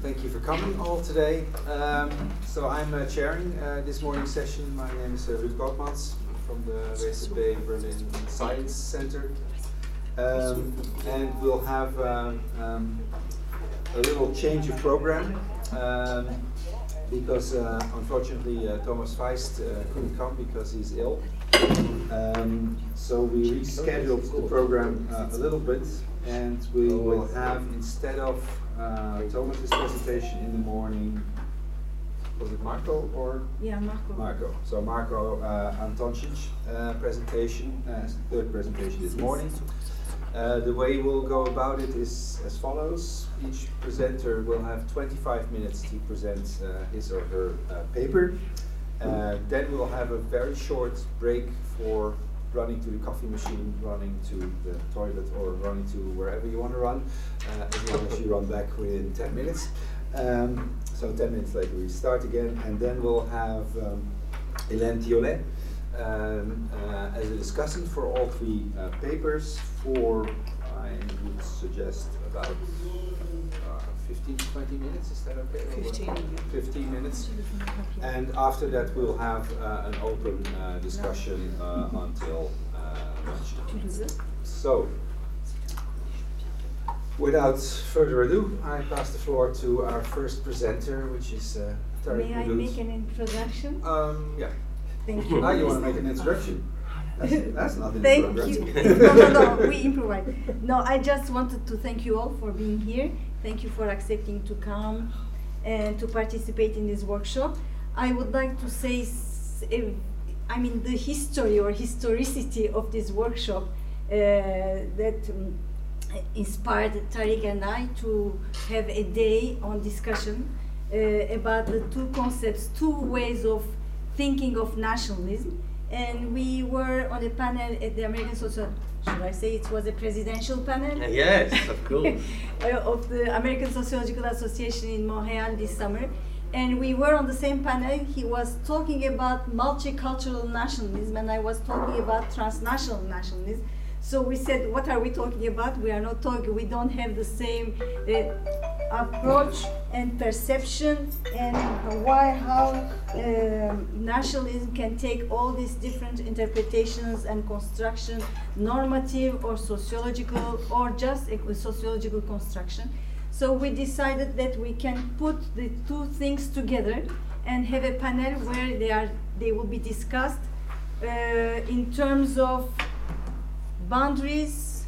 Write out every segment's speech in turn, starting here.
Thank you for coming all today. So I'm chairing this morning's session. My name is Ruud Koopmans from the WZB Berlin Science Center. And we'll have a little change of program because unfortunately Thomas Feist couldn't come because he's ill. So we rescheduled the program a little bit, and we will have, instead of Thomas's presentation in the morning, was it Marco or? Yeah, Marco. Marco. So Marco Antoncic presentation, third presentation this morning. The way we'll go about it is as follows. Each presenter will have 25 minutes to present his or her paper. Then we'll have a very short break for running to the coffee machine, running to the toilet, or running to wherever you want to run, as long as you run back within 10 minutes. So 10 minutes later we start again, and then we'll have Hélène Thiolet as a discussant for all three papers for, I would suggest, about 15 to 20 minutes. Is that okay? 15 minutes. And after that we'll have an open discussion until lunch. So, without further ado, I pass the floor to our first presenter, which is Tarek May I Mouloud. make an introduction? Yeah. Thank you. Now you want to make an introduction. That's not an Thank introduction. you. No, we improvise. No, I just wanted to thank you all for being here. Thank you for accepting to come and to participate in this workshop. I would like to say, the history or historicity of this workshop that inspired Tarek and I to have a day on discussion about the two concepts, two ways of thinking of nationalism. And we were on a panel at the American Social, should I say it was a presidential panel? Yes, of course. Of the American Sociological Association in Montreal this summer. And we were on the same panel. He was talking about multicultural nationalism, and I was talking about transnational nationalism. So we said, what are we talking about? We are not talking, we don't have the same approach and perception, and how nationalism can take all these different interpretations and construction, normative or sociological, or just a sociological construction. So we decided that we can put the two things together and have a panel where they will be discussed in terms of boundaries,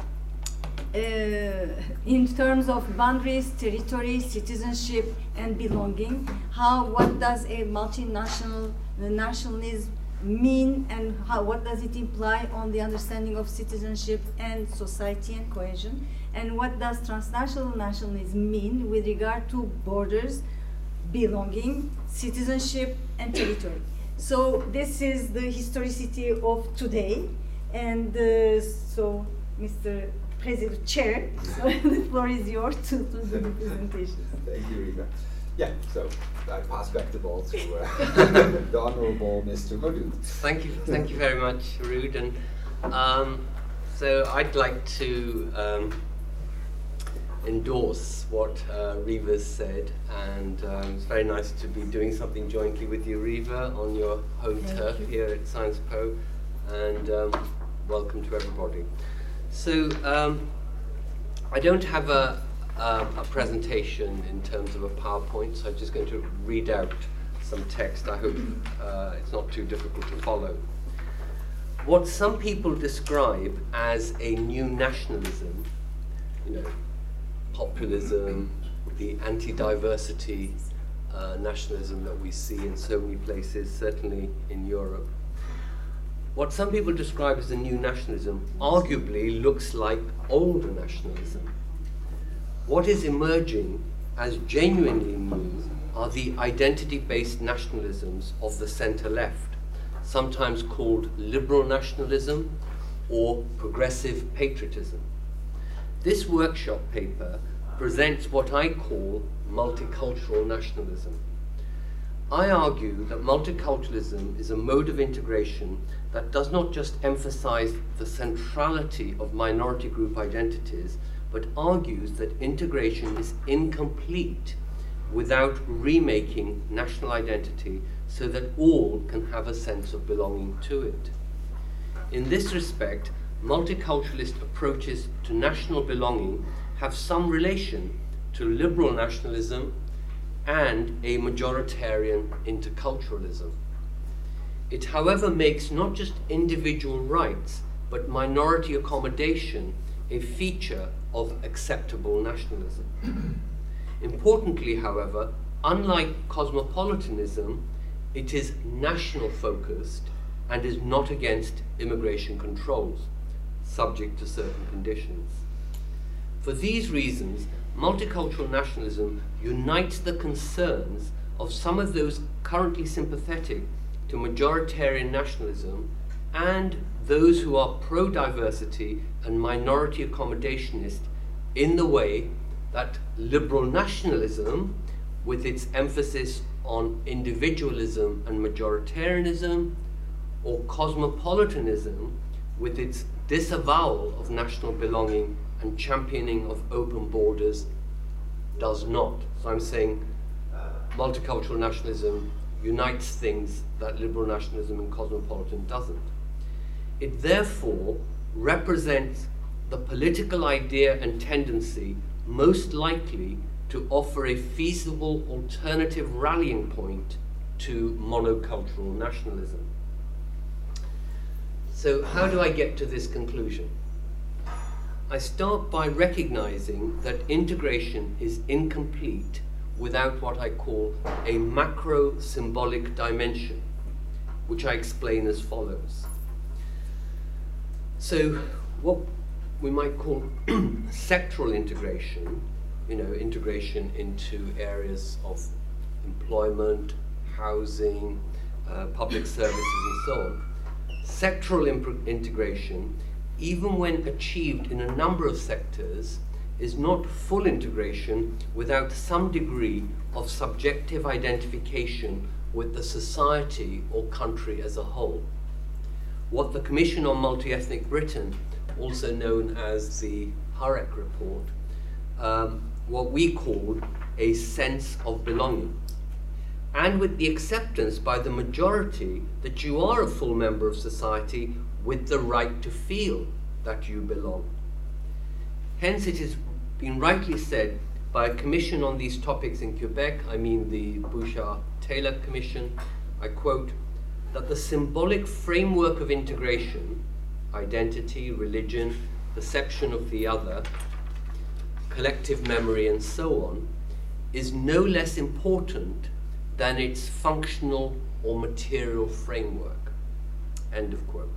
territory, citizenship, and belonging. What does a multinational nationalism mean, and what does it imply on the understanding of citizenship and society and cohesion? And what does transnational nationalism mean with regard to borders, belonging, citizenship, and territory? So this is the historicity of today. And so, Mr. President, Chair, so the floor is yours to do the presentation. Thank you, Rita. Yeah, so I pass back the ball to the Honourable Mr. Mouloud. Thank you very much, Ruud. And so I'd like to endorse what Riva said, and it's very nice to be doing something jointly with you, Riva, on your home turf here at Sciences Po, and welcome to everybody. So I don't have a presentation in terms of a PowerPoint, so I'm just going to read out some text. I hope it's not too difficult to follow. What some people describe as a new nationalism, populism, the anti-diversity nationalism that we see in so many places, certainly in Europe. What some people describe as a new nationalism arguably looks like older nationalism. What is emerging as genuinely new are the identity-based nationalisms of the centre-left, sometimes called liberal nationalism or progressive patriotism. This workshop paper presents what I call multicultural nationalism. I argue that multiculturalism is a mode of integration that does not just emphasize the centrality of minority group identities, but argues that integration is incomplete without remaking national identity so that all can have a sense of belonging to it. In this respect, multiculturalist approaches to national belonging have some relation to liberal nationalism and a majoritarian interculturalism. It, however, makes not just individual rights, but minority accommodation a feature of acceptable nationalism. Importantly, however, unlike cosmopolitanism, it is national-focused and is not against immigration controls, subject to certain conditions. For these reasons, multicultural nationalism unites the concerns of some of those currently sympathetic to majoritarian nationalism and those who are pro-diversity and minority accommodationist in the way that liberal nationalism, with its emphasis on individualism and majoritarianism, or cosmopolitanism, with its disavowal of national belonging and championing of open borders, does not. So I'm saying multicultural nationalism unites things that liberal nationalism and cosmopolitan doesn't. It therefore represents the political idea and tendency most likely to offer a feasible alternative rallying point to monocultural nationalism. So how do I get to this conclusion? I start by recognizing that integration is incomplete without what I call a macro-symbolic dimension, which I explain as follows. So what we might call sectoral integration, integration into areas of employment, housing, public services and so on. Sectoral integration, even when achieved in a number of sectors, is not full integration without some degree of subjective identification with the society or country as a whole. What the Commission on Multi-Ethnic Britain, also known as the Hurek report, what we called a sense of belonging. And with the acceptance by the majority that you are a full member of society with the right to feel that you belong. Hence, it has been rightly said by a commission on these topics in Quebec, I mean the Bouchard-Taylor Commission, I quote, that the symbolic framework of integration, identity, religion, perception of the other, collective memory and so on, is no less important than its functional or material framework. End of quote.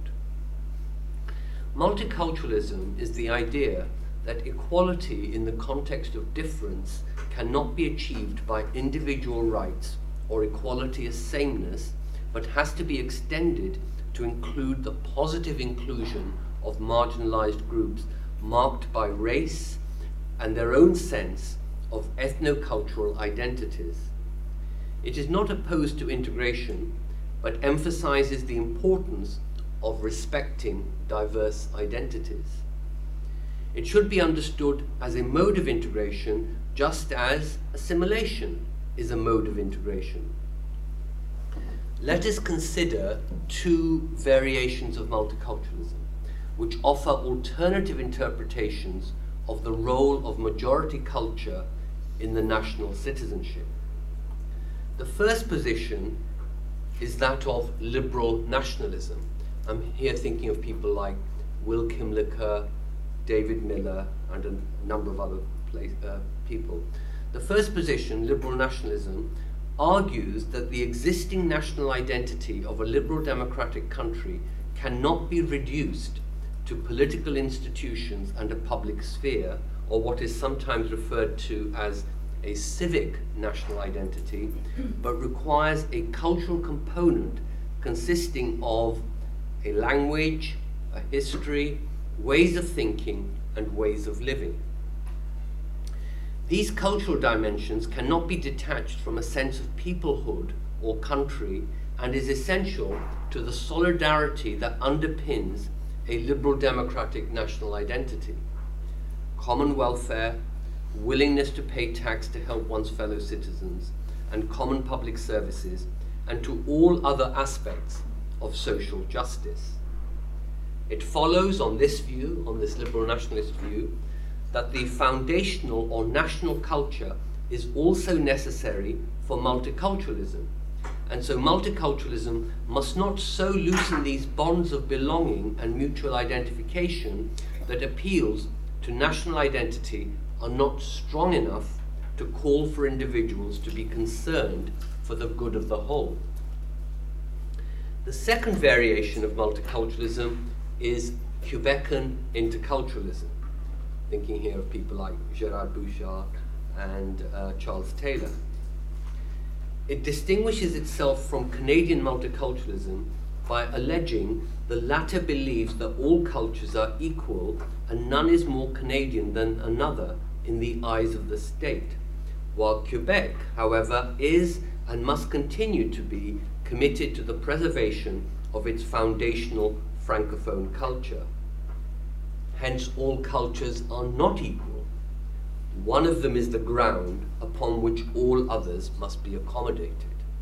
Multiculturalism is the idea that equality in the context of difference cannot be achieved by individual rights or equality as sameness, but has to be extended to include the positive inclusion of marginalized groups marked by race and their own sense of ethnocultural identities. It is not opposed to integration, but emphasizes the importance of respecting diverse identities. It should be understood as a mode of integration, just as assimilation is a mode of integration. Let us consider two variations of multiculturalism, which offer alternative interpretations of the role of majority culture in the national citizenship. The first position is that of liberal nationalism. I'm here thinking of people like Will Kimlicka, David Miller, and a number of other people. The first position, liberal nationalism, argues that the existing national identity of a liberal democratic country cannot be reduced to political institutions and a public sphere, or what is sometimes referred to as a civic national identity, but requires a cultural component consisting of a language, a history, ways of thinking, and ways of living. These cultural dimensions cannot be detached from a sense of peoplehood or country, and is essential to the solidarity that underpins a liberal democratic national identity. common welfare, willingness to pay tax to help one's fellow citizens, and common public services, and to all other aspects of social justice. It follows on this view, on this liberal nationalist view, that the foundational or national culture is also necessary for multiculturalism. And so multiculturalism must not so loosen these bonds of belonging and mutual identification that appeals to national identity are not strong enough to call for individuals to be concerned for the good of the whole. The second variation of multiculturalism is Quebecan interculturalism, thinking here of people like Gerard Bouchard and Charles Taylor. It distinguishes itself from Canadian multiculturalism by alleging the latter believes that all cultures are equal and none is more Canadian than another in the eyes of the state, while Quebec, however, is and must continue to be committed to the preservation of its foundational Francophone culture. Hence, all cultures are not equal. One of them is the ground upon which all others must be accommodated.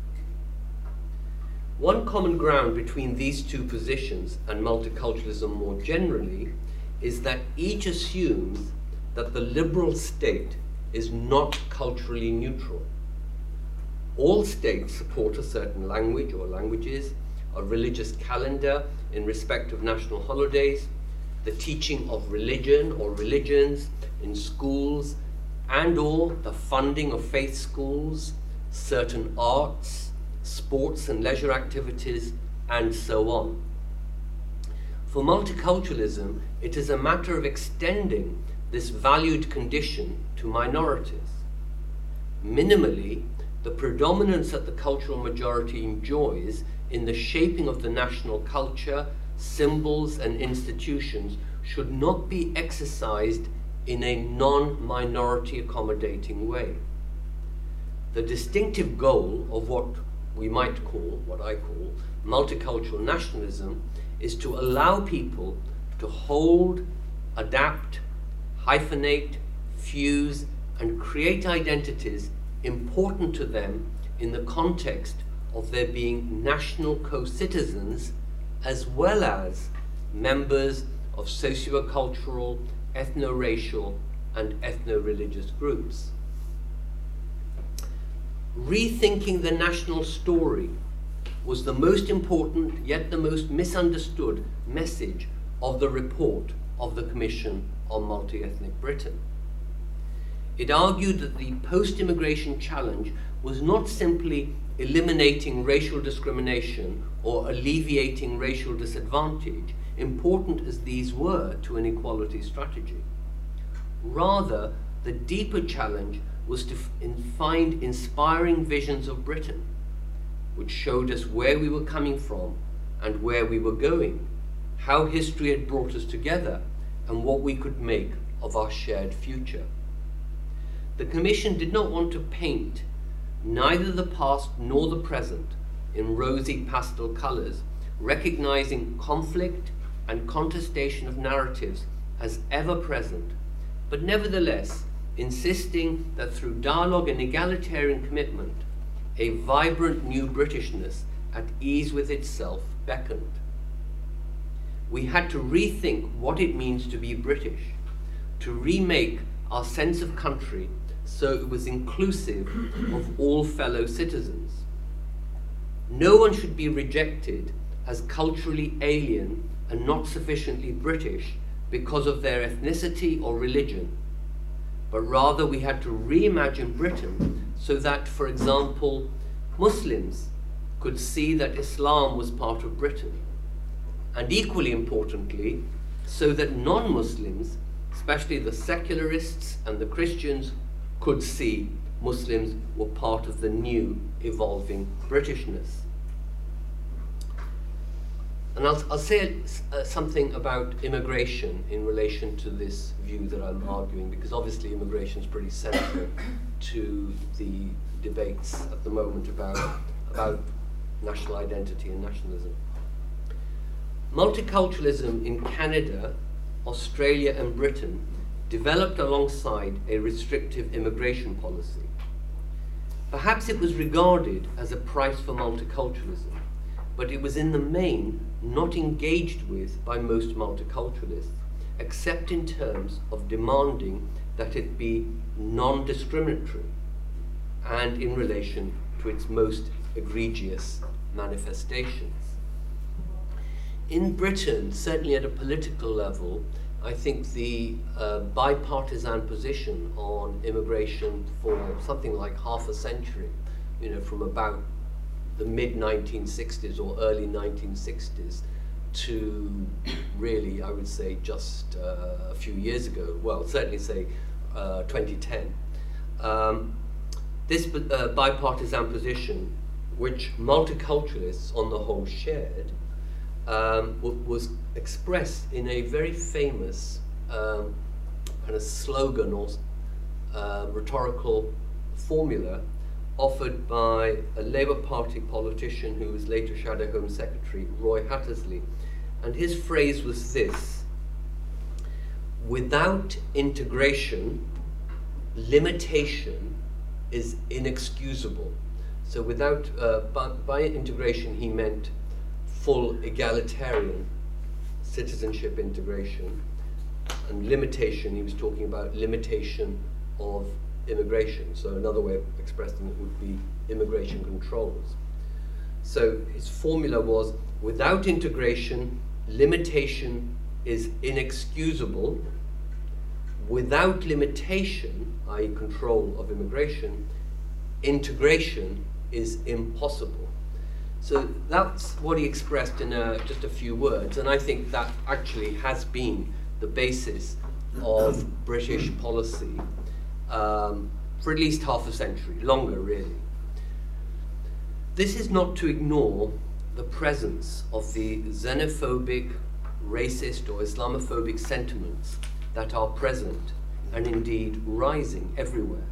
One common ground between these two positions and multiculturalism more generally is that each assumes that the liberal state is not culturally neutral. All states support a certain language or languages, a religious calendar in respect of national holidays, the teaching of religion or religions in schools, and or the funding of faith schools, certain arts, sports and leisure activities, and so on. For multiculturalism, it is a matter of extending this valued condition to minorities. Minimally, the predominance that the cultural majority enjoys in the shaping of the national culture, symbols, and institutions should not be exercised in a non-minority accommodating way. The distinctive goal of what we might call, what I call, multicultural nationalism is to allow people to hold, adapt, hyphenate, fuse, and create identities important to them in the context of their being national co-citizens as well as members of socio-cultural, ethno-racial, and ethno-religious groups. Rethinking the national story was the most important, yet the most misunderstood message of the report of the Commission on Multi-Ethnic Britain. It argued that the post-immigration challenge was not simply eliminating racial discrimination or alleviating racial disadvantage, important as these were to an equality strategy. Rather, the deeper challenge was to find inspiring visions of Britain, which showed us where we were coming from and where we were going, how history had brought us together, and what we could make of our shared future. The Commission did not want to paint neither the past nor the present in rosy pastel colours, recognizing conflict and contestation of narratives as ever present, but nevertheless insisting that through dialogue and egalitarian commitment, a vibrant new Britishness at ease with itself beckoned. We had to rethink what it means to be British, to remake our sense of country so it was inclusive of all fellow citizens. No one should be rejected as culturally alien and not sufficiently British because of their ethnicity or religion, but rather we had to reimagine Britain so that, for example, Muslims could see that Islam was part of Britain, and equally importantly, so that non-Muslims, especially the secularists and the Christians, could see Muslims were part of the new evolving Britishness. And I'll say something about immigration in relation to this view that I'm arguing, because obviously immigration is pretty central to the debates at the moment about national identity and nationalism. Multiculturalism in Canada, Australia, and Britain developed alongside a restrictive immigration policy. Perhaps it was regarded as a price for multiculturalism, but it was in the main not engaged with by most multiculturalists, except in terms of demanding that it be non-discriminatory and in relation to its most egregious manifestations. In Britain, certainly at a political level, I think the bipartisan position on immigration for something like half a century, from about the mid-1960s or early 1960s to really, I would say, just a few years ago, well, certainly say 2010. This bipartisan position, which multiculturalists on the whole shared, was expressed in a very famous kind of slogan or rhetorical formula offered by a Labour Party politician who was later Shadow Home Secretary, Roy Hattersley. And his phrase was this: without integration, limitation is inexcusable. So without, by integration he meant full egalitarian citizenship integration, and limitation, he was talking about limitation of immigration. So another way of expressing it would be immigration controls. So his formula was, without integration, limitation is inexcusable. Without limitation, i.e. control of immigration, integration is impossible. So that's what he expressed in just a few words, and I think that actually has been the basis of British policy for at least half a century, longer really. This is not to ignore the presence of the xenophobic, racist or Islamophobic sentiments that are present and indeed rising everywhere.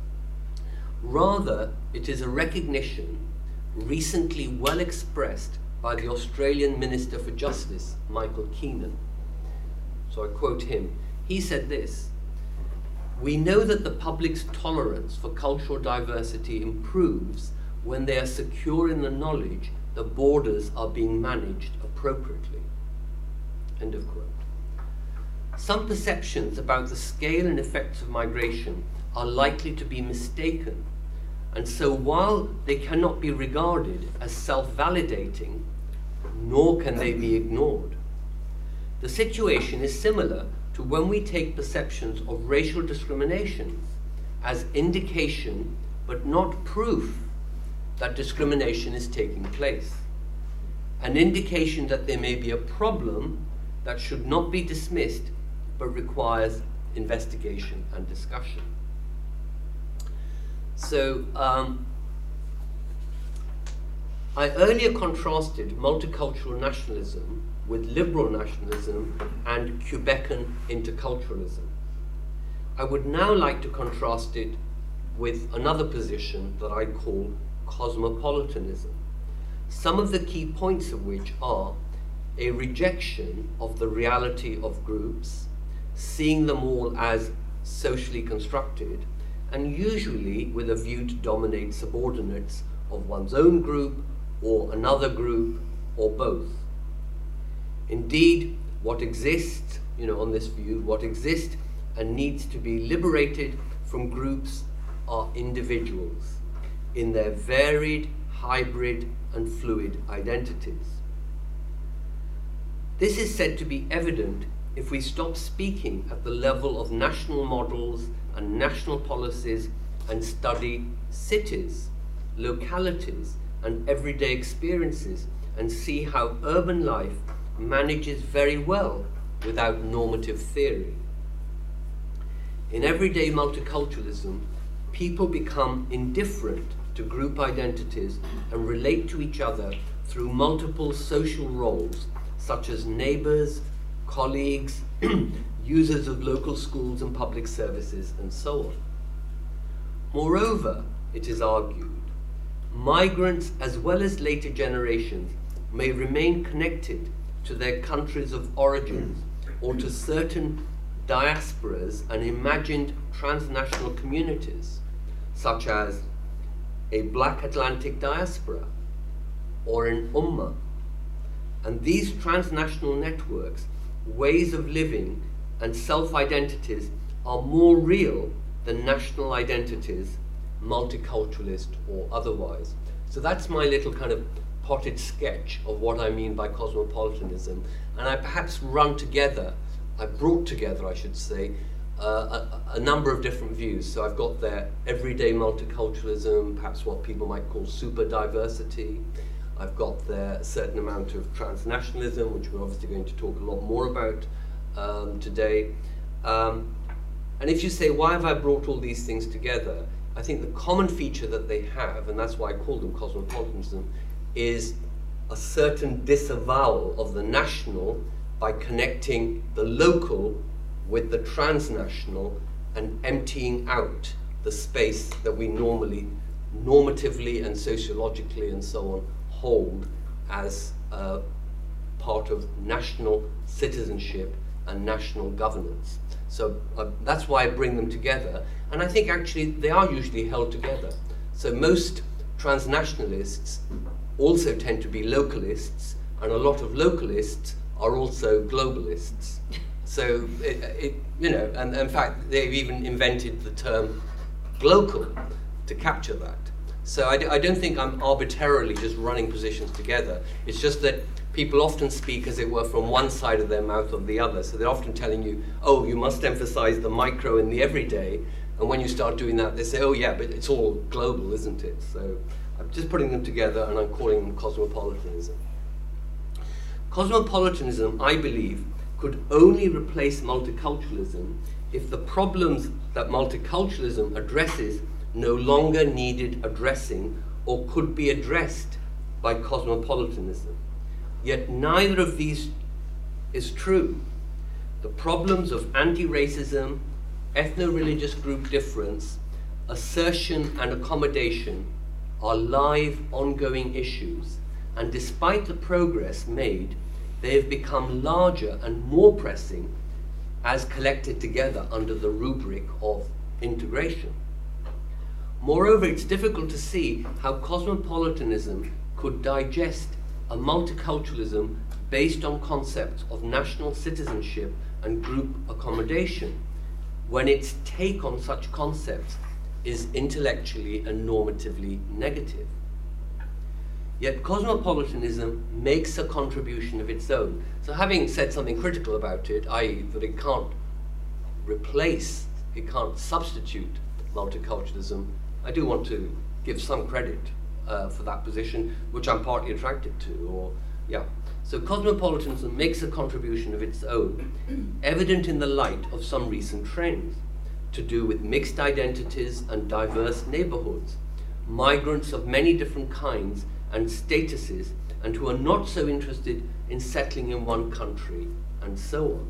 Rather, it is a recognition recently well expressed by the Australian Minister for Justice, Michael Keenan. So I quote him. He said this: "We know that the public's tolerance for cultural diversity improves when they are secure in the knowledge the borders are being managed appropriately." End of quote. Some perceptions about the scale and effects of migration are likely to be mistaken, and so while they cannot be regarded as self-validating, nor can they be ignored. The situation is similar to when we take perceptions of racial discrimination as indication but not proof that discrimination is taking place, an indication that there may be a problem that should not be dismissed but requires investigation and discussion. So I earlier contrasted multicultural nationalism with liberal nationalism and Quebecan interculturalism. I would now like to contrast it with another position that I call cosmopolitanism, some of the key points of which are a rejection of the reality of groups, seeing them all as socially constructed, and usually with a view to dominate subordinates of one's own group or another group or both. Indeed, what exists, on this view, what exists and needs to be liberated from groups are individuals in their varied, hybrid and fluid identities. This is said to be evident if we stop speaking at the level of national models and national policies and study cities, localities and everyday experiences and see how urban life manages very well without normative theory. In everyday multiculturalism, people become indifferent to group identities and relate to each other through multiple social roles, such as neighbors, colleagues, users of local schools and public services, and so on. Moreover, it is argued, migrants as well as later generations may remain connected to their countries of origins or to certain diasporas and imagined transnational communities, such as a Black Atlantic diaspora or an Ummah. And these transnational networks, ways of living, and self-identities are more real than national identities, multiculturalist or otherwise. So that's my little kind of potted sketch of what I mean by cosmopolitanism. And I perhaps brought together, I should say, a number of different views. So I've got there everyday multiculturalism, perhaps what people might call super diversity. I've got there a certain amount of transnationalism, which we're obviously going to talk a lot more about today. And if you say, why have I brought all these things together? I think the common feature that they have, and that's why I call them cosmopolitanism, is a certain disavowal of the national by connecting the local with the transnational and emptying out the space that we normally, normatively and sociologically and so on, hold as part of national citizenship and national governance. So that's why I bring them together. And I think actually they are usually held together. So most transnationalists also tend to be localists, and a lot of localists are also globalists. So, you know, and in fact, they've even invented the term glocal to capture that. So I don't think I'm arbitrarily just running positions together. It's just that people often speak, as it were, from one side of their mouth or the other. So they're often telling you, oh, you must emphasize the micro and the everyday. And when you start doing that, they say, oh yeah, but it's all global, isn't it? So I'm just putting them together and I'm calling them cosmopolitanism. Cosmopolitanism, I believe, could only replace multiculturalism if the problems that multiculturalism addresses no longer needed addressing or could be addressed by cosmopolitanism. Yet neither of these is true. The problems of anti-racism, ethno-religious group difference, assertion and accommodation are live, ongoing issues, and despite the progress made, they have become larger and more pressing as collected together under the rubric of integration. Moreover, it's difficult to see how cosmopolitanism could digest a multiculturalism based on concepts of national citizenship and group accommodation, when its take on such concepts is intellectually and normatively negative. Yet cosmopolitanism makes a contribution of its own. So having said something critical about it, i.e. that it can't replace, it can't substitute multiculturalism, I do want to give some credit for that position, which I'm partly attracted to, or yeah. So cosmopolitanism makes a contribution of its own, evident in the light of some recent trends, to do with mixed identities and diverse neighborhoods, migrants of many different kinds and statuses, and who are not so interested in settling in one country, and so on.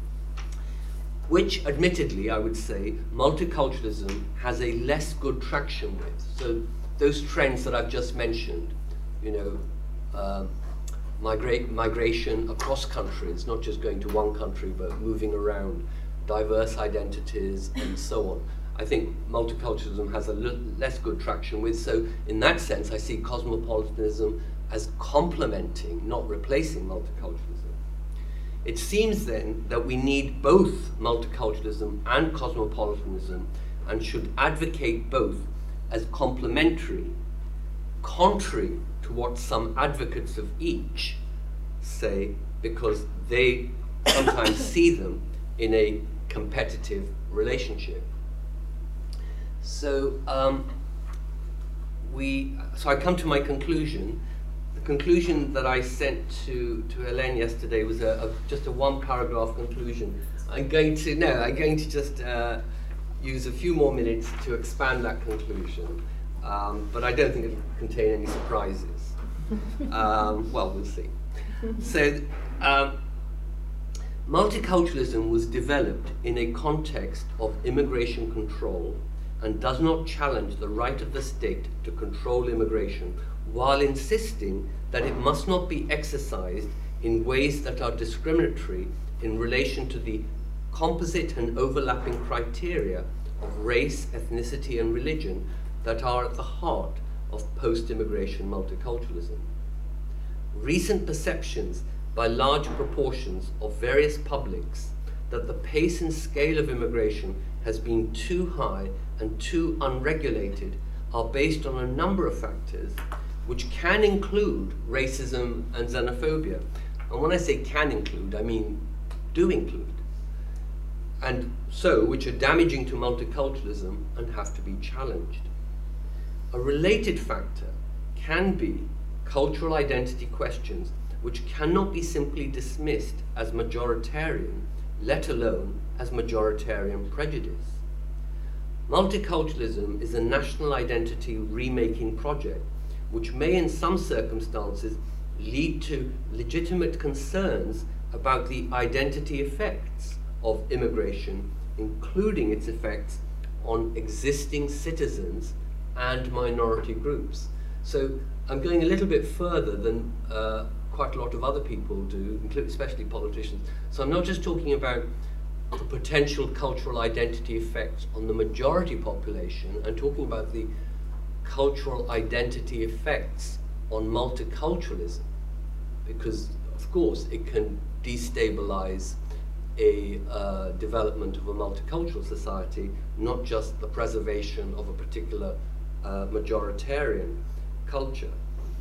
Which, admittedly, I would say, multiculturalism has a less good traction with. So those trends that I've just mentioned, you know, migration across countries, not just going to one country, but moving around, diverse identities, and so on. I think multiculturalism has a less good traction with, so in that sense I see cosmopolitanism as complementing, not replacing multiculturalism. It seems then that we need both multiculturalism and cosmopolitanism and should advocate both as complementary, contrary to what some advocates of each say, because they sometimes see them in a competitive relationship. So, so I come to my conclusion. The conclusion that I sent to Hélène yesterday was just a one-paragraph conclusion. I'm going to just use a few more minutes to expand that conclusion, but I don't think it will contain any surprises. Well, we'll see. So, multiculturalism was developed in a context of immigration control and does not challenge the right of the state to control immigration, while insisting that it must not be exercised in ways that are discriminatory in relation to the composite and overlapping criteria of race, ethnicity, and religion that are at the heart of post-immigration multiculturalism. Recent perceptions by large proportions of various publics that the pace and scale of immigration has been too high and too unregulated are based on a number of factors which can include racism and xenophobia. And when I say can include, I mean do include. And so, which are damaging to multiculturalism and have to be challenged. A related factor can be cultural identity questions which cannot be simply dismissed as majoritarian, let alone as majoritarian prejudice. Multiculturalism is a national identity remaking project which may in some circumstances lead to legitimate concerns about the identity effects of immigration, including its effects on existing citizens and minority groups. So I'm going a little bit further than quite a lot of other people do, especially politicians. So I'm not just talking about the potential cultural identity effects on the majority population, I'm talking about the cultural identity effects on multiculturalism, because of course it can destabilize a development of a multicultural society, not just the preservation of a particular majoritarian culture.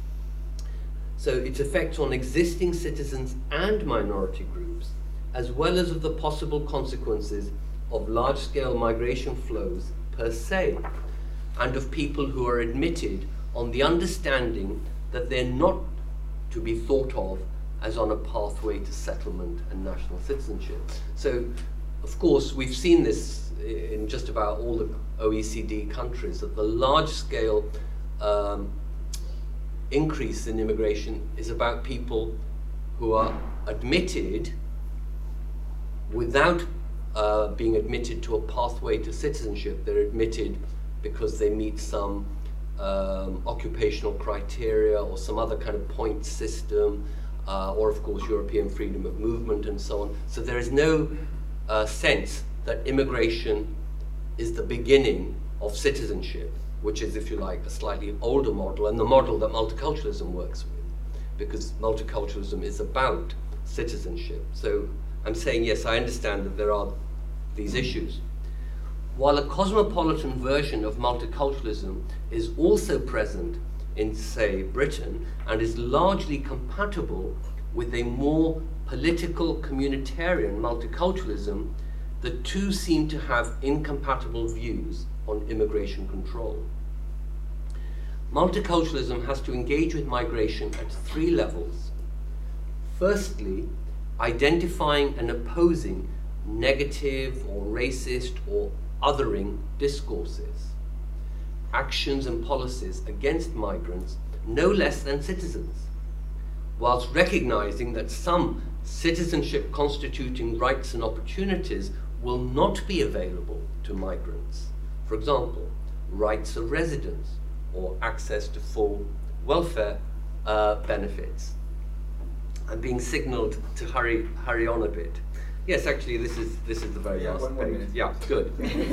So its effects on existing citizens and minority groups, as well as of the possible consequences of large-scale migration flows per se, and of people who are admitted on the understanding that they're not to be thought of as on a pathway to settlement and national citizenship. So, of course, we've seen this in just about all the OECD countries, that the large-scale increase in immigration is about people who are admitted without being admitted to a pathway to citizenship. They're admitted because they meet some occupational criteria or some other kind of point system, or of course European freedom of movement and so on. So there is no sense that immigration is the beginning of citizenship, which is, if you like, a slightly older model, and the model that multiculturalism works with, because multiculturalism is about citizenship. So I'm saying, yes, I understand that there are these issues. While a cosmopolitan version of multiculturalism is also present in, say, Britain, and is largely compatible with a more political communitarian multiculturalism, the two seem to have incompatible views on immigration control. Multiculturalism has to engage with migration at three levels. Firstly, identifying and opposing negative or racist or othering discourses, actions and policies against migrants no less than citizens, whilst recognizing that some citizenship constituting rights and opportunities will not be available to migrants. For example, rights of residence or access to full welfare benefits. I'm being signaled to hurry on a bit. Yes, actually, this is the very last page. Yeah, good.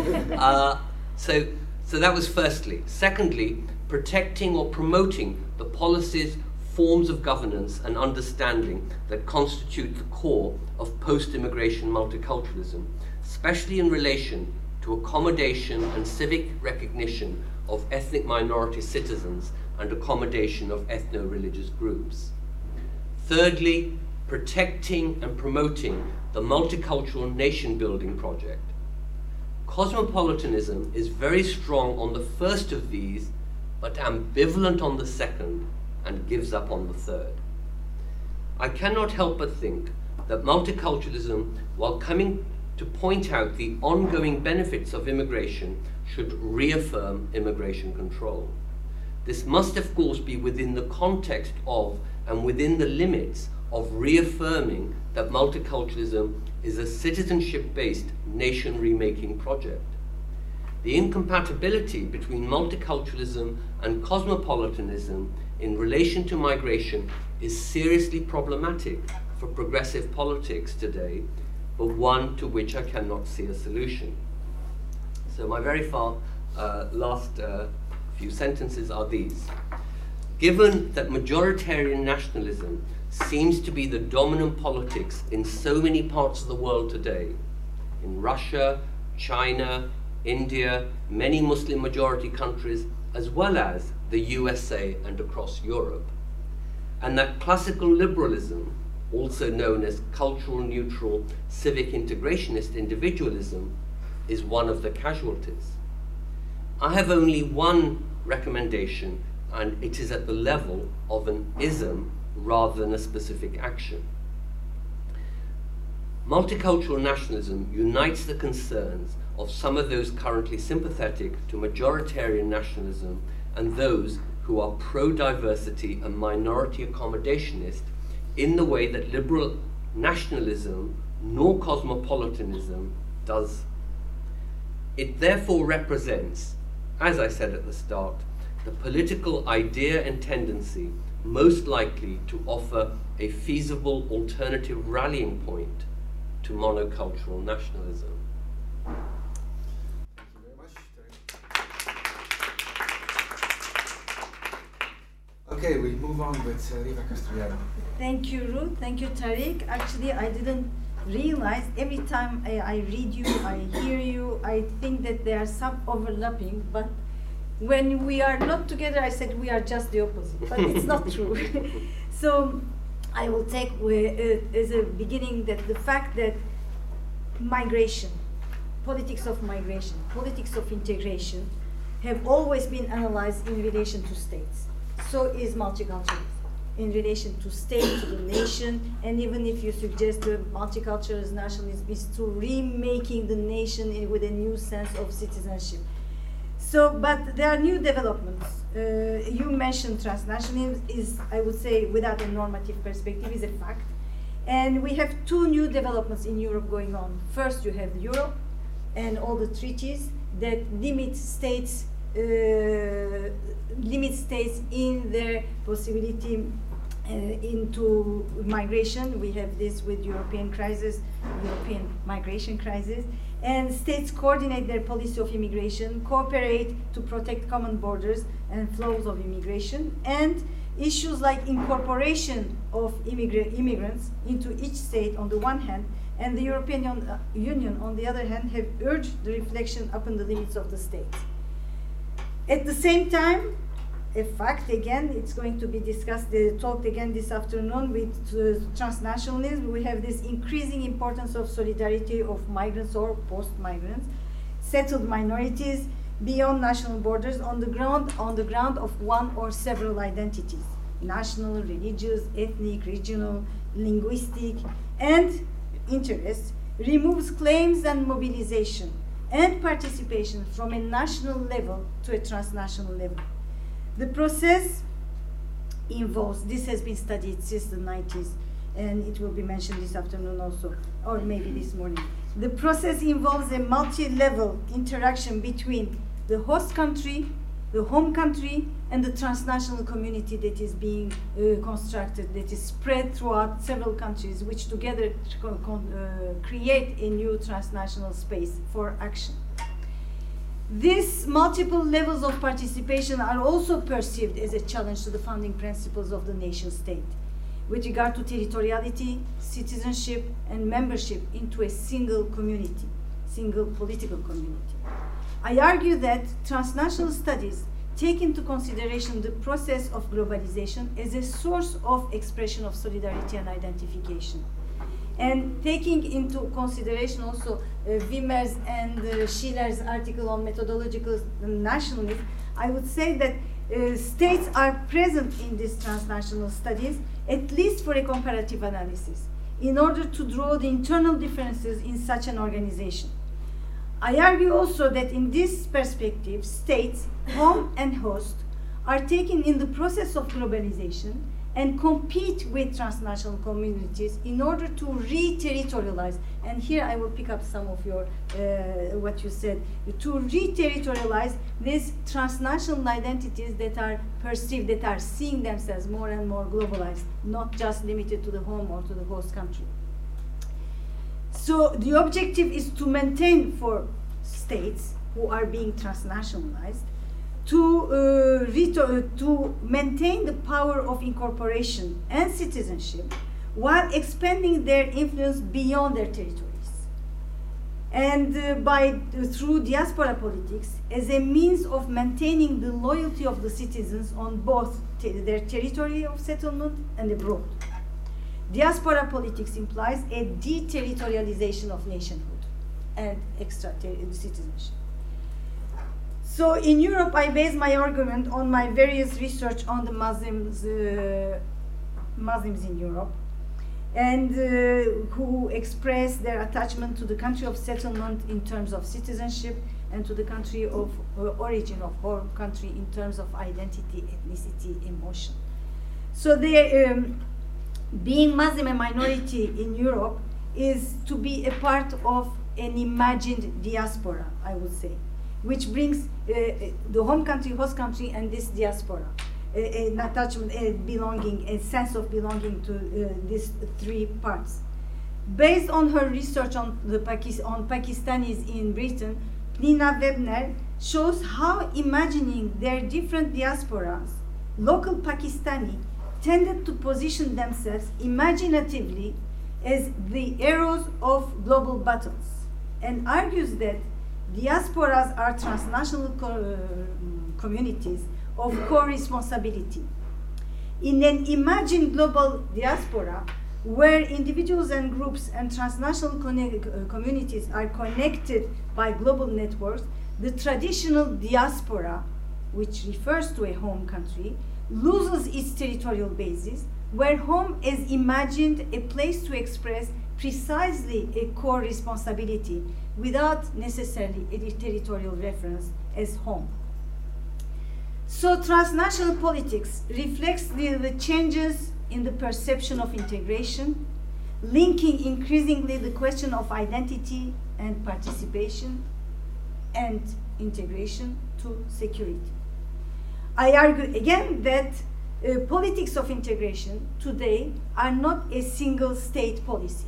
So that was firstly. Secondly, protecting or promoting the policies, forms of governance and understanding that constitute the core of post-immigration multiculturalism, especially in relation to accommodation and civic recognition of ethnic minority citizens and accommodation of ethno-religious groups. Thirdly, protecting and promoting the multicultural nation-building project. Cosmopolitanism is very strong on the first of these, but ambivalent on the second, and gives up on the third. I cannot help but think that multiculturalism, while coming to point out the ongoing benefits of immigration, should reaffirm immigration control. This must, of course, be within the context of and within the limits of reaffirming that multiculturalism is a citizenship-based nation remaking project. The incompatibility between multiculturalism and cosmopolitanism in relation to migration is seriously problematic for progressive politics today, but one to which I cannot see a solution. So my very last few sentences are these. Given that majoritarian nationalism seems to be the dominant politics in so many parts of the world today, in Russia, China, India, many Muslim majority countries, as well as the USA and across Europe, and that classical liberalism, also known as cultural neutral civic integrationist individualism, is one of the casualties. I have only one recommendation, and it is at the level of an ism rather than a specific action. Multicultural nationalism unites the concerns of some of those currently sympathetic to majoritarian nationalism and those who are pro-diversity and minority accommodationist in the way that liberal nationalism nor cosmopolitanism does. It therefore represents, as I said at the start, the political idea and tendency most likely to offer a feasible alternative rallying point to monocultural nationalism. Thank you very much, Tariq. Okay, we move on with Riva Castellano. Thank you, Ruth. Thank you, Tariq. Actually, I didn't realize every time I read you, I hear you, I think that there are some overlapping, but when we are not together, I said we are just the opposite, but it's not true. So I will take as a beginning that the fact that migration, politics of migration, politics of integration have always been analyzed in relation to states. So is multiculturalism in relation to state, to the nation, and even if you suggest the multiculturalism nationalism is to remaking the nation with a new sense of citizenship. So, but there are new developments. You mentioned transnationalism is, I would say, without a normative perspective, is a fact. And we have two new developments in Europe going on. First, you have Europe and all the treaties that limit states in their possibility into migration. We have this with European crisis, European migration crisis. And states coordinate their policy of immigration, cooperate to protect common borders and flows of immigration, and issues like incorporation of immigrants into each state on the one hand, and the European Union on the other hand have urged the reflection upon the limits of the state. At the same time, a fact, again, it's going to be discussed, talked again this afternoon with transnationalism. We have this increasing importance of solidarity of migrants or post-migrants, settled minorities beyond national borders on the ground of one or several identities, national, religious, ethnic, regional, linguistic, and interests, removes claims and mobilization and participation from a national level to a transnational level. The process involves, this has been studied since the 90s, and it will be mentioned this afternoon also, or maybe this morning. The process involves a multi-level interaction between the host country, the home country, and the transnational community that is being constructed, that is spread throughout several countries, which together create a new transnational space for action. These multiple levels of participation are also perceived as a challenge to the founding principles of the nation state with regard to territoriality, citizenship, and membership into a single community, single political community. I argue that transnational studies take into consideration the process of globalization as a source of expression of solidarity and identification. And taking into consideration also Wimmer's and Schiller's article on methodological nationalism, I would say that states are present in these transnational studies, at least for a comparative analysis, in order to draw the internal differences in such an organization. I argue also that in this perspective, states, home and host, are taken in the process of globalization and compete with transnational communities in order to re-territorialize. And here I will pick up some of your, what you said, to re-territorialize these transnational identities that are perceived, that are seeing themselves more and more globalized, not just limited to the home or to the host country. So the objective is to maintain for states who are being transnationalized to maintain the power of incorporation and citizenship while expanding their influence beyond their territories. And through diaspora politics as a means of maintaining the loyalty of the citizens on both their territory of settlement and abroad. Diaspora politics implies a deterritorialization of nationhood and citizenship. So in Europe, I base my argument on my various research on the Muslims in Europe, and who express their attachment to the country of settlement in terms of citizenship and to the country of origin of home country in terms of identity, ethnicity, emotion. So being Muslim a minority in Europe is to be a part of an imagined diaspora, I would say, which brings the home country, host country, and this diaspora, an attachment, a belonging, a sense of belonging to these three parts. Based on her research on Pakistanis in Britain, Nina Webner shows how imagining their different diasporas, local Pakistani tended to position themselves imaginatively as the heroes of global battles, and argues that diasporas are transnational communities of co-responsibility. In an imagined global diaspora, where individuals and groups and transnational communities are connected by global networks, the traditional diaspora, which refers to a home country, loses its territorial basis, where home is imagined a place to express precisely a core responsibility without necessarily a territorial reference as home. So transnational politics reflects the changes in the perception of integration, linking increasingly the question of identity and participation and integration to security. I argue again that politics of integration today are not a single state policy.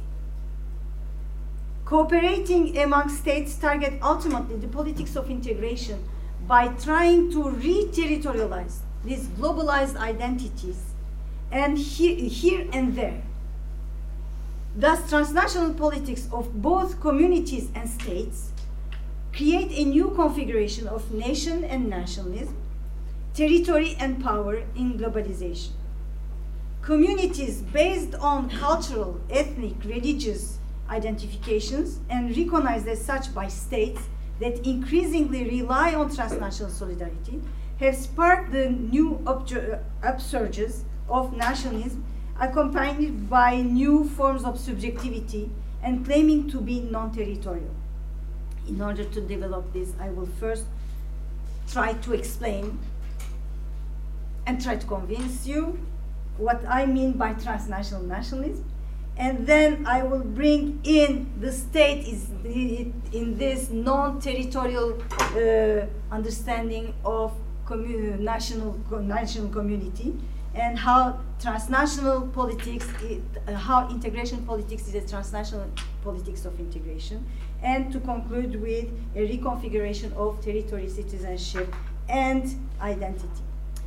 Cooperating among states target ultimately the politics of integration by trying to re-territorialize these globalized identities and here and there. Thus, transnational politics of both communities and states create a new configuration of nation and nationalism, territory and power in globalization. Communities based on cultural, ethnic, religious identifications and recognized as such by states that increasingly rely on transnational solidarity have sparked the new upsurges of nationalism accompanied by new forms of subjectivity and claiming to be non-territorial. In order to develop this, I will first try to explain and try to convince you what I mean by transnational nationalism, and then I will bring in the state in this non-territorial understanding of national community, and how transnational politics, how integration politics is a transnational politics of integration, and to conclude with a reconfiguration of territory, citizenship, and identity.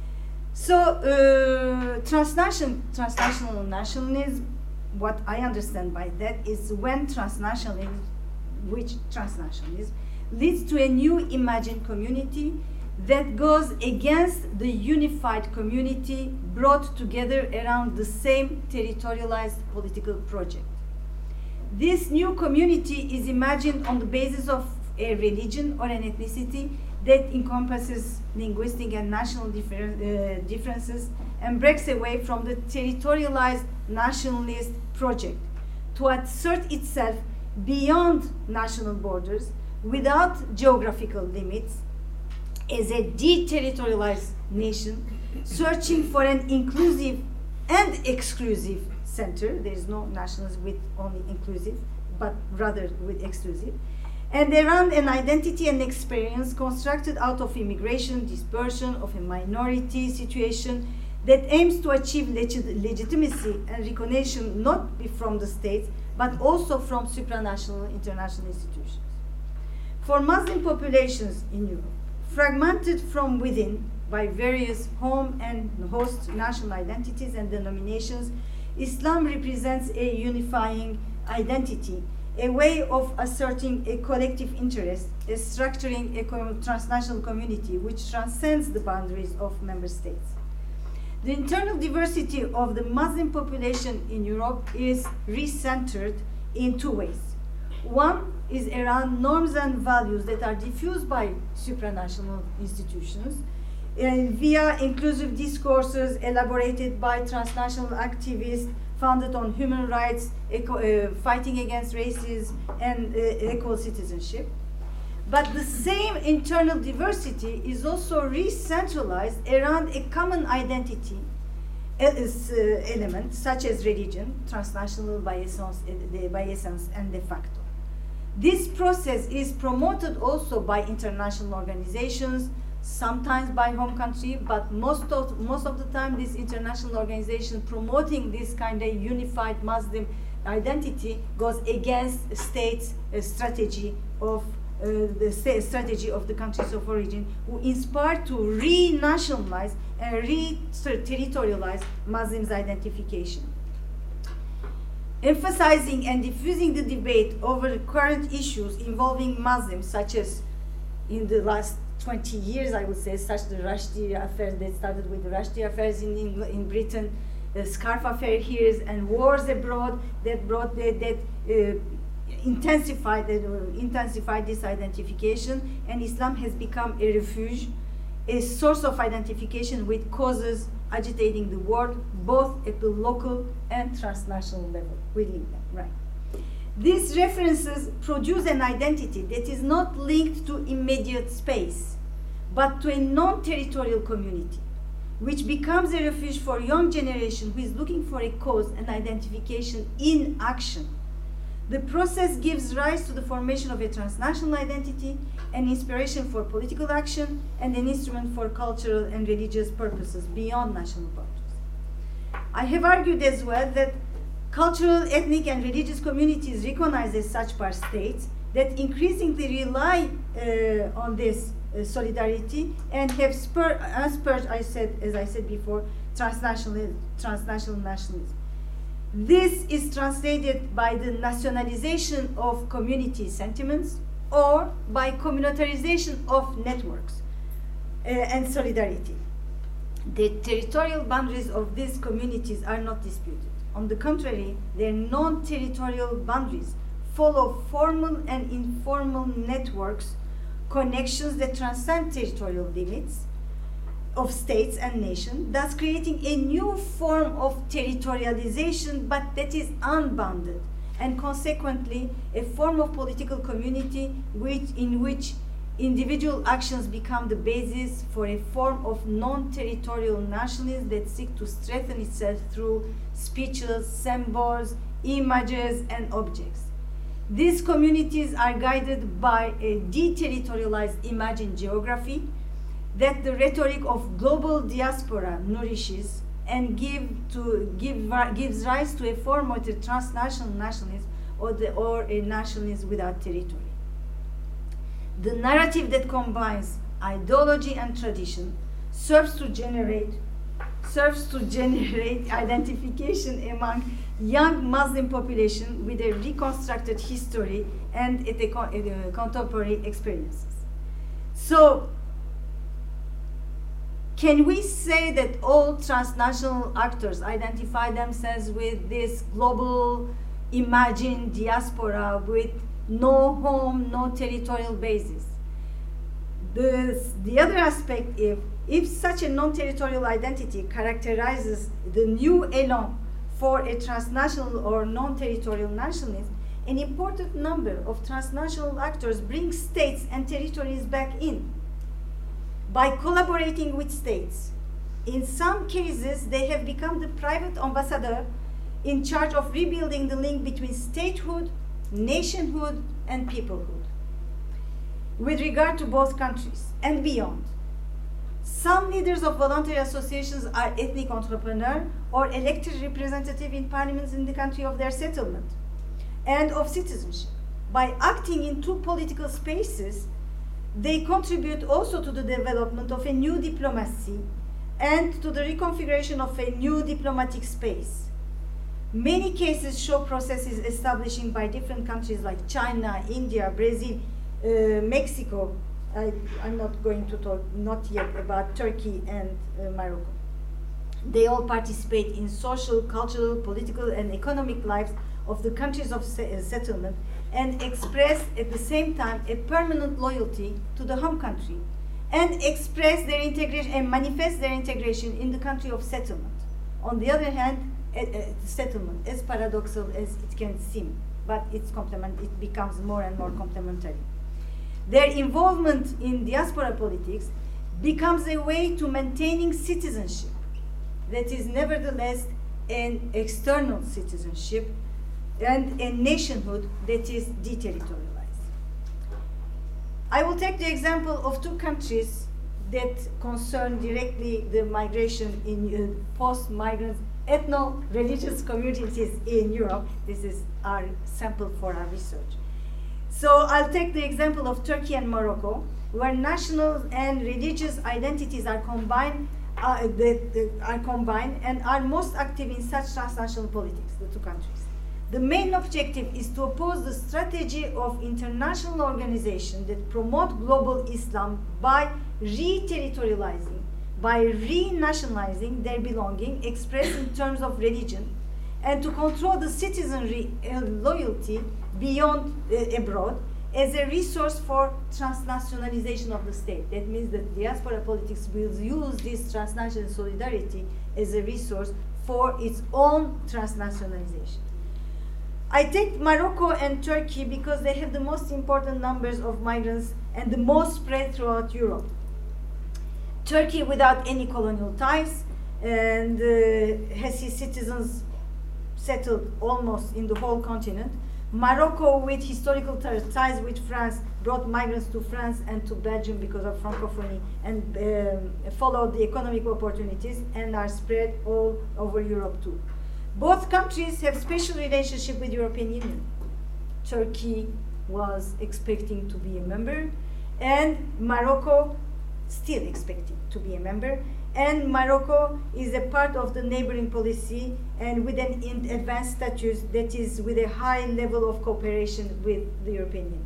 So transnational nationalism, what I understand by that is when transnationalism leads to a new imagined community that goes against the unified community brought together around the same territorialized political project. This new community is imagined on the basis of a religion or an ethnicity that encompasses linguistic and national differences and breaks away from the territorialized nationalist project to assert itself beyond national borders without geographical limits as a deterritorialized nation searching for an inclusive and exclusive center. There is no nationalism with only inclusive, but rather with exclusive, and around an identity and experience constructed out of immigration, dispersion, of a minority situation that aims to achieve legitimacy and recognition not from the states, but also from supranational international institutions. For Muslim populations in Europe, fragmented from within by various home and host national identities and denominations, Islam represents a unifying identity, a way of asserting a collective interest, structuring a transnational community which transcends the boundaries of member states. The internal diversity of the Muslim population in Europe is recentered in two ways. One is around norms and values that are diffused by supranational institutions via inclusive discourses elaborated by transnational activists founded on human rights, fighting against racism, and equal citizenship. But the same internal diversity is also re-centralized around a common identity element, such as religion, transnational by essence and de facto. This process is promoted also by international organizations, sometimes by home country, but most of the time this international organization promoting this kind of unified Muslim identity goes against states' strategy of the strategy of the countries of origin, who inspired to re-nationalize and re-territorialize Muslims' identification. Emphasizing and diffusing the debate over current issues involving Muslims, such as in the last 20 years, I would say, such the Rushdie affair that started with the Rushdie affairs in Britain, the Scarf affair here, and wars abroad that brought intensified this identification, and Islam has become a refuge, a source of identification with causes agitating the world, both at the local and transnational level. We link them, right? These references produce an identity that is not linked to immediate space, but to a non-territorial community, which becomes a refuge for young generation who is looking for a cause and identification in action. The process gives rise to the formation of a transnational identity, an inspiration for political action, and an instrument for cultural and religious purposes beyond national borders. I have argued as well that cultural, ethnic, and religious communities recognized as such by states that increasingly rely on this solidarity and have spurred, as I said before, transnational nationalism. This is translated by the nationalization of community sentiments or by communitarization of networks and solidarity. The territorial boundaries of these communities are not disputed. On the contrary, their non-territorial boundaries follow formal and informal networks, connections that transcend territorial limits of states and nations, thus creating a new form of territorialization, but that is unbounded, and consequently a form of political community in which individual actions become the basis for a form of non-territorial nationalism that seeks to strengthen itself through speeches, symbols, images, and objects. These communities are guided by a deterritorialized imagined geography that the rhetoric of global diaspora nourishes and gives rise to a form of the transnational nationalism or a nationalism without territory. The narrative that combines ideology and tradition serves to generate identification among young Muslim population with a reconstructed history and contemporary experiences. So, can we say that all transnational actors identify themselves with this global imagined diaspora with no home, no territorial basis? The other aspect, if such a non-territorial identity characterizes the new elan for a transnational or non-territorial nationalism, an important number of transnational actors bring states and territories back in by collaborating with states. In some cases, they have become the private ambassador in charge of rebuilding the link between statehood, nationhood, and peoplehood with regard to both countries and beyond. Some leaders of voluntary associations are ethnic entrepreneurs or elected representatives in parliaments in the country of their settlement. and of citizenship. By acting in two political spaces, they contribute also to the development of a new diplomacy and to the reconfiguration of a new diplomatic space. Many cases show processes establishing by different countries like China, India, Brazil, Mexico. I'm not going to talk, not yet, about Turkey and Morocco. They all participate in social, cultural, political, and economic lives of the countries of settlement and express at the same time a permanent loyalty to the home country and express their integration and manifest their integration in the country of settlement. On the other hand, settlement, as paradoxical as it can seem, but it becomes more and more complementary. Their involvement in diaspora politics becomes a way to maintaining citizenship that is nevertheless an external citizenship and a nationhood that is deterritorialized. I will take the example of two countries that concern directly the migration in post-migrant ethno-religious communities in Europe. This is our sample for our research. So I'll take the example of Turkey and Morocco, where national and religious identities are combined, and are most active in such transnational politics, the two countries. The main objective is to oppose the strategy of international organizations that promote global Islam by re-territorializing, by re-nationalizing their belonging expressed in terms of religion, and to control the citizenry loyalty beyond abroad as a resource for transnationalization of the state. That means that diaspora politics will use this transnational solidarity as a resource for its own transnationalization. I take Morocco and Turkey because they have the most important numbers of migrants and the most spread throughout Europe. Turkey without any colonial ties and has its citizens settled almost in the whole continent. Morocco with historical ties with France brought migrants to France and to Belgium because of Francophonie and followed the economic opportunities and are spread all over Europe too. Both countries have special relationship with European Union. Turkey was expecting to be a member, and Morocco still expecting to be a member. And Morocco is a part of the neighboring policy and with an advanced status that is with a high level of cooperation with the European Union.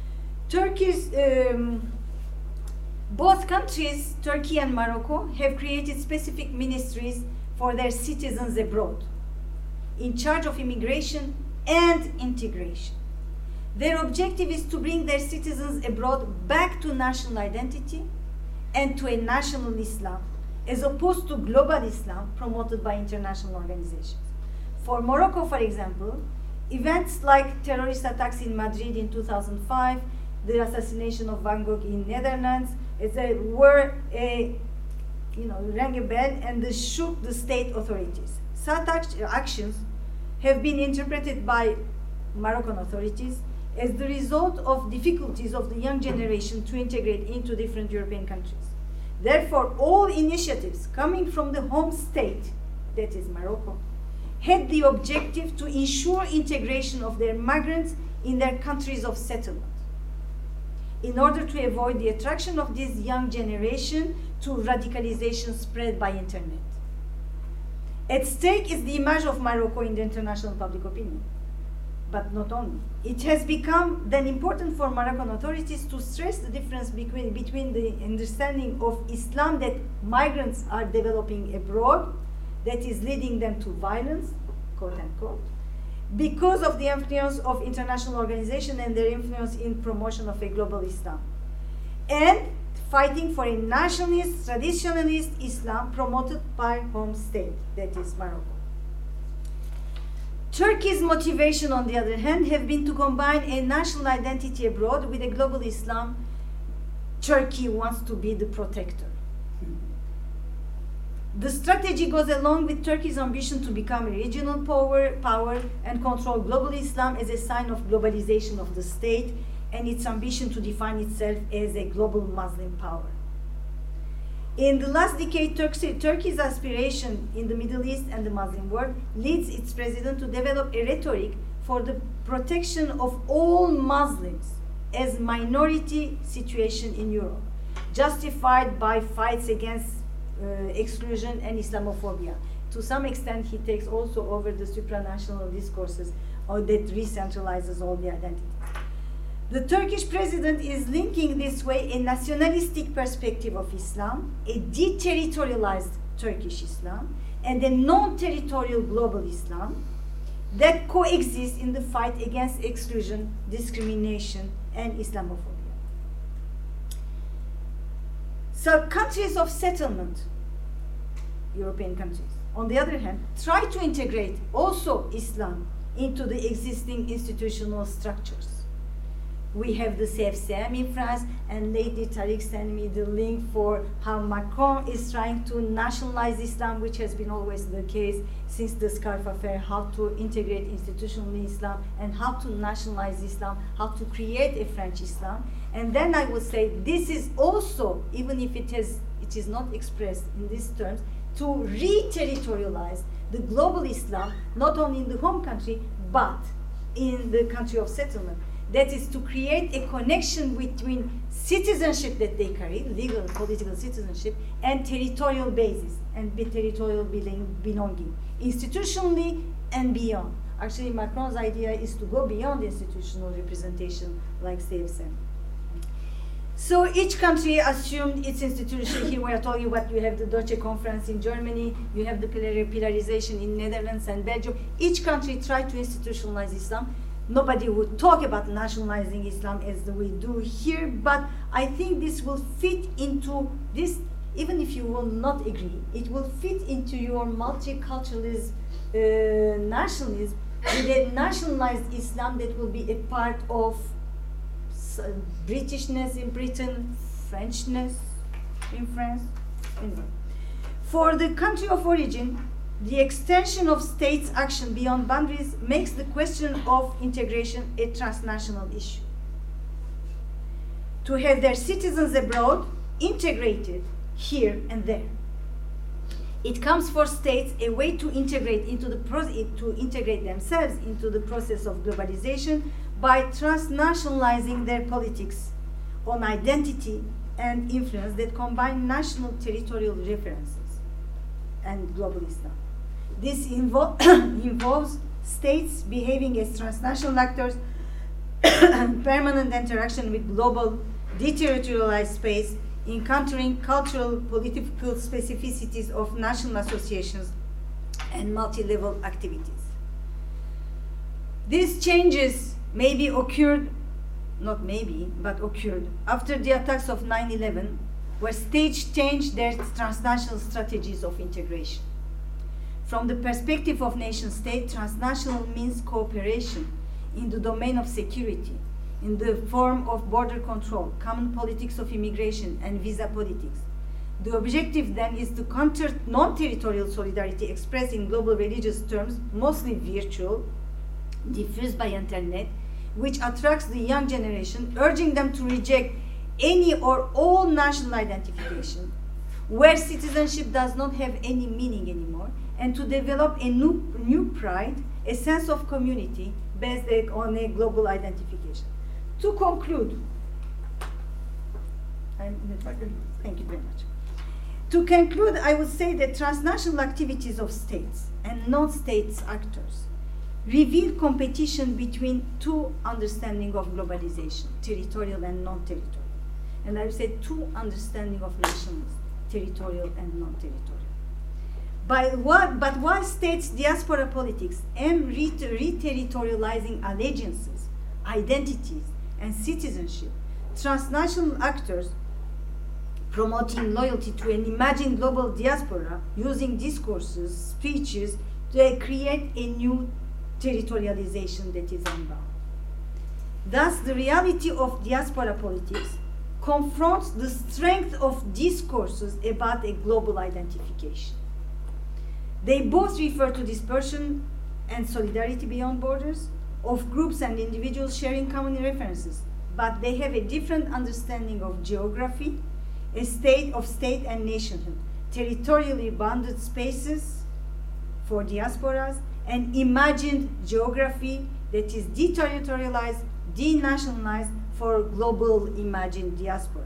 Both countries, Turkey and Morocco, have created specific ministries for their citizens abroad, in charge of immigration and integration. Their objective is to bring their citizens abroad back to national identity and to a national Islam, as opposed to global Islam promoted by international organizations. For Morocco, for example, events like terrorist attacks in Madrid in 2005, the assassination of Van Gogh in Netherlands, rang a bell and they shook the state authorities. Such actions have been interpreted by Moroccan authorities as the result of difficulties of the young generation to integrate into different European countries. Therefore, all initiatives coming from the home state, that is Morocco, had the objective to ensure integration of their migrants in their countries of settlement, in order to avoid the attraction of this young generation to radicalization spread by internet. At stake is the image of Morocco in the international public opinion. But not only. It has become then important for Moroccan authorities to stress the difference between the understanding of Islam that migrants are developing abroad, that is leading them to violence, quote unquote, because of the influence of international organizations and their influence in promotion of a global Islam, and fighting for a nationalist, traditionalist Islam promoted by home state, that is Morocco. Turkey's motivation, on the other hand, have been to combine a national identity abroad with a global Islam. Turkey wants to be the protector. The strategy goes along with Turkey's ambition to become a regional power and control global Islam as a sign of globalization of the state and its ambition to define itself as a global Muslim power. In the last decade, Turkey's aspiration in the Middle East and the Muslim world leads its president to develop a rhetoric for the protection of all Muslims as minority situation in Europe, justified by fights against exclusion and Islamophobia. To some extent, he takes also over the supranational discourses that re-centralizes all the identities. The Turkish president is linking this way a nationalistic perspective of Islam, a deterritorialized Turkish Islam, and a non-territorial global Islam that coexist in the fight against exclusion, discrimination, and Islamophobia. So countries of settlement, European countries, on the other hand, try to integrate also Islam into the existing institutional structures. We have the CFCM in France, and Lady Tariq sent me the link for how Macron is trying to nationalize Islam, which has been always the case since the Scarf affair, how to integrate institutionally Islam and how to nationalize Islam, how to create a French Islam. And then I would say this is also, even if it is not expressed in these terms, to re-territorialize the global Islam, not only in the home country, but in the country of settlement. That is to create a connection between citizenship that they carry, legal and political citizenship, and territorial basis, and territorial belonging, institutionally and beyond. Actually, Macron's idea is to go beyond institutional representation like CFSM. So each country assumed its institution. Here we are talking about, you have the Deutsche Conference in Germany, you have the pillarization in Netherlands and Belgium. Each country tried to institutionalize Islam. Nobody would talk about nationalizing Islam as we do here, but I think this will fit into this, even if you will not agree, it will fit into your multiculturalist nationalism, with a nationalized Islam that will be a part of Britishness in Britain, Frenchness in France. Anyway. For the country of origin, the extension of states' action beyond boundaries makes the question of integration a transnational issue. To have their citizens abroad integrated here and there. It comes for states a way to integrate integrate themselves into the process of globalization by transnationalizing their politics on identity and influence that combine national territorial references and global Islam. This involves states behaving as transnational actors, permanent interaction with global deterritorialized space, encountering cultural, political specificities of national associations and multi-level activities. These changes maybe occurred, not maybe, but occurred after the attacks of 9/11, where states changed their transnational strategies of integration. From the perspective of nation-state, transnational means cooperation in the domain of security, in the form of border control, common politics of immigration, and visa politics. The objective then is to counter non-territorial solidarity expressed in global religious terms, mostly virtual, diffused by internet, which attracts the young generation, urging them to reject any or all national identification, where citizenship does not have any meaning anymore, and to develop a new pride, a sense of community based on a global identification. To conclude, thank you very much. To conclude, I would say that transnational activities of states and non-state actors reveal competition between two understandings of globalization, territorial and non-territorial. And I would say two understandings of nationalism, territorial and non-territorial. But while states' diaspora politics aim re-territorializing allegiances, identities, and citizenship, transnational actors promoting loyalty to an imagined global diaspora using discourses, speeches, to create a new territorialization that is unbound. Thus, the reality of diaspora politics confronts the strength of discourses about a global identification. They both refer to dispersion and solidarity beyond borders, of groups and individuals sharing common references, but they have a different understanding of geography, a state of state and nationhood, territorially bounded spaces for diasporas, and imagined geography, that is deterritorialized, denationalized for global imagined diaspora.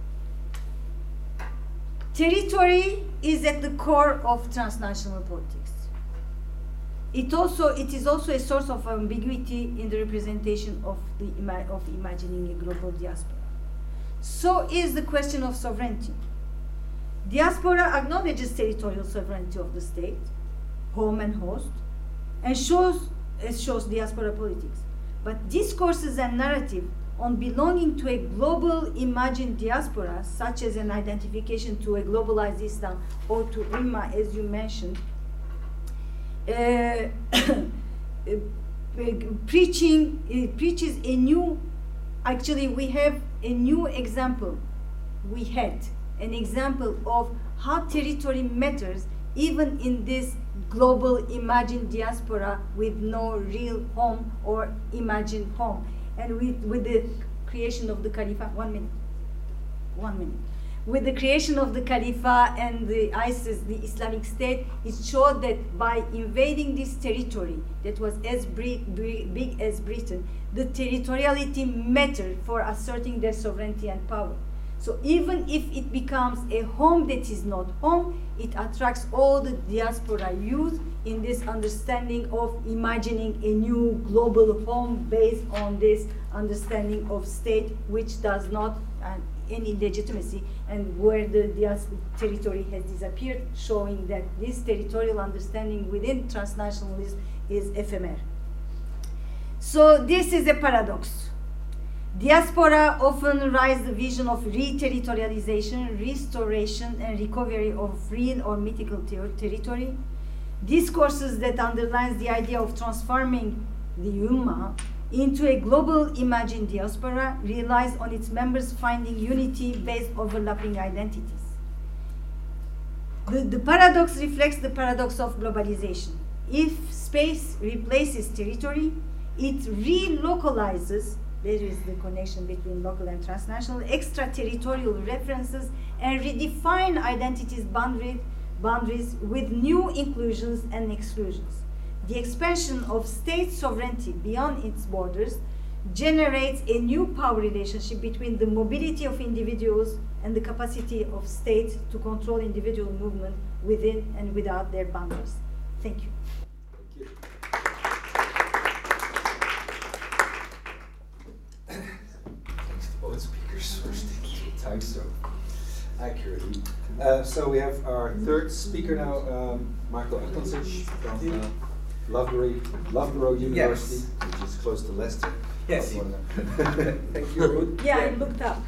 Territory is at the core of transnational politics. It is also a source of ambiguity in the representation of imagining a global diaspora. So is the question of sovereignty. Diaspora acknowledges territorial sovereignty of the state, home and host, and shows diaspora politics. But discourses and narrative on belonging to a global imagined diaspora, such as an identification to a globalized Islam or to Imma, as you mentioned, preaches a new, actually we have a new example. We had an example of how territory matters even in this global imagined diaspora with no real home or imagined home. And with the creation of the Khalifa, 1 minute. With the creation of the Khalifa and the ISIS, the Islamic State, it showed that by invading this territory that was as big as Britain, the territoriality mattered for asserting their sovereignty and power. So even if it becomes a home that is not home, it attracts all the diaspora youth in this understanding of imagining a new global home based on this understanding of state, which does not any legitimacy, and where the territory has disappeared, showing that this territorial understanding within transnationalism is ephemeral. So this is a paradox. Diaspora often rise the vision of re-territorialization, restoration, and recovery of real or mythical territory. Discourses that underlines the idea of transforming the Ummah into a global imagined diaspora relies on its members finding unity based overlapping identities. The paradox reflects the paradox of globalization. If space replaces territory, it relocalizes. There is the connection between local and transnational, extraterritorial references, and redefine identities boundaries with new inclusions and exclusions. The expansion of state sovereignty beyond its borders generates a new power relationship between the mobility of individuals and the capacity of states to control individual movement within and without their boundaries. Thank you. Thank you. Thanks to both speakers for sticking to time so accurately. So we have our third speaker now, Marko Aklancic from Loughborough University, yes, which is close to Leicester. Yes. Thank you, Ruth. Yeah, I looked up.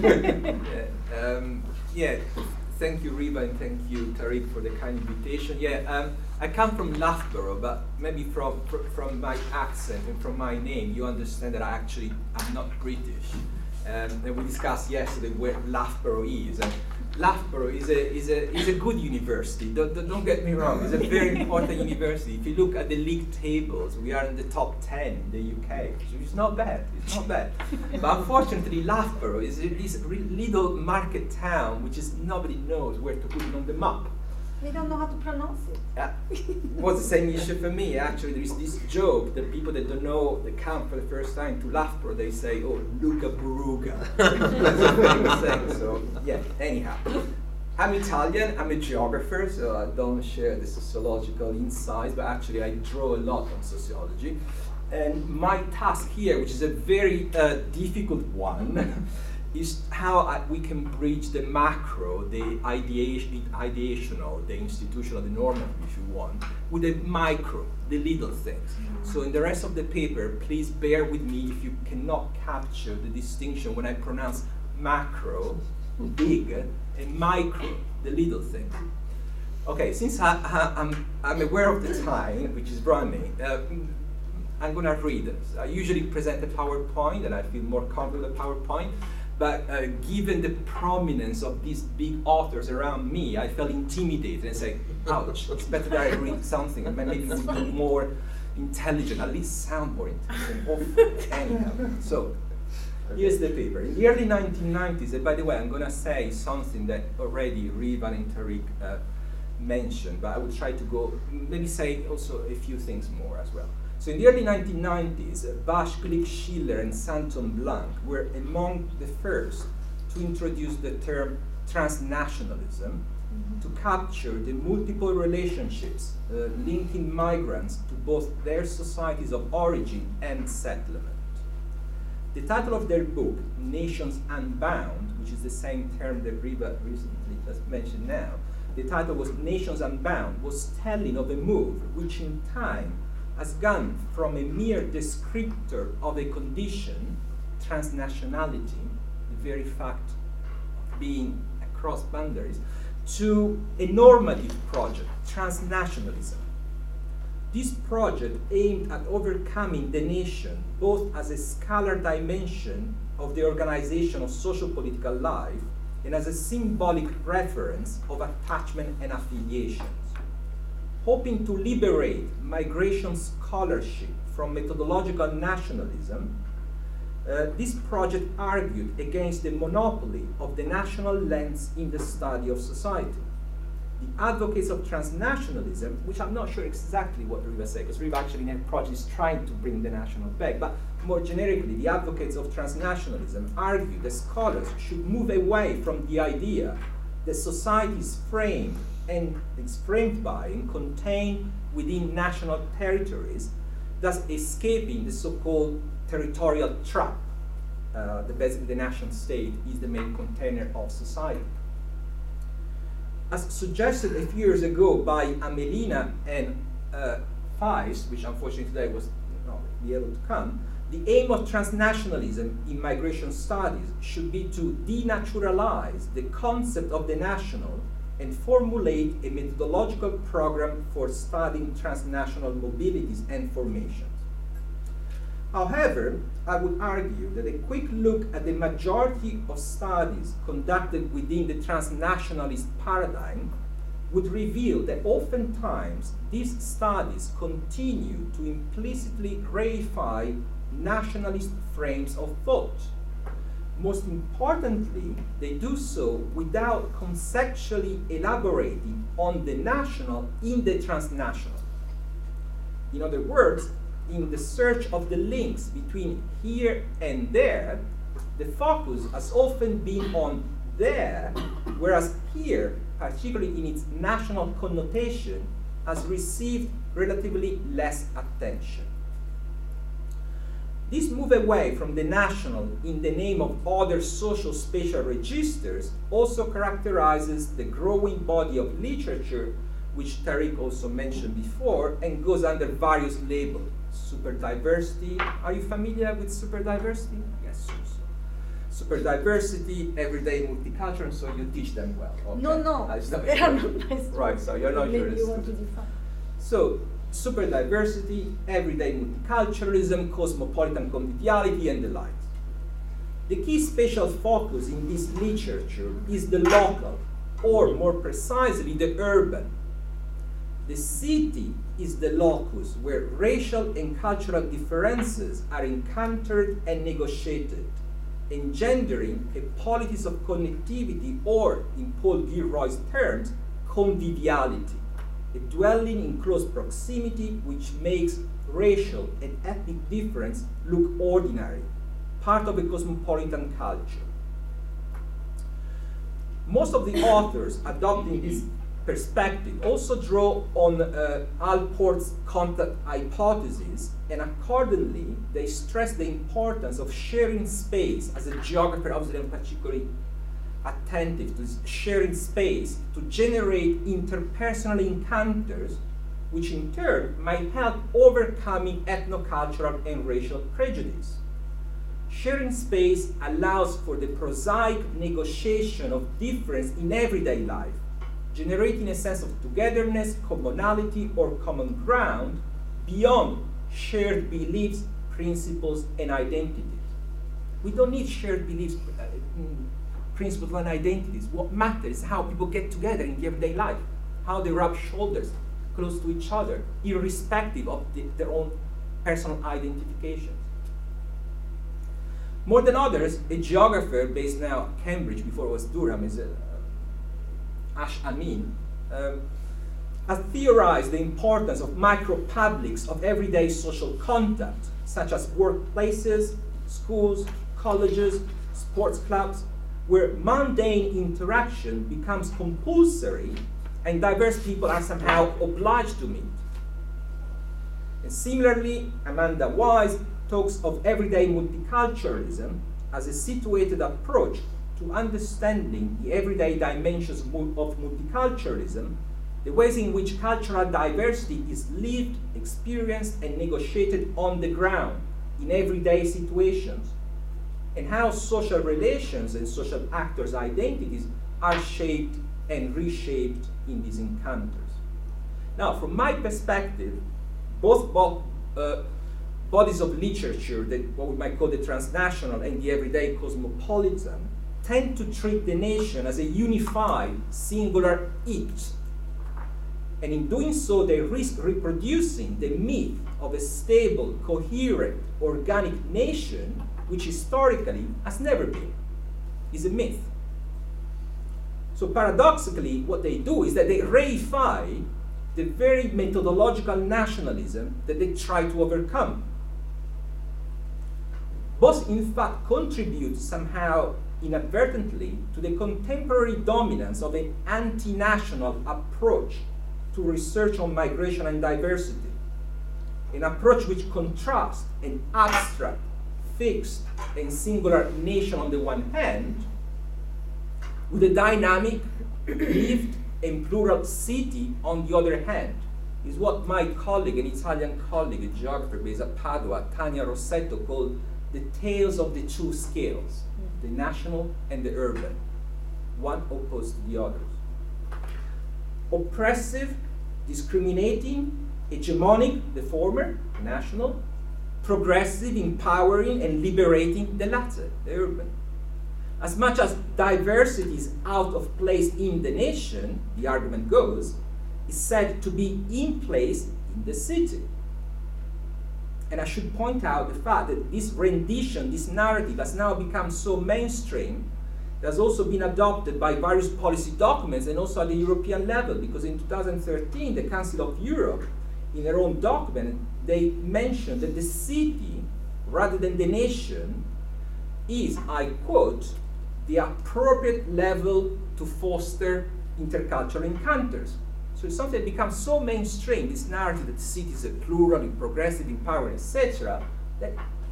Thank you, Riva, and thank you, Tariq, for the kind invitation. I come from Loughborough, but maybe from my accent and from my name, you understand that I'm not British. And we discussed yesterday where Loughborough is. And Loughborough is a good university. Don't get me wrong. It's a very important university. If you look at the league tables, we are in the top 10 in the UK. So it's not bad. It's not bad. But unfortunately, Loughborough is this little market town which is nobody knows where to put it on the map. We don't know how to pronounce it. Was the same issue for me. Actually, there is this joke that people that don't know, they come for the first time to Loughborough, they say, "Oh, Luca Buruga." That's a famous thing. So yeah. Anyhow, I'm Italian. I'm a geographer, so I don't share the sociological insights, but actually I draw a lot on sociology. And my task here, which is a very difficult one, is how we can bridge the macro, the ideational, the institutional, the normative, if you want, with the micro, the little things. So in the rest of the paper, please bear with me if you cannot capture the distinction when I pronounce macro, big, and micro, the little things. Okay, since I'm aware of the time, which is running, I'm going to read this. I usually present a PowerPoint, and I feel more comfortable with a PowerPoint. But given the prominence of these big authors around me, I felt intimidated and say, ouch, it's better that I read something and maybe it's more intelligent, at least sound more intelligent. Anyhow, so here's the paper. In the early 1990s, and by the way, I'm going to say something that already Riva and Tariq mentioned, but I will try to maybe say also a few things more as well. So in the early 1990s, Baschlik, Schiller, and Santon Blanc were among the first to introduce the term transnationalism to capture the multiple relationships linking migrants to both their societies of origin and settlement. The title of their book, Nations Unbound, which is the same term that Riva recently just mentioned now, the title was Nations Unbound, was telling of a move which in time has gone from a mere descriptor of a condition, transnationality, the very fact of being across boundaries, to a normative project, transnationalism. This project aimed at overcoming the nation both as a scalar dimension of the organization of social-political life and as a symbolic reference of attachment and affiliations. Hoping to liberate migration scholarship from methodological nationalism, this project argued against the monopoly of the national lens in the study of society. The advocates of transnationalism, which I'm not sure exactly what Riva said, because Riva actually in her project is trying to bring the national back, but more generically, the advocates of transnationalism argue that scholars should move away from the idea that society is framed and is framed by and contained within national territories, thus escaping the so-called territorial trap. That basically the nation state is the main container of society. As suggested a few years ago by Amelina and Feist, which unfortunately today was not be able to come, the aim of transnationalism in migration studies should be to denaturalize the concept of the national and formulate a methodological program for studying transnational mobilities and formations. However, I would argue that a quick look at the majority of studies conducted within the transnationalist paradigm would reveal that oftentimes these studies continue to implicitly reify nationalist frames of thought. Most importantly, they do so without conceptually elaborating on the national in the transnational. In other words, in the search of the links between here and there, the focus has often been on there, whereas here, particularly in its national connotation, has received relatively less attention. This move away from the national in the name of other social spatial registers also characterizes the growing body of literature, which Tariq also mentioned before, and goes under various labels. Superdiversity. Are you familiar with superdiversity? Yes. Superdiversity, everyday multicultural, so you teach them well. Okay. No. They are not nice. Right, so you're not maybe you want to define. So, superdiversity, everyday multiculturalism, cosmopolitan conviviality, and the like. The key spatial focus in this literature is the local, or more precisely, the urban. The city is the locus where racial and cultural differences are encountered and negotiated, engendering a politics of connectivity, or, in Paul Gilroy's terms, conviviality, a dwelling in close proximity which makes racial and ethnic difference look ordinary, part of a cosmopolitan culture. Most of the authors adopting this perspective also draw on Allport's contact hypothesis, and accordingly they stress the importance of sharing space. As a geographer, obviously I'm particularly attentive to sharing space to generate interpersonal encounters, which in turn might help overcoming ethnocultural and racial prejudice. Sharing space allows for the prosaic negotiation of difference in everyday life, generating a sense of togetherness, commonality, or common ground beyond shared beliefs, principles, and identities. We don't need shared beliefs, principles, and identities. What matters is how people get together in everyday life, how they rub shoulders close to each other, irrespective of their own personal identifications. More than others, a geographer based now at Cambridge, before it was Durham, is Ash Amin, has theorized the importance of micro-publics of everyday social contact, such as workplaces, schools, colleges, sports clubs, where mundane interaction becomes compulsory and diverse people are somehow obliged to meet. And similarly, Amanda Wise talks of everyday multiculturalism as a situated approach to understanding the everyday dimensions of multiculturalism, the ways in which cultural diversity is lived, experienced, and negotiated on the ground in everyday situations, and how social relations and social actors' identities are shaped and reshaped in these encounters. Now, from my perspective, both bodies of literature, what we might call the transnational and the everyday cosmopolitan, tend to treat the nation as a unified, singular it. And in doing so, they risk reproducing the myth of a stable, coherent, organic nation, which historically has never been, is a myth. So paradoxically, what they do is that they reify the very methodological nationalism that they try to overcome. Both, in fact, contribute somehow inadvertently to the contemporary dominance of an anti-national approach to research on migration and diversity, an approach which contrasts an abstract, fixed, and singular nation on the one hand with a dynamic, lived, and plural city on the other hand, is what my colleague, an Italian colleague, a geographer based at Padua, Tania Rossetto, called the tales of the two scales, the national and the urban, one opposed to the others. Oppressive, discriminating, hegemonic, the former, national, progressive, empowering, and liberating, the latter, the urban. As much as diversity is out of place in the nation, the argument goes, is said to be in place in the city. And I should point out the fact that this rendition, this narrative, has now become so mainstream, it has also been adopted by various policy documents and also at the European level, because in 2013, the Council of Europe, in their own document, they mentioned that the city, rather than the nation, is, I quote, the appropriate level to foster intercultural encounters. So it's something that becomes so mainstream, this narrative that the city is a plural, progressive, empowering, etc., that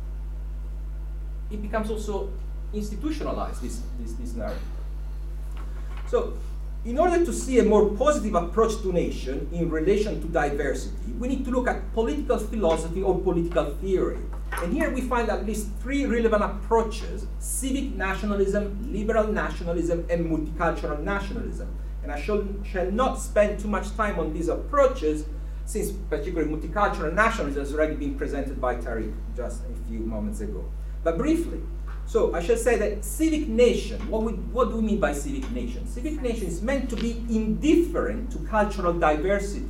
it becomes also institutionalized, this narrative. So in order to see a more positive approach to nation in relation to diversity, we need to look at political philosophy or political theory. And here we find at least three relevant approaches: civic nationalism, liberal nationalism, and multicultural nationalism. And I shall not spend too much time on these approaches, since particularly multicultural nationalism has already been presented by Tariq just a few moments ago. But briefly, so I shall say that civic nation, what do we mean by civic nation? Civic nation is meant to be indifferent to cultural diversity,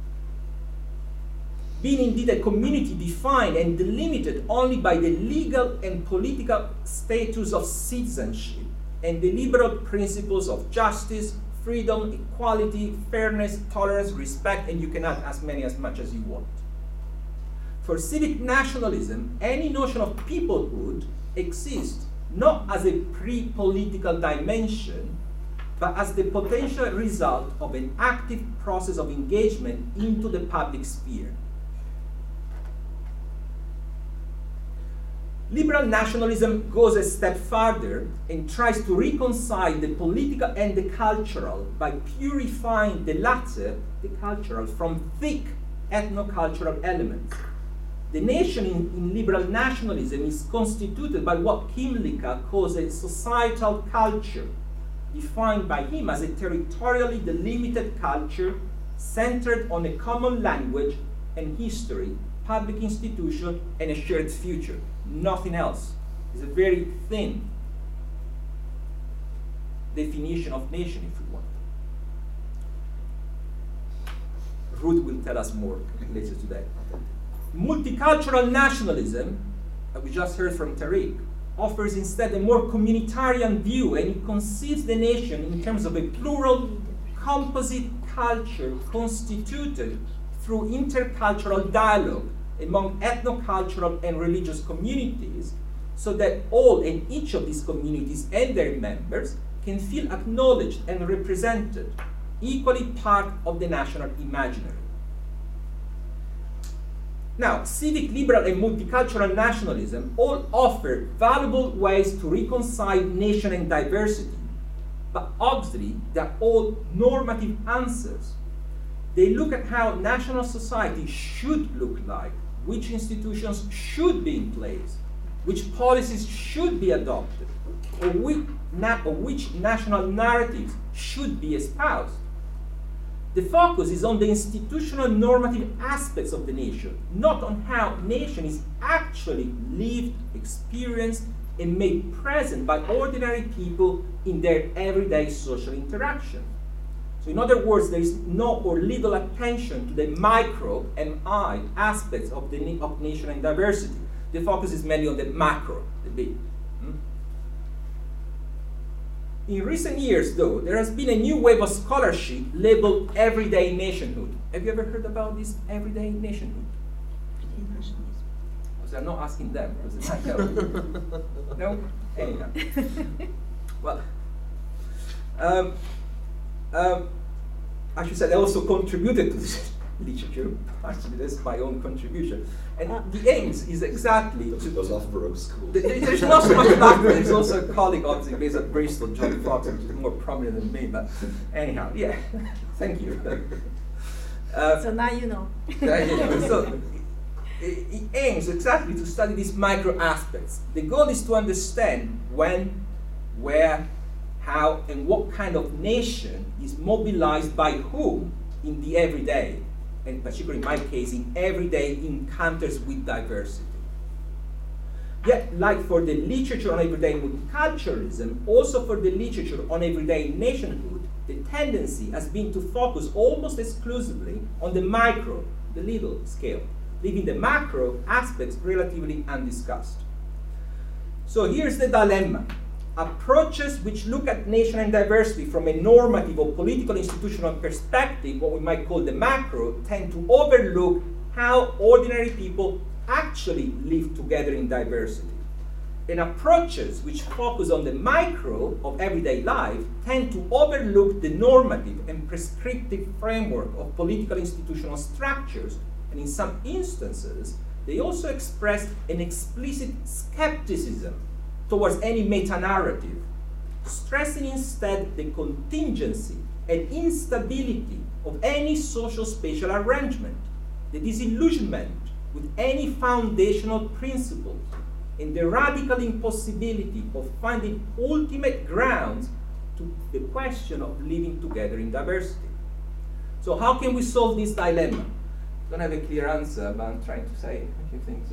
being indeed a community defined and delimited only by the legal and political status of citizenship and the liberal principles of justice, freedom, equality, fairness, tolerance, respect, and you can add as much as you want. For civic nationalism, any notion of peoplehood exists not as a pre-political dimension, but as the potential result of an active process of engagement into the public sphere. Liberal nationalism goes a step further and tries to reconcile the political and the cultural by purifying the latter, the cultural, from thick ethno-cultural elements. The nation in liberal nationalism is constituted by what Kymlicka calls a societal culture, defined by him as a territorially delimited culture centered on a common language and history, public institution, and a shared future. Nothing else. It's a very thin definition of nation, if you want. Ruth will tell us more later today. Multicultural nationalism, that we just heard from Tariq, offers instead a more communitarian view, and it conceives the nation in terms of a plural, composite culture constituted through intercultural dialogue among ethnocultural and religious communities, so that all and each of these communities and their members can feel acknowledged and represented, equally part of the national imaginary. Now, civic, liberal, and multicultural nationalism all offer valuable ways to reconcile nation and diversity, but obviously they're all normative answers. They look at how national society should look like, which institutions should be in place, which policies should be adopted, or which national narratives should be espoused. The focus is on the institutional normative aspects of the nation, not on how nation is actually lived, experienced, and made present by ordinary people in their everyday social interaction. So in other words, there is no or little attention to the micro, MI, aspects of nation and diversity. The focus is mainly on the macro, the big. In recent years, though, there has been a new wave of scholarship labeled everyday nationhood. Have you ever heard about this everyday nationhood? So I'm not asking them, because I know. No? Anyhow. Well, I should say I also contributed to this literature. Actually, that's my own contribution. And the aims is exactly to the Loughborough School. There's not so much Loughborough. There's also a colleague, obviously, based at Bristol, John Fox, which is more prominent than me. But anyhow, yeah, thank you. So now you know. So it aims exactly to study these micro aspects. The goal is to understand when, where, how, and what kind of nation is mobilized by whom in the everyday, and particularly in my case, in everyday encounters with diversity. Yet, like for the literature on everyday multiculturalism, also for the literature on everyday nationhood, the tendency has been to focus almost exclusively on the micro, the little scale, leaving the macro aspects relatively undiscussed. So here's the dilemma. Approaches which look at nation and diversity from a normative or political institutional perspective, what we might call the macro, tend to overlook how ordinary people actually live together in diversity. And approaches which focus on the micro of everyday life tend to overlook the normative and prescriptive framework of political institutional structures, and in some instances, they also express an explicit skepticism towards any meta-narrative, stressing instead the contingency and instability of any social spatial arrangement, the disillusionment with any foundational principles, and the radical impossibility of finding ultimate grounds to the question of living together in diversity. So how can we solve this dilemma? I don't have a clear answer, but I'm trying to say a few things.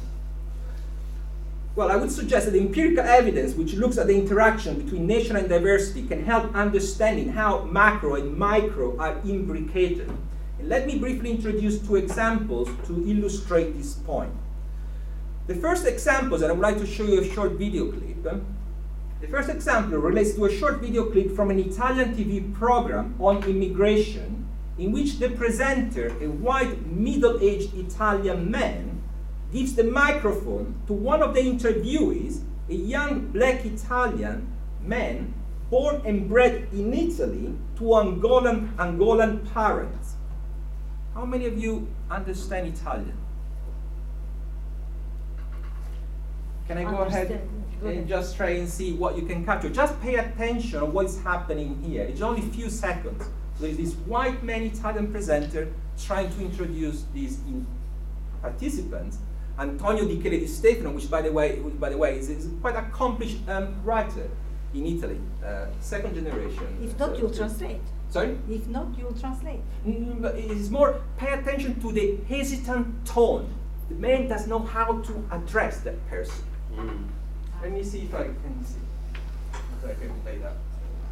Well, I would suggest that the empirical evidence which looks at the interaction between nation and diversity can help understanding how macro and micro are imbricated. And let me briefly introduce two examples to illustrate this point. The first example, and I would like to show you a short video clip. The first example relates to a short video clip from an Italian TV program on immigration, in which the presenter, a white middle-aged Italian man, gives the microphone to one of the interviewees, a young black Italian man born and bred in Italy to Angolan parents. How many of you understand Italian? Can I go ahead and just try and see what you can capture? Just pay attention to what is happening here. It's only a few seconds. There's this white man Italian presenter trying to introduce these participants. Antonio Di Chele di Stefano, which by the way is quite accomplished writer in Italy, second generation. If not, you'll translate. Sorry? If not, you'll translate. But it's more, pay attention to the hesitant tone. The man does know how to address that person. Let me see if I can see. If I can play that.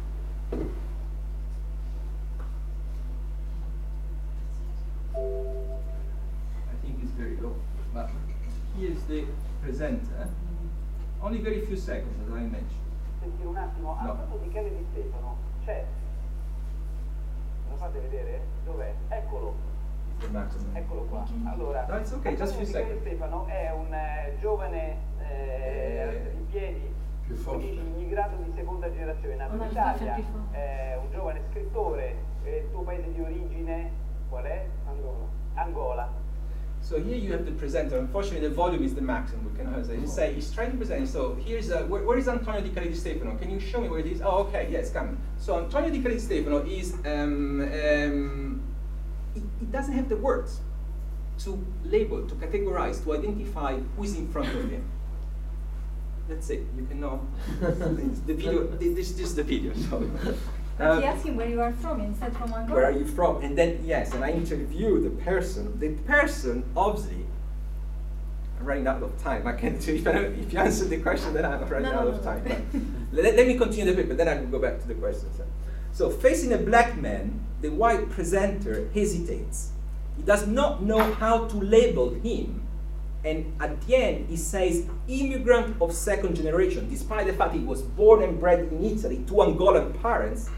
I think it's very low. But here's the presenter. Only very few seconds, as I mentioned. Senti un attimo, Antonio Di Chele di Stefano c'è. fate vedere? Dov'è? Eccolo. Eccolo qua. Allora, no, it's okay, just a few seconds. Stefano è un giovane in piedi, immigrato di seconda generazione, nato in Italia, è un giovane scrittore. Il tuo paese di origine qual è? Angola. So here you have the presenter. Unfortunately, the volume is the maximum. We cannot say. He's trying to present. So here's where is Antonio Di Cali Di Stefano? Can you show me where it is? Oh, okay, yes, coming. So Antonio Di Cali Di Stefano is it doesn't have the words to label, to categorize, to identify who is in front of him. That's it. You can know the video. This is the video. So. But he asked him where you are from, and he said from Angola. Where are you from? And then, yes, and I interview the person. The person, obviously, I'm running out of time. I can't do if you answer the question, then I'm running out of time. Let me continue the paper, then I will go back to the questions. So, facing a black man, the white presenter hesitates. He does not know how to label him. And at the end, he says, immigrant of second generation, despite the fact he was born and bred in Italy to Angolan parents.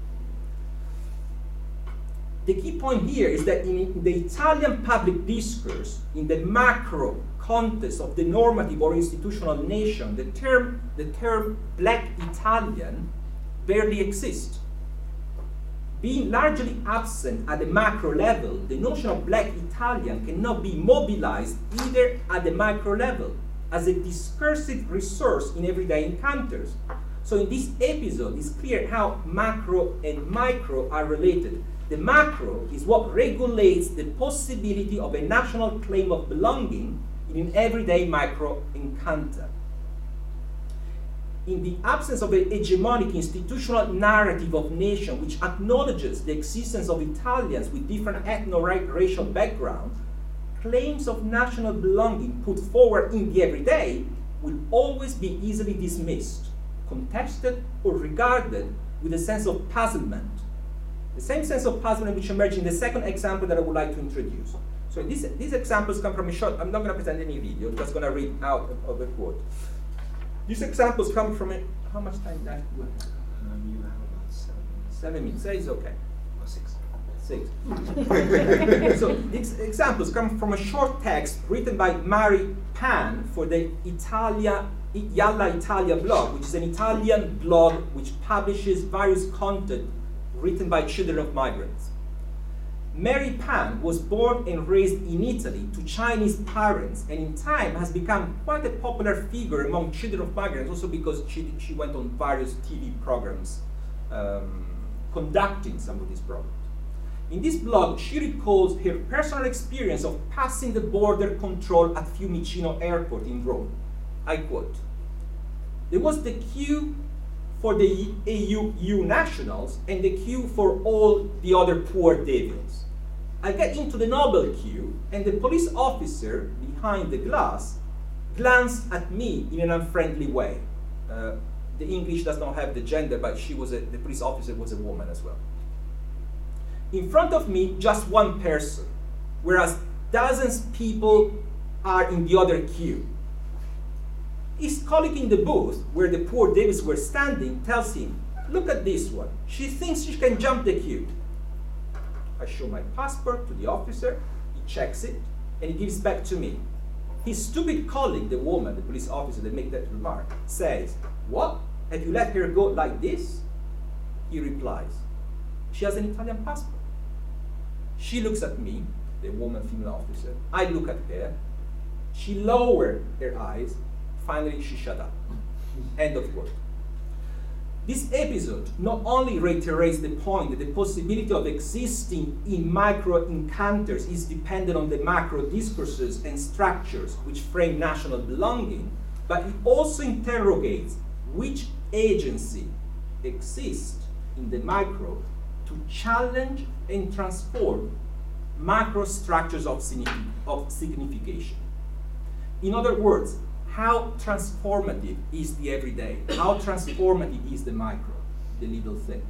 The key point here is that in the Italian public discourse, in the macro context of the normative or institutional nation, the term black Italian barely exists. Being largely absent at the macro level, the notion of black Italian cannot be mobilized either at the micro level as a discursive resource in everyday encounters. So in this episode, it's clear how macro and micro are related. The macro is what regulates the possibility of a national claim of belonging in an everyday micro encounter. In the absence of an hegemonic institutional narrative of nation which acknowledges the existence of Italians with different ethno-racial backgrounds, claims of national belonging put forward in the everyday will always be easily dismissed, contested, or regarded with a sense of puzzlement. The same sense of puzzlement which emerged in the second example that I would like to introduce. So these examples come from a short, I'm not going to present any video, I'm just going to read out of a quote. These examples come from a, how much time left do I have? You have about 7 minutes. 7 minutes, so it's okay. Or 6. 6. So these examples come from a short text written by Mary Pan for the Yalla Italia blog, which is an Italian blog which publishes various content written by children of migrants. Mary Pan was born and raised in Italy to Chinese parents, and in time has become quite a popular figure among children of migrants, also because she went on various TV programs conducting some of these programs. In this blog, she recalls her personal experience of passing the border control at Fiumicino Airport in Rome. I quote, "There was the queue for the EU nationals and the queue for all the other poor devils. I get into the noble queue, and the police officer behind the glass glanced at me in an unfriendly way." The English does not have the gender, but the police officer was a woman as well. "In front of me, just one person, whereas dozens of people are in the other queue. His colleague in the booth, where the poor devils were standing, tells him, 'Look at this one. She thinks she can jump the queue.' I show my passport to the officer, he checks it, and he gives back to me. His stupid colleague, the woman, the police officer that made that remark, says, 'What? Have you let her go like this?' He replies, 'She has an Italian passport.' She looks at me, the woman, female officer. I look at her. She lowered her eyes. Finally, she shut up." End of quote. This episode not only reiterates the point that the possibility of existing in micro encounters is dependent on the macro discourses and structures which frame national belonging, but it also interrogates which agency exists in the micro to challenge and transform macro structures of signification. In other words, how transformative is the everyday? How transformative is the micro, the little thing?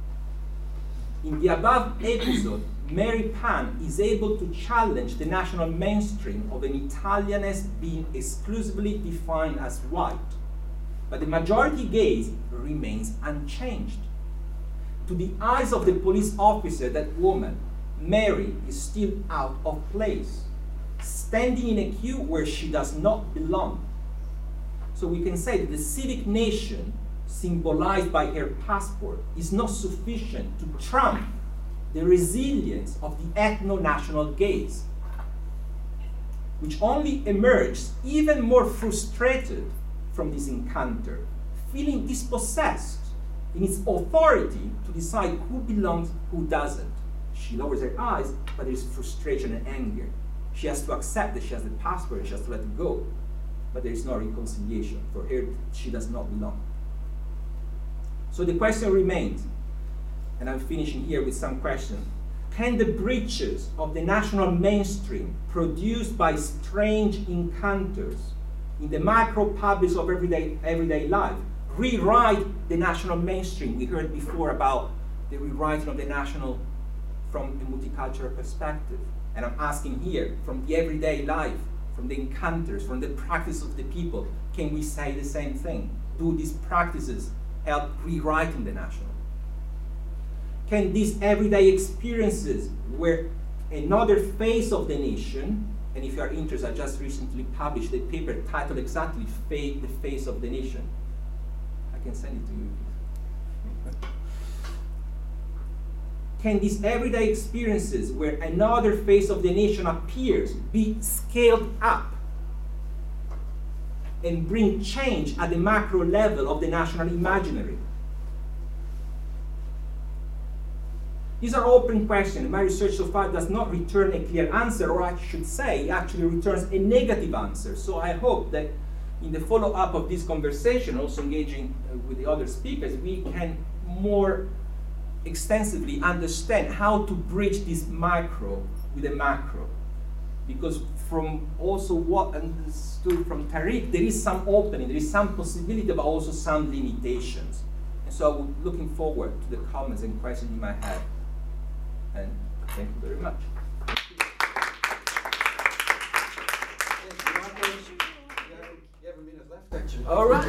In the above episode, Mary Pan is able to challenge the national mainstream of an Italianness being exclusively defined as white, but the majority gaze remains unchanged. to the eyes of the police officer, that woman, Mary, is still out of place, standing in a queue where she does not belong. So we can say that the civic nation, symbolized by her passport, is not sufficient to trump the resilience of the ethno-national gaze, which only emerges even more frustrated from this encounter, feeling dispossessed in its authority to decide who belongs, who doesn't. She lowers her eyes, but there is frustration and anger. She has to accept that she has the passport and she has to let it go. But there is no reconciliation. For her, she does not belong. So the question remains, and I'm finishing here with some questions. Can the breaches of the national mainstream produced by strange encounters in the micro-publics of everyday life rewrite the national mainstream? We heard before about the rewriting of the national from a multicultural perspective. And I'm asking here, from the everyday life, from the encounters, from the practice of the people, can we say the same thing? Do these practices help rewriting the national? Can these everyday experiences, where another face of the nation, and if you are interested, I just recently published a paper titled exactly The Face of the Nation. I can send it to you. Can these everyday experiences, where another face of the nation appears, be scaled up and bring change at the macro level of the national imaginary? These are open questions. My research so far does not return a clear answer, or I should say, it actually returns a negative answer. So I hope that in the follow-up of this conversation, also engaging with the other speakers, we can more extensively understand how to bridge this micro with the macro. Because from also what understood from Tariq, there is some opening, there is some possibility, but also some limitations. And so I'm looking forward to the comments and questions you might have. And thank you very much. You have a minute left, actually. All right.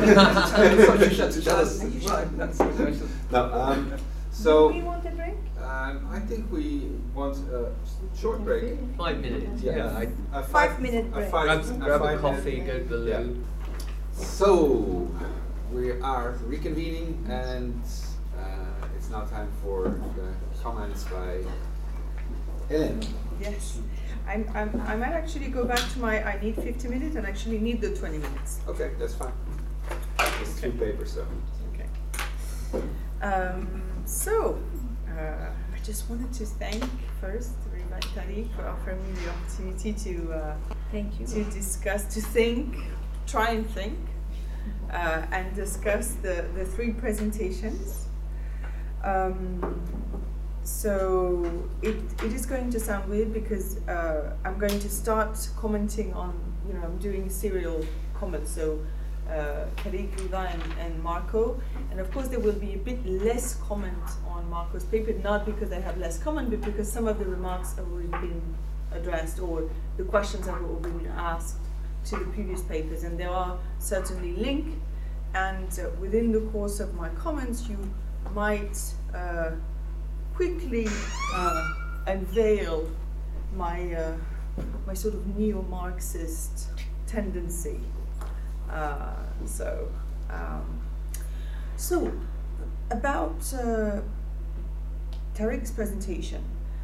So, do we want a break? I think we want a short break. 5 minutes. Yeah. A 5-minute break. Grab a coffee, go to the loo. Yeah. So, we are reconvening, and it's now time for the comments by Hélène. Yes. I might actually go back to my I need 50 minutes and actually need the 20 minutes. Okay, that's fine. It's 2 papers, so. Okay. I just wanted to thank first Riva and Tariq for offering me the opportunity to thank you. To discuss, to think, try and think, and discuss the 3 presentations. So it is going to sound weird because I'm going to start commenting on, I'm doing serial comments, so Tariq, Riva, and Marco, and of course there will be a bit less comment on Marco's paper, not because I have less comment, but because some of the remarks have already been addressed, or the questions have already been asked to the previous papers, and there are certainly links, and within the course of my comments you might quickly unveil my sort of neo-Marxist tendency. So about Tariq's presentation.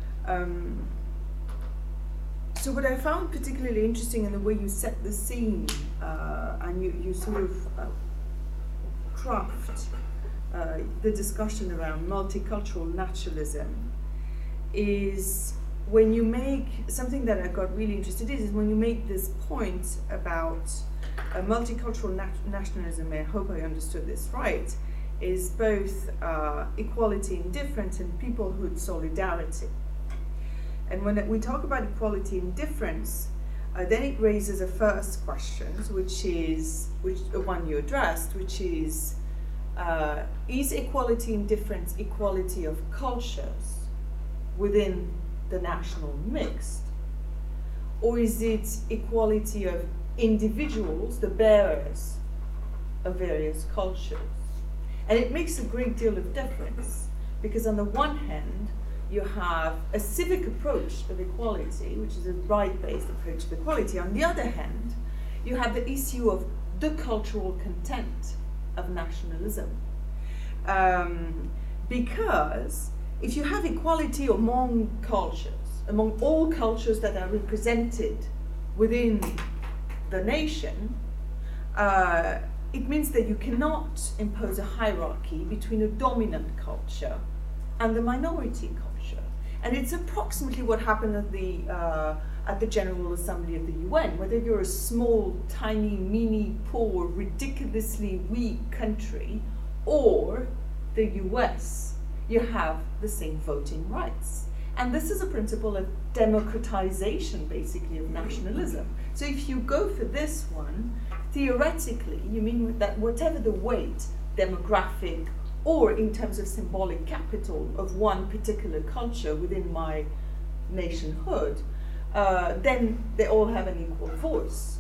So what I found particularly interesting in the way you set the scene, and you sort of craft the discussion around multicultural naturalism, is when you make something that I got really interested in, is when you make this point about multicultural nationalism. I hope I understood this right, is both equality in difference and peoplehood solidarity. And when we talk about equality in difference, then it raises a first question, which one you addressed, which is equality in difference equality of cultures within the national mix, or is it equality of individuals, the bearers of various cultures? And it makes a great deal of difference, because on the one hand, you have a civic approach of equality, which is a right-based approach of equality. On the other hand, you have the issue of the cultural content of nationalism. Because if you have equality among cultures, among all cultures that are represented within the nation, it means that you cannot impose a hierarchy between a dominant culture and the minority culture. And it's approximately what happened at the General Assembly of the UN. Whether you're a small, tiny, mini, poor, ridiculously weak country, or the US, you have the same voting rights. And this is a principle of democratization, basically, of nationalism. So if you go for this one, theoretically, you mean that whatever the weight, demographic, or in terms of symbolic capital of one particular culture within my nationhood, then they all have an equal voice.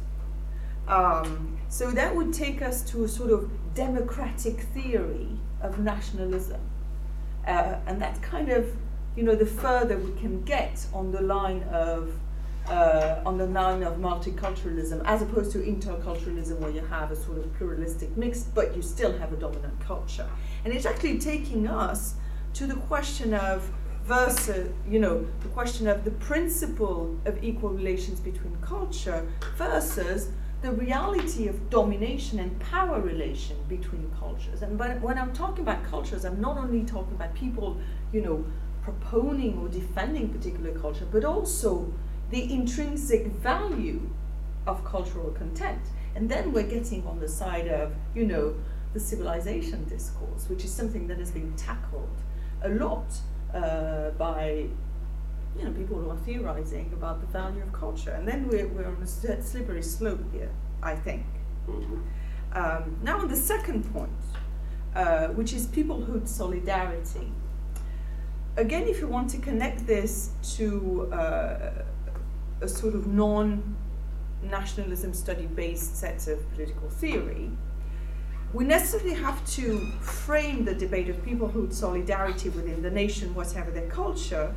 So that would take us to a sort of democratic theory of nationalism. And that's kind of, the further we can get on the line of multiculturalism, as opposed to interculturalism, where you have a sort of pluralistic mix, but you still have a dominant culture. And it's actually taking us to the question of the question of the principle of equal relations between culture versus the reality of domination and power relation between cultures. And when I'm talking about cultures, I'm not only talking about people, proponing or defending particular culture, but also the intrinsic value of cultural content. And then we're getting on the side of, the civilization discourse, which is something that has been tackled a lot by, people who are theorizing about the value of culture. And then we're on a slippery slope here, I think. Mm-hmm. Now on the second point, which is peoplehood solidarity. Again, if you want to connect this to a sort of non-nationalism study-based set of political theory, we necessarily have to frame the debate of peoplehood solidarity within the nation, whatever their culture,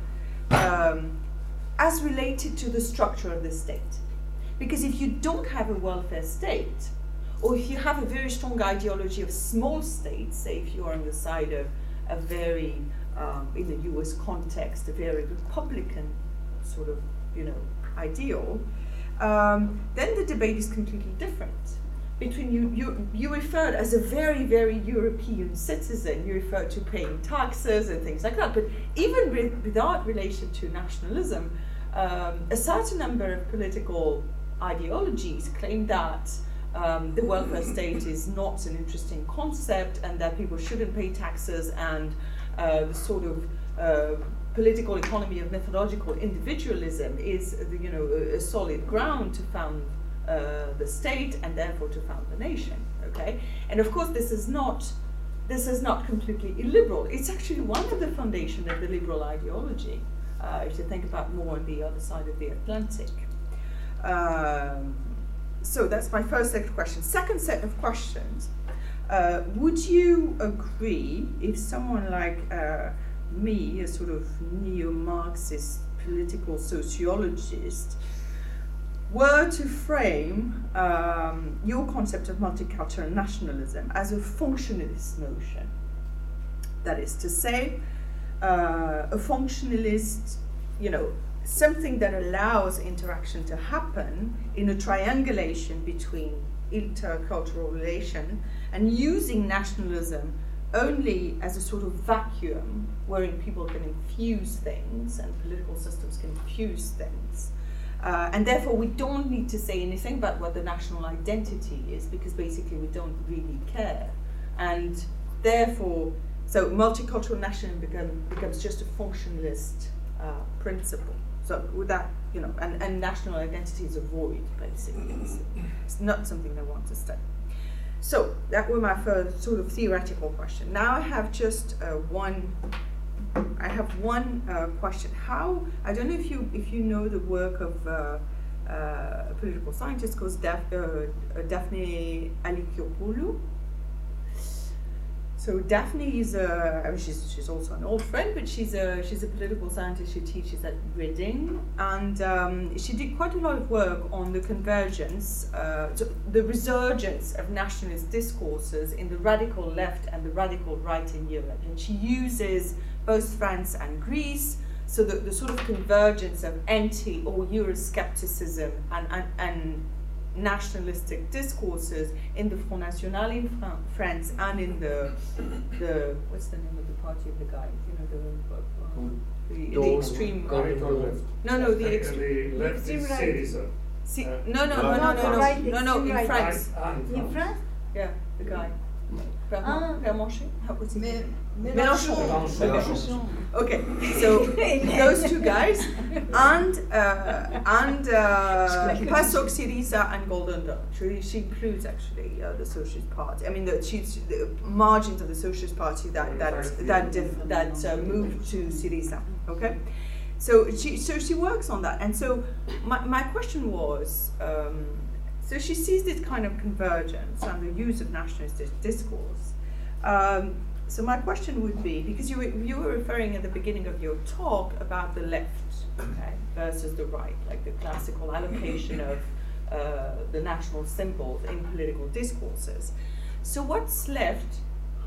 as related to the structure of the state. Because if you don't have a welfare state, or if you have a very strong ideology of small states, say if you are on the side of a very, in the US context, a very Republican sort of, ideal, then the debate is completely different. Between you referred as a very, very European citizen, you referred to paying taxes and things like that, but even without relation to nationalism, a certain number of political ideologies claim that the welfare state is not an interesting concept and that people shouldn't pay taxes, and the sort of political economy of methodological individualism is a solid ground to found the state and therefore to found the nation. Okay, and of course this is not completely illiberal. It's actually one of the foundations of the liberal ideology. If you think about more on the other side of the Atlantic. So that's my first set of questions. Second set of questions. Would you agree if someone like me, a sort of neo-Marxist political sociologist, were to frame your concept of multicultural nationalism as a functionalist notion? That is to say, a functionalist, something that allows interaction to happen in a triangulation between intercultural relation and using nationalism only as a sort of vacuum wherein people can infuse things and political systems can infuse things. And therefore we don't need to say anything about what the national identity is, because basically we don't really care. And therefore, so multicultural nationalism becomes just a functionalist principle. So with that, and national identity is a void, basically. It's not something they want to study. So that were my first sort of theoretical question. Now I have just one question. I don't know if you know the work of a political scientist called Daphne Alykopoulou. So Daphne is she's also an old friend, but she's a political scientist. She teaches at Reading, and she did quite a lot of work on the convergence, so the resurgence of nationalist discourses in the radical left and the radical right in Europe. And she uses both France and Greece, so the sort of convergence of anti or Euroscepticism and nationalistic discourses in the Front National in France and in the what's the name of the party of the guy? You know, the extreme right. No, the extreme left is Syriza. No, in France. In France? Yeah, the guy. Mélenchon? What's his name? Mélenchon. Okay, so those two guys and PASOK, Syriza, and Golden Dawn. She includes actually the Socialist Party. I mean, the margins of the Socialist Party that moved to Syriza. Okay, so she works on that, and so my question was. So she sees this kind of convergence and the use of nationalist discourse. So my question would be, because you were referring at the beginning of your talk about the left, okay, versus the right, like the classical allocation of the national symbols in political discourses. So what's left?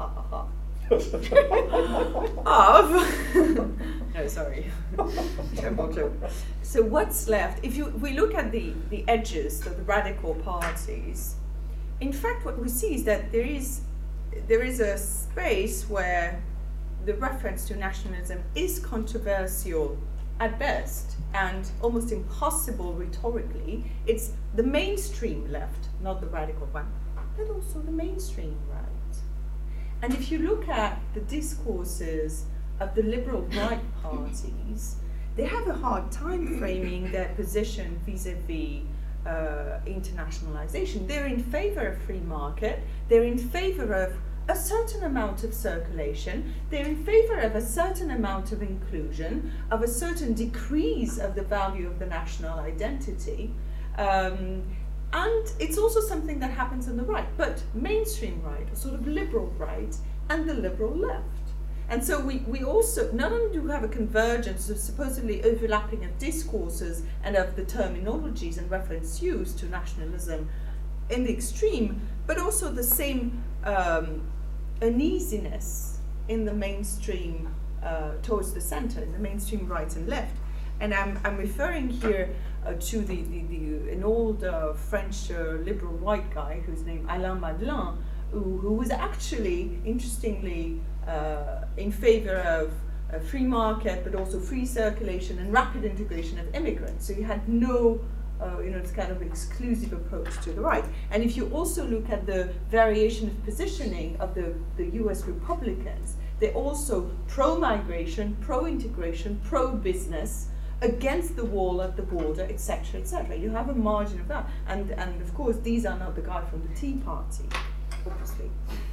Of no, sorry, terrible joke. So what's left? If we look at the edges of the radical parties, in fact, what we see is that there is a space where the reference to nationalism is controversial at best and almost impossible rhetorically. It's the mainstream left, not the radical one, but also the mainstream right. And if you look at the discourses of the liberal right parties, they have a hard time framing their position vis-a-vis internationalization. They're in favor of free market, they're in favor of a certain amount of circulation, they're in favor of a certain amount of inclusion, of a certain decrease of the value of the national identity. And it's also something that happens on the right, but mainstream right, or sort of liberal right, and the liberal left. And so we also, not only do we have a convergence of supposedly overlapping of discourses and of the terminologies and reference used to nationalism in the extreme, but also the same uneasiness in the mainstream towards the center, in the mainstream right and left. And I'm referring here to an old French liberal white guy who's named Alain Madelin, who was actually, interestingly, in favor of a free market, but also free circulation and rapid integration of immigrants. So he had no, this kind of exclusive approach to the right. And if you also look at the variation of positioning of the US Republicans, they're also pro-migration, pro-integration, pro-business, against the wall at the border, etc., etc. You have a margin of that, and of course these are not the guy from the Tea Party, obviously.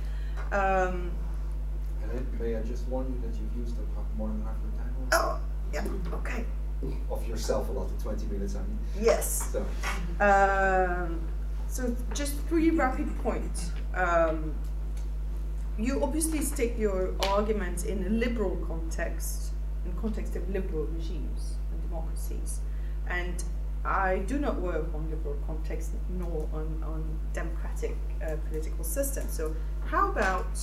May I just warn you that you've used up more than half your time? Oh, yeah, okay. Of yourself, a lot of 20 minutes, I mean. Yes. So just 3 rapid points. You obviously stick your argument in a liberal context, in context of liberal regimes and democracies. And I do not work on liberal context nor on democratic political systems. So how about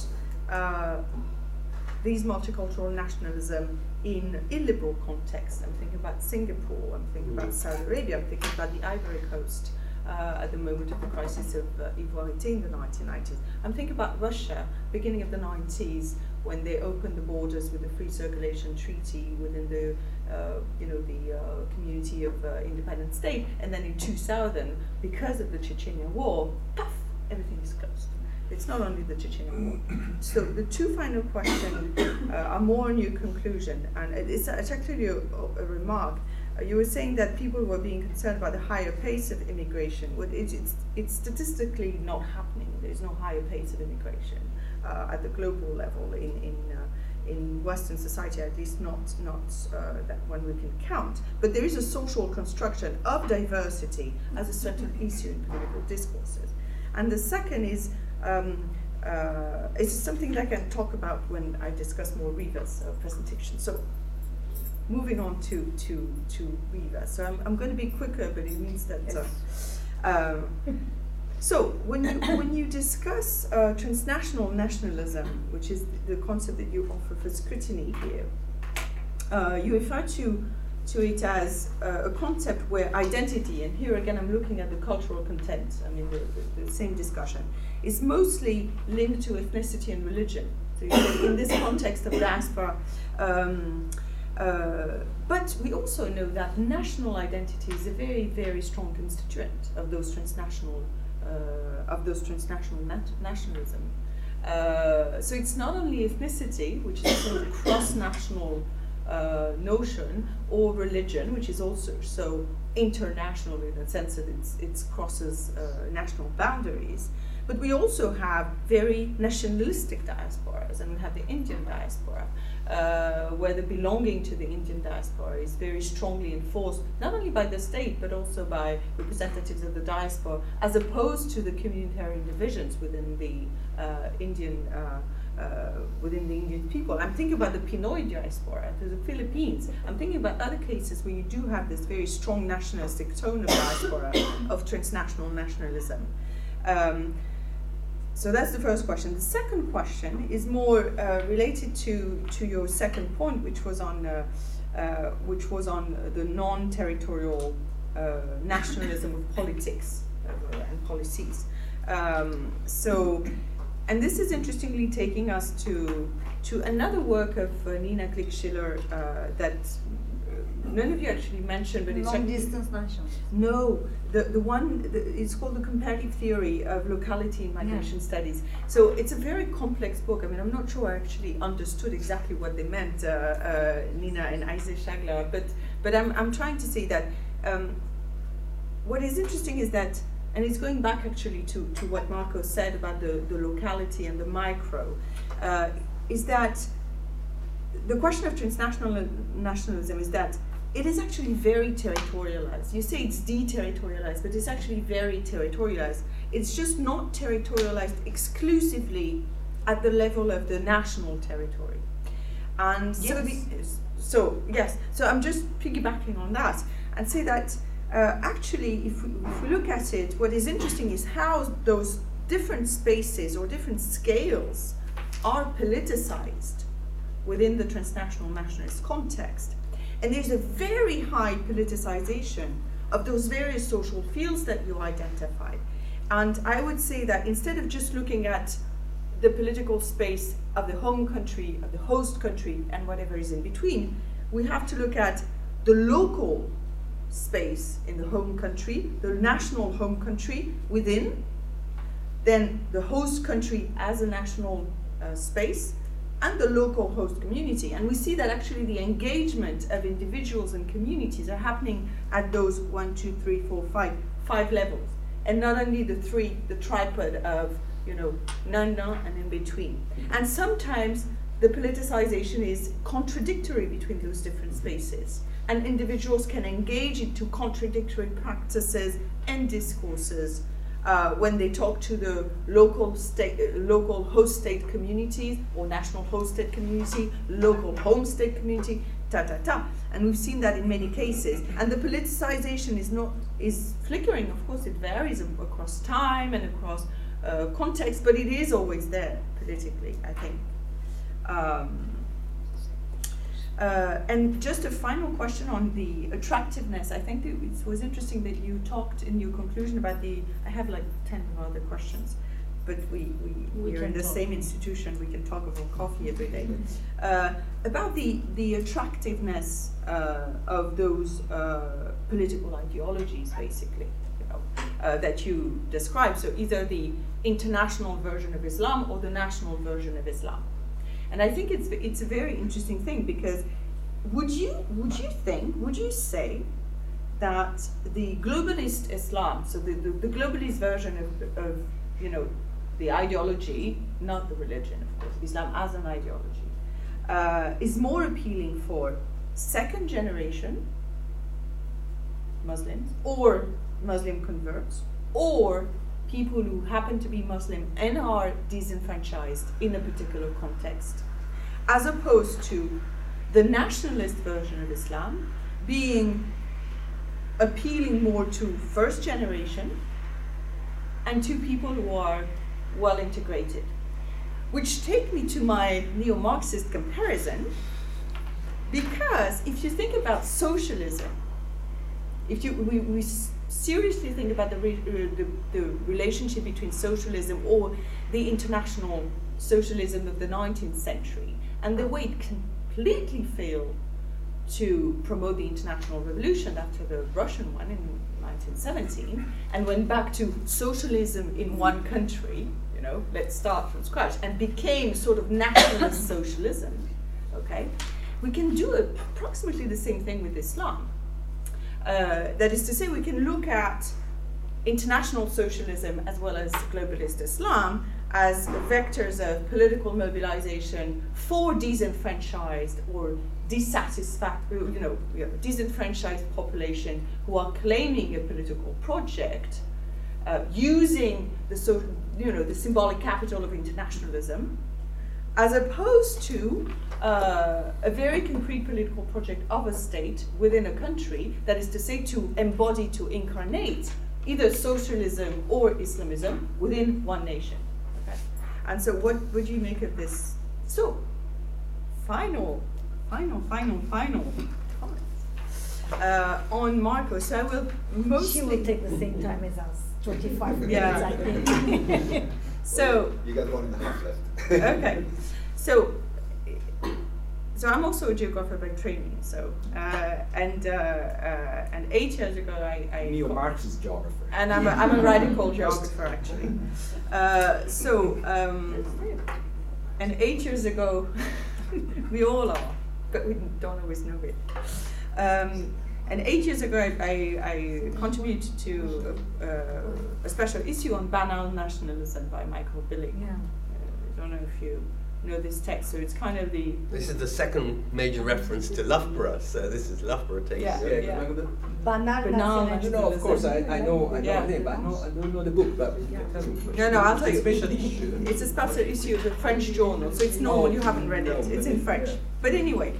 these multicultural nationalism in illiberal context? I'm thinking about Singapore, I'm thinking about Saudi Arabia, I'm thinking about the Ivory Coast at the moment of the crisis of Ivoirité in the 1990s. I'm thinking about Russia, beginning of the 90s, when they opened the borders with the free circulation treaty within the community of independent state, and then in 2000, because of the Chechnya war, puff, everything is closed. It's not only the Chechnya war. So the 2 final questions are more on your conclusion, and it's actually a remark. You were saying that people were being concerned about the higher pace of immigration. Well, it's statistically not happening. There's no higher pace of immigration at the global level in Western society, at least not that one we can count. But there is a social construction of diversity as a certain issue in political discourses. And the second is it's something that I can talk about when I discuss more Riva's presentation. So moving on to Riva. So I'm going to be quicker, but it means that. So when you discuss transnational nationalism, which is the concept that you offer for scrutiny here, you refer to it as a concept where identity, and here again I'm looking at the cultural content, I mean the same discussion, is mostly linked to ethnicity and religion. So you say in this context of diaspora, but we also know that national identity is a very, very strong constituent of those transnational nationalism. So it's not only ethnicity, which is a sort of cross-national notion, or religion, which is also so international in the sense that it crosses national boundaries. But we also have very nationalistic diasporas, and we have the Indian diaspora, where the belonging to the Indian diaspora is very strongly enforced, not only by the state, but also by representatives of the diaspora, as opposed to the communitarian divisions within the Indian people. I'm thinking about the Pinoy diaspora, to the Philippines. I'm thinking about other cases where you do have this very strong nationalistic tone of diaspora, of transnational nationalism. So that's the first question. The second question is more related to your second point, which was on the non-territorial nationalism of politics and policies. And this is interestingly taking us to another work of Nina Glick-Schiller that none of you actually mentioned, but it's long-distance nationalism. No, the one it's called The Comparative Theory of Locality in Migration Studies. So it's a very complex book. I mean, I'm not sure I actually understood exactly what they meant, Nina and Isaac Shagler, but I'm trying to say that what is interesting is that, and it's going back actually to what Marco said about the locality and the micro, is that the question of transnational nationalism is that it is actually very territorialized. You say it's deterritorialized, but it's actually very territorialized. It's just not territorialized exclusively at the level of the national territory. And so I'm just piggybacking on that and say that actually, if we look at it, what is interesting is how those different spaces or different scales are politicized within the transnational nationalist context. And there's a very high politicization of those various social fields that you identified. And I would say that instead of just looking at the political space of the home country, of the host country, and whatever is in between, we have to look at the local space in the home country, the national home country within, then the host country as a national space, and the local host community. And we see that actually the engagement of individuals and communities are happening at those 1, 2, 3, 4, 5 levels. And not only the tripod of, none, and in between. And sometimes the politicization is contradictory between those different spaces. And individuals can engage into contradictory practices and discourses when they talk to the local host state communities or national host state community, local home state community, and we've seen that in many cases. And the politicization is flickering. Of course, it varies across time and across context, but it is always there politically, I think. And just a final question on the attractiveness. I think it was interesting that you talked in your conclusion about I have like 10 other questions, but we're in the same institution, we can talk over coffee every day. About the attractiveness of those political ideologies, basically, that you describe. So either the international version of Islam or the national version of Islam. And I think it's a very interesting thing, because would you say that the globalist Islam, so the globalist version of the ideology, not the religion, of course, Islam as an ideology, is more appealing for second generation Muslims or Muslim converts, or people who happen to be Muslim and are disenfranchised in a particular context, as opposed to the nationalist version of Islam being appealing more to first generation and to people who are well integrated. Which take me to my neo-Marxist comparison, because if you think about socialism, if we seriously think about the relationship between socialism or the international socialism of the 19th century and the way it completely failed to promote the international revolution after the Russian one in 1917 and went back to socialism in one country, you know, let's start from scratch, and became sort of nationalist socialism, okay? We can do approximately the same thing with Islam. That is to say, we can look at international socialism as well as globalist Islam as vectors of political mobilization for disenfranchised or disenfranchised population who are claiming a political project, using the the symbolic capital of internationalism, as opposed to a very concrete political project of a state within a country, that is to say, to embody, to incarnate either socialism or Islamism within one nation. Okay? And so what would you make of this? So, final comments on Marco. So I will mostly... She will take the same time as us, 25 minutes, I think. So... You got 1.5 left. Okay. So I'm also a geographer by training. So and 8 years ago I neo-Marxist geographer. And I'm a radical geographer actually. And 8 years ago, we all are, but we don't always know it. And 8 years ago, I contributed to a special issue on banal nationalism by Michael Billig. Yeah. I don't know if you know this text, so it's kind of the... This is the second major reference to Loughborough, so this is Loughborough taking it. Yeah. Banal nationalism. No, of course, I know the name, but I don't know the book. But tell me. No, I'll tell you. It's a special issue. It's a special issue of the French journal, so it's normal you haven't read it. It's in French. But anyway,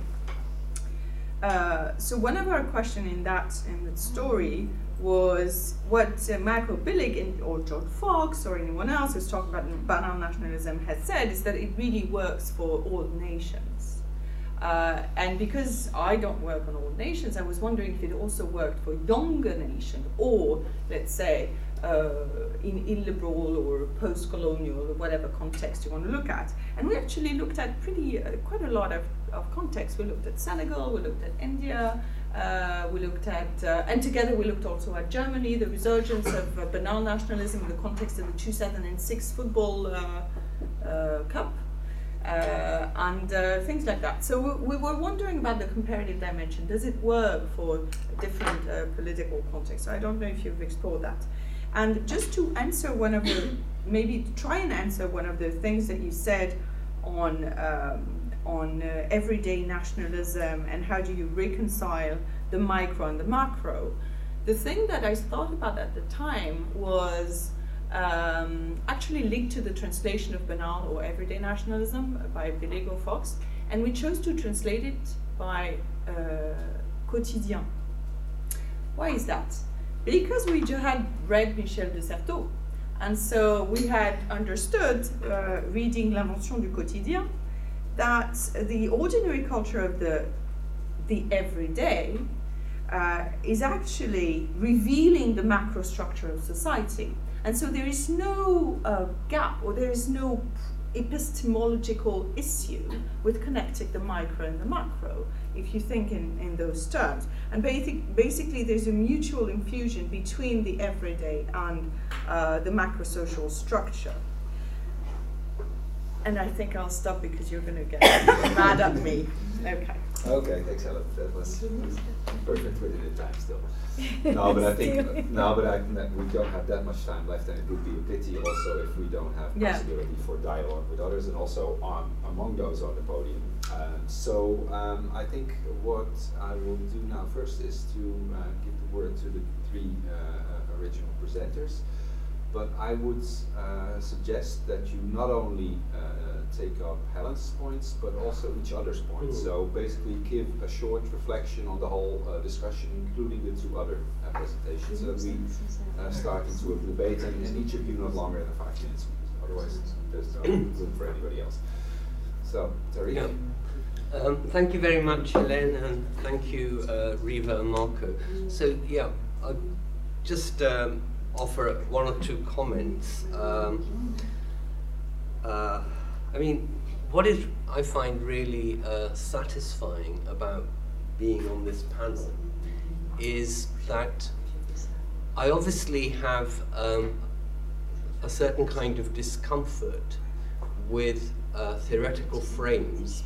so one of our questions in that story was what Michael Billig or George Fox or anyone else who's talking about banal nationalism has said is that it really works for all nations. And because I don't work on all nations, I was wondering if it also worked for younger nations, or let's say in illiberal or post-colonial or whatever context you want to look at. And we actually looked at quite a lot of contexts. We looked at Senegal, we looked at India, we looked at, and together we looked also at Germany, the resurgence of banal nationalism in the context of the 2006 football cup. And things like that. So we were wondering about the comparative dimension. Does it work for different political contexts? So I don't know if you've explored that. And just to answer maybe try and answer one of the things that you said on everyday nationalism and how do you reconcile the micro and the macro. The thing that I thought about at the time was actually linked to the translation of banal or everyday nationalism by Billig or Fox, and we chose to translate it by quotidien. Why is that? Because we had read Michel de Certeau, and so we had understood, reading L'Invention du quotidien, that the ordinary culture of the everyday is actually revealing the macro structure of society. And so there is no gap, or there is no epistemological issue with connecting the micro and the macro, if you think in those terms. And basically there's a mutual infusion between the everyday and the macro social structure. And I think I'll stop because you're going to get mad at me. Okay. Okay, excellent. That was perfect within the time still. No, but I think we don't have that much time left, and it would be a pity also if we don't have possibility for dialogue with others, and also among those on the podium. So I think what I will do now first is to give the word to the three original presenters. but I would suggest that you not only take up Helen's points, but also each other's points. So basically give a short reflection on the whole discussion, including the two other presentations, so that we start into a debate, and each of you not longer than 5 minutes, because otherwise there's no room for anybody else. So, Tariq. Yeah. Thank you very much, Helene, and thank you, Riva and Marco. So, yeah, I'll just offer one or two comments. I mean, what is I find really satisfying about being on this panel is that I obviously have a certain kind of discomfort with theoretical frames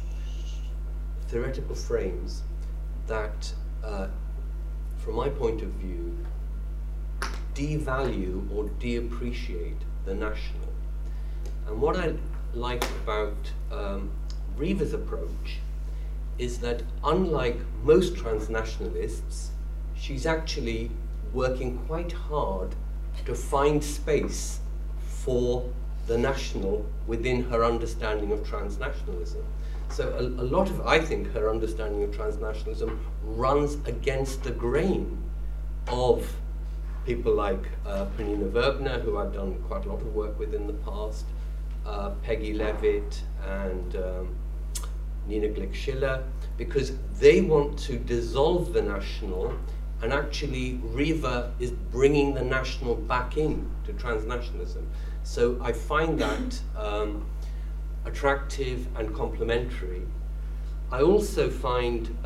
that, from my point of view, devalue or deappreciate the national. And what I like about Riva's approach is that, unlike most transnationalists, she's actually working quite hard to find space for the national within her understanding of transnationalism. So a lot of, I think, her understanding of transnationalism runs against the grain of people like Pernilla Verbner, who I've done quite a lot of work with in the past, Peggy Levitt and Nina Glick-Schiller, because they want to dissolve the national, and actually Riva is bringing the national back in to transnationalism. So I find that attractive and complementary. I also find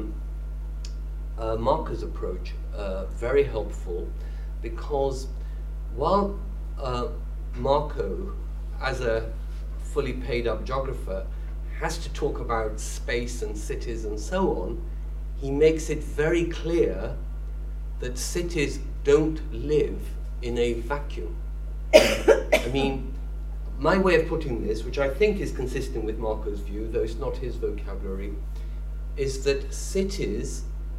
Marco's approach very helpful, because while Marco, as a fully paid up geographer, has to talk about space and cities and so on, he makes it very clear that cities don't live in a vacuum. I mean, my way of putting this, which I think is consistent with Marco's view, though it's not his vocabulary, is that cities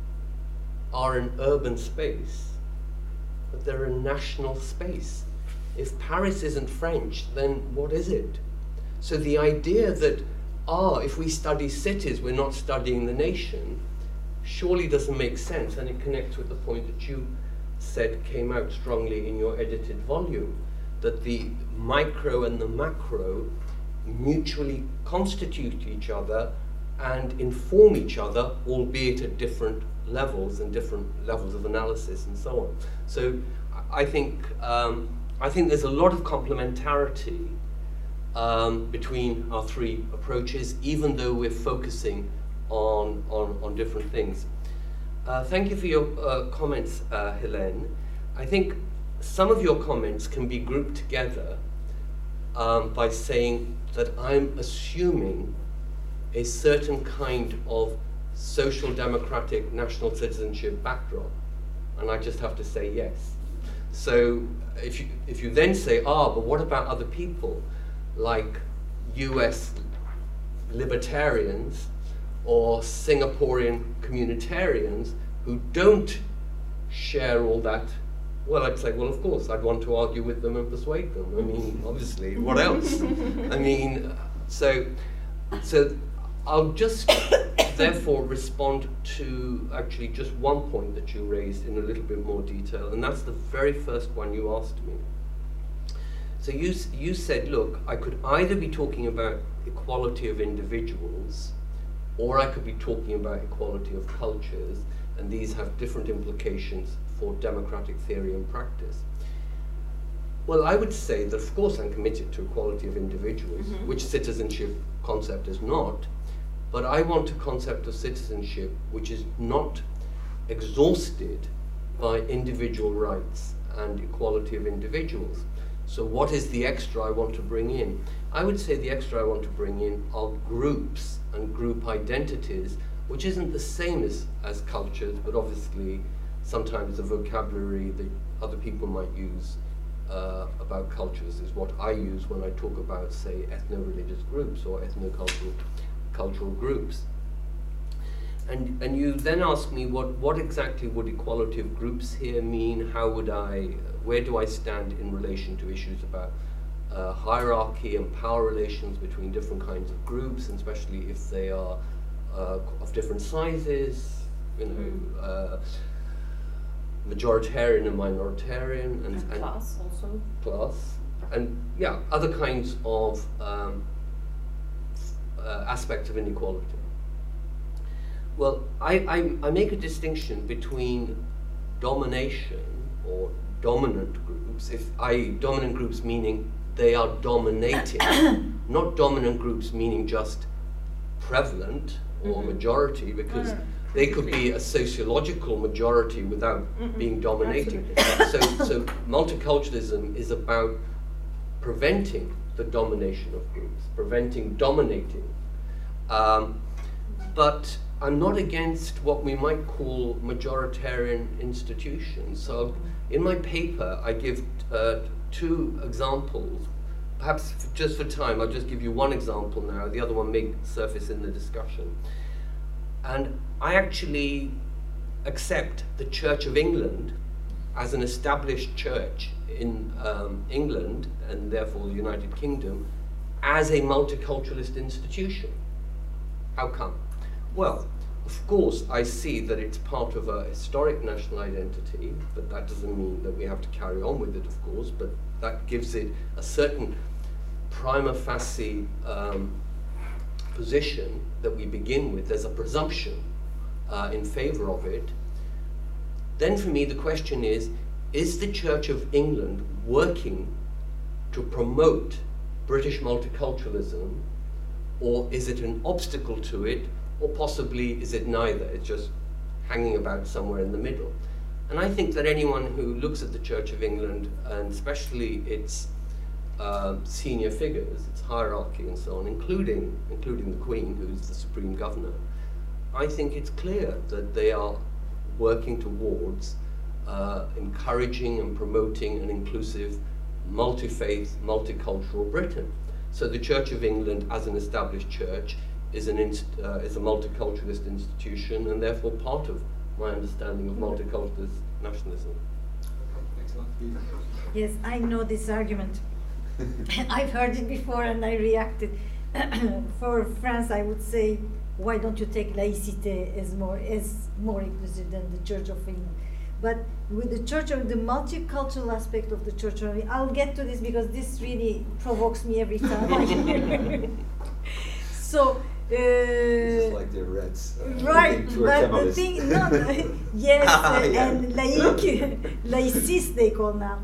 are an urban space, but they're a national space. If Paris isn't French, then what is it? So the idea that, if we study cities, we're not studying the nation, surely doesn't make sense, and it connects with the point that you said came out strongly in your edited volume, that the micro and the macro mutually constitute each other and inform each other, albeit at different levels and different levels of analysis and so on. So I think there's a lot of complementarity between our three approaches, even though we're focusing on different things. Thank you for your comments, Helene. I think some of your comments can be grouped together by saying that I'm assuming a certain kind of social democratic national citizenship backdrop, and I just have to say yes. So if you then say, but what about other people like US libertarians or Singaporean communitarians who don't share all that? Well, I'd say, well, of course, I'd want to argue with them and persuade them. I mean, obviously, what else? I mean, so I'll just therefore respond to actually just one point that you raised in a little bit more detail, and that's the very first one you asked me. So you said, look, I could either be talking about equality of individuals, or I could be talking about equality of cultures, and these have different implications for democratic theory and practice. Well, I would say that, of course, I'm committed to equality of individuals, which citizenship concept is not, but I want a concept of citizenship which is not exhausted by individual rights and equality of individuals. So what is the extra I want to bring in? I would say the extra I want to bring in are groups and group identities, which isn't the same as cultures, but obviously sometimes the vocabulary that other people might use about cultures is what I use when I talk about, say, ethno-religious groups or ethno-cultural groups. And you then ask me what exactly would equality of groups here mean? How would where do I stand in relation to issues about hierarchy and power relations between different kinds of groups, and especially if they are of different sizes, you know, majoritarian and minoritarian, and class also. Class, and yeah, other kinds of aspects of inequality. Well, I make a distinction between domination or dominant groups, dominant groups meaning they are dominating, not dominant groups meaning just prevalent or majority, because they could be a sociological majority without being dominating. So multiculturalism is about preventing the domination of groups, preventing dominating. But I'm not against what we might call majoritarian institutions. So in my paper, I give two examples. Perhaps just for time, I'll just give you one example now. The other one may surface in the discussion. And I actually accept the Church of England as an established church in England, and therefore the United Kingdom, as a multiculturalist institution. How come? Well, of course, I see that it's part of a historic national identity, but that doesn't mean that we have to carry on with it, of course, but that gives it a certain prima facie position that we begin with. There's a presumption in favor of it. Then for me, the question is the Church of England working to promote British multiculturalism, or is it an obstacle to it, or possibly is it neither? It's just hanging about somewhere in the middle. And I think that anyone who looks at the Church of England, and especially its senior figures, its hierarchy and so on, including the Queen, who's the supreme governor, I think it's clear that they are working towards encouraging and promoting an inclusive, multi-faith, multicultural Britain. So the Church of England, as an established church, is a multiculturalist institution, and therefore part of my understanding of multiculturalist nationalism. Excellent. Yes, I know this argument. I've heard it before and I reacted. For France, I would say, why don't you take laïcité as more inclusive than the Church of England? But with the Church of the multicultural aspect of the Church of England, I'll get to this because this really provokes me every time. So. It's like the Reds. Right, but the thing, yes, and laiciste they call now,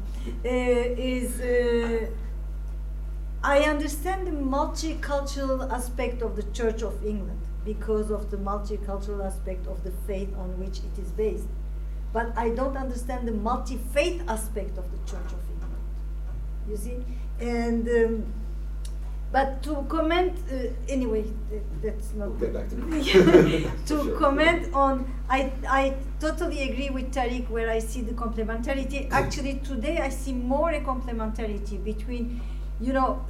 is I understand the multicultural aspect of the Church of England because of the multicultural aspect of the faith on which it is based. But I don't understand the multi-faith aspect of the Church of England, you see? And but to comment, anyway, that's not... We'll get back to that. To sure. Comment on, I totally agree with Tariq where I see the complementarity. Actually, today I see more a complementarity between, you know,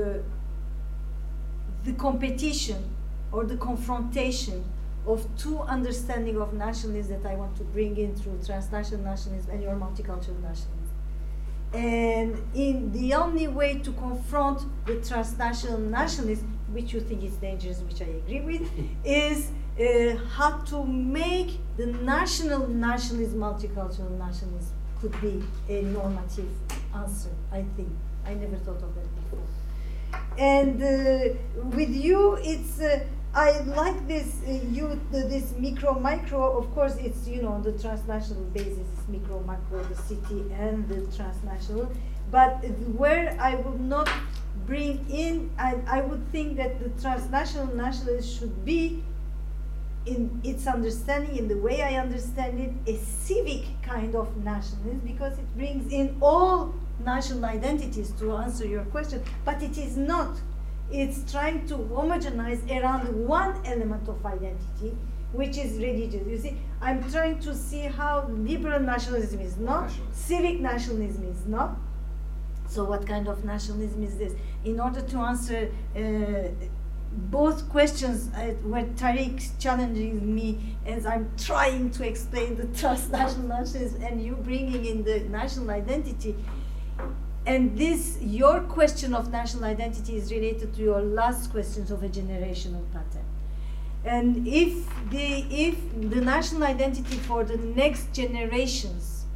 the competition or the confrontation of two understanding of nationalism that I want to bring in through transnational nationalism and your multicultural nationalism. And in the only way to confront the transnational nationalism, which you think is dangerous, which I agree with, is how to make the national nationalism, multicultural nationalism, could be a normative answer, I think. I never thought of that before. And with you, it's, I like this, this micro, of course, it's, you know, the transnational basis is micro, macro, the city and the transnational. But where I would not bring in, I would think that the transnational nationalism should be, in its understanding, in the way I understand it, a civic kind of nationalism, because it brings in all national identities, to answer your question, but it is not. It's trying to homogenize around one element of identity, which is religious. You see, I'm trying to see how liberal nationalism is not, civic nationalism is not. So what kind of nationalism is this? In order to answer both questions where Tariq challenging me as I'm trying to explain the transnational nationalism and you bringing in the national identity. And this, your question of national identity is related to your last questions of a generational pattern. And if the national identity for the next generations,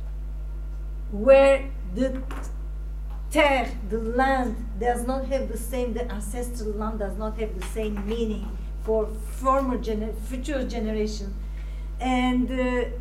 where the terre, the land, does not have the same, the ancestral land does not have the same meaning for future generations, and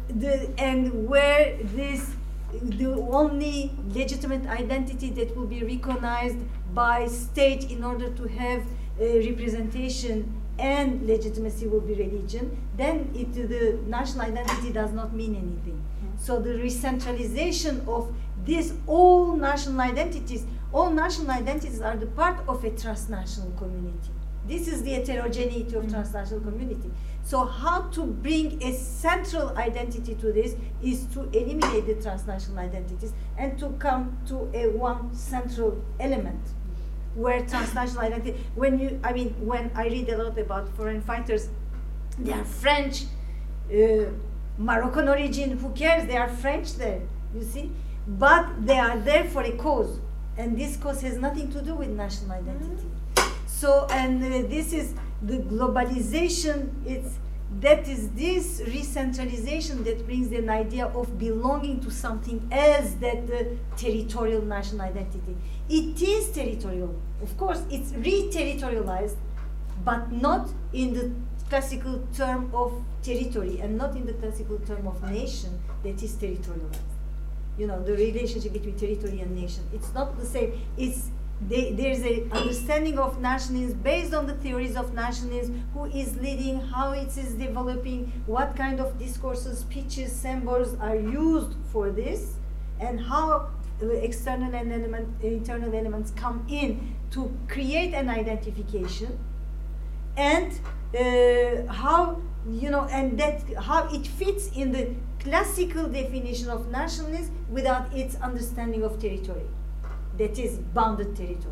where this, the only legitimate identity that will be recognized by state in order to have representation and legitimacy will be religion, then the national identity does not mean anything. So the recentralization of these all national identities are the part of a transnational community. This is the heterogeneity of transnational community. So how to bring a central identity to this is to eliminate the transnational identities and to come to a one central element where transnational identity, when I read a lot about foreign fighters, they are French, Moroccan origin, who cares, they are French there, you see? But they are there for a cause, and this cause has nothing to do with national identity. So, and this is the globalization, that is this recentralization that brings an idea of belonging to something else than the territorial national identity. It is territorial, of course, it's re-territorialized, but not in the classical term of territory and not in the classical term of nation that is territorialized. You know, the relationship between territory and nation. It's not the same. There's an understanding of nationalism based on the theories of nationalism, who is leading, how it is developing, what kind of discourses, speeches, symbols are used for this, and how external and internal elements come in to create an identification, and how, you know, and that how it fits in the classical definition of nationalism without its understanding of territory, that is bounded territory.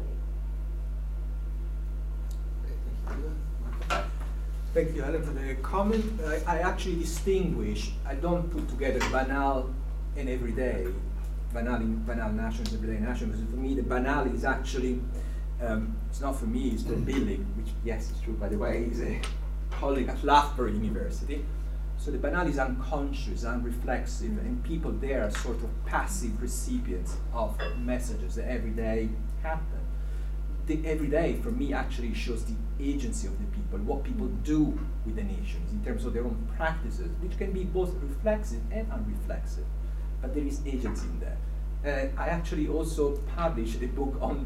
Thank you, Helen, for the comment. I actually distinguish, I don't put together banal and everyday, banal nationalism, everyday nationalism. For me, the banal is actually, it's not for me, it's for Billig, which, yes, it's true, by the way, he's a colleague at Loughborough University. So the banal is unconscious, unreflexive, and people there are sort of passive recipients of messages that every day happen. The everyday, for me, actually shows the agency of the people, what people do with the nations in terms of their own practices, which can be both reflexive and unreflexive. But there is agency in there. I actually also published a book on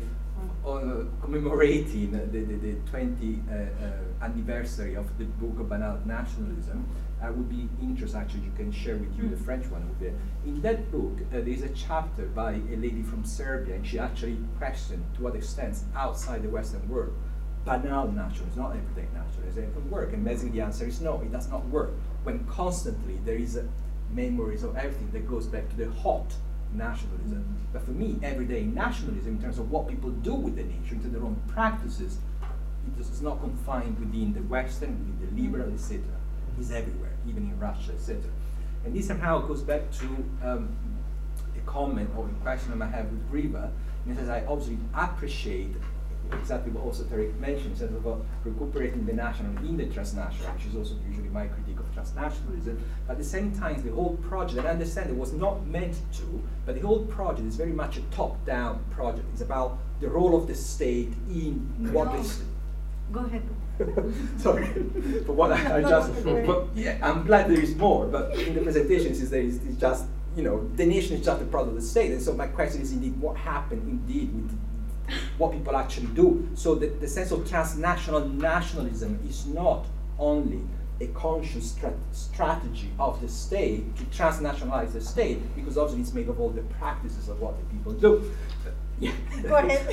commemorating the 20th anniversary of the book of Banal Nationalism. I would be interested, actually, you can share with you the French one. In that book, there is a chapter by a lady from Serbia, and she actually questioned to what extent outside the Western world, banal nationalism, not everyday nationalism, it can work. And basically the answer is no, it does not work. When constantly there is memories of everything that goes back to the hot nationalism. But for me, everyday nationalism, in terms of what people do with the nation, to their own practices, it is not confined within the Western, within the liberal, etc. It's everywhere, even in Russia, etc. And this somehow goes back to a comment or a question I have with Griva, and says I obviously appreciate exactly what also Tariq mentioned, in terms of recuperating the national in the transnational, which is also usually my critique of transnationalism. But at the same time, the whole project, and I understand it was not meant to, but the whole project is very much a top-down project. It's about the role of the state in what is. Go ahead. Sorry, but what I just, but yeah, I'm glad there is more, but in the presentation it's just, you know, the nation is just a product of the state, and so my question is indeed what happened indeed with what people actually do. So the sense of transnational nationalism is not only a conscious strategy of the state to transnationalize the state, because obviously it's made of all the practices of what the people do. Yeah. Go ahead.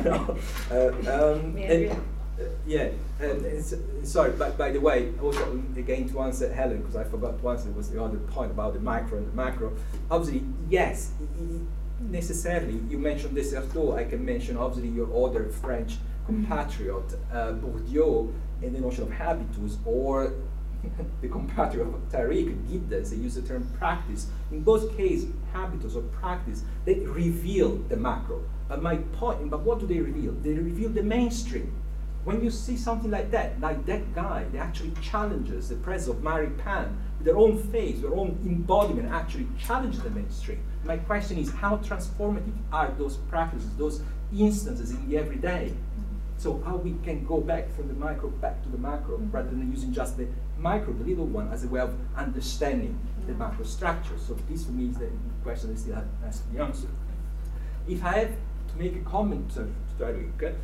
Okay. Sorry, but by the way, also again to answer Helen, because I forgot to answer, was the other point about the micro and the macro. Obviously, yes, necessarily, you mentioned Desserteau, I can mention obviously your other French compatriot Bourdieu and the notion of habitus, or the compatriot of Tariq, Giddens, they use the term practice. In both cases, habitus or practice, they reveal the macro. But what do they reveal? They reveal the mainstream. When you see something like that guy, they actually challenges the presence of Maripan with their own face, their own embodiment, actually challenges the mainstream. My question is, how transformative are those practices, those instances in the everyday? So how we can go back from the micro back to the macro, rather than using just the micro, the little one, as a way of understanding the macro structure. So this for me is the question that still has to be answered. If I have to make a comment to Tariq,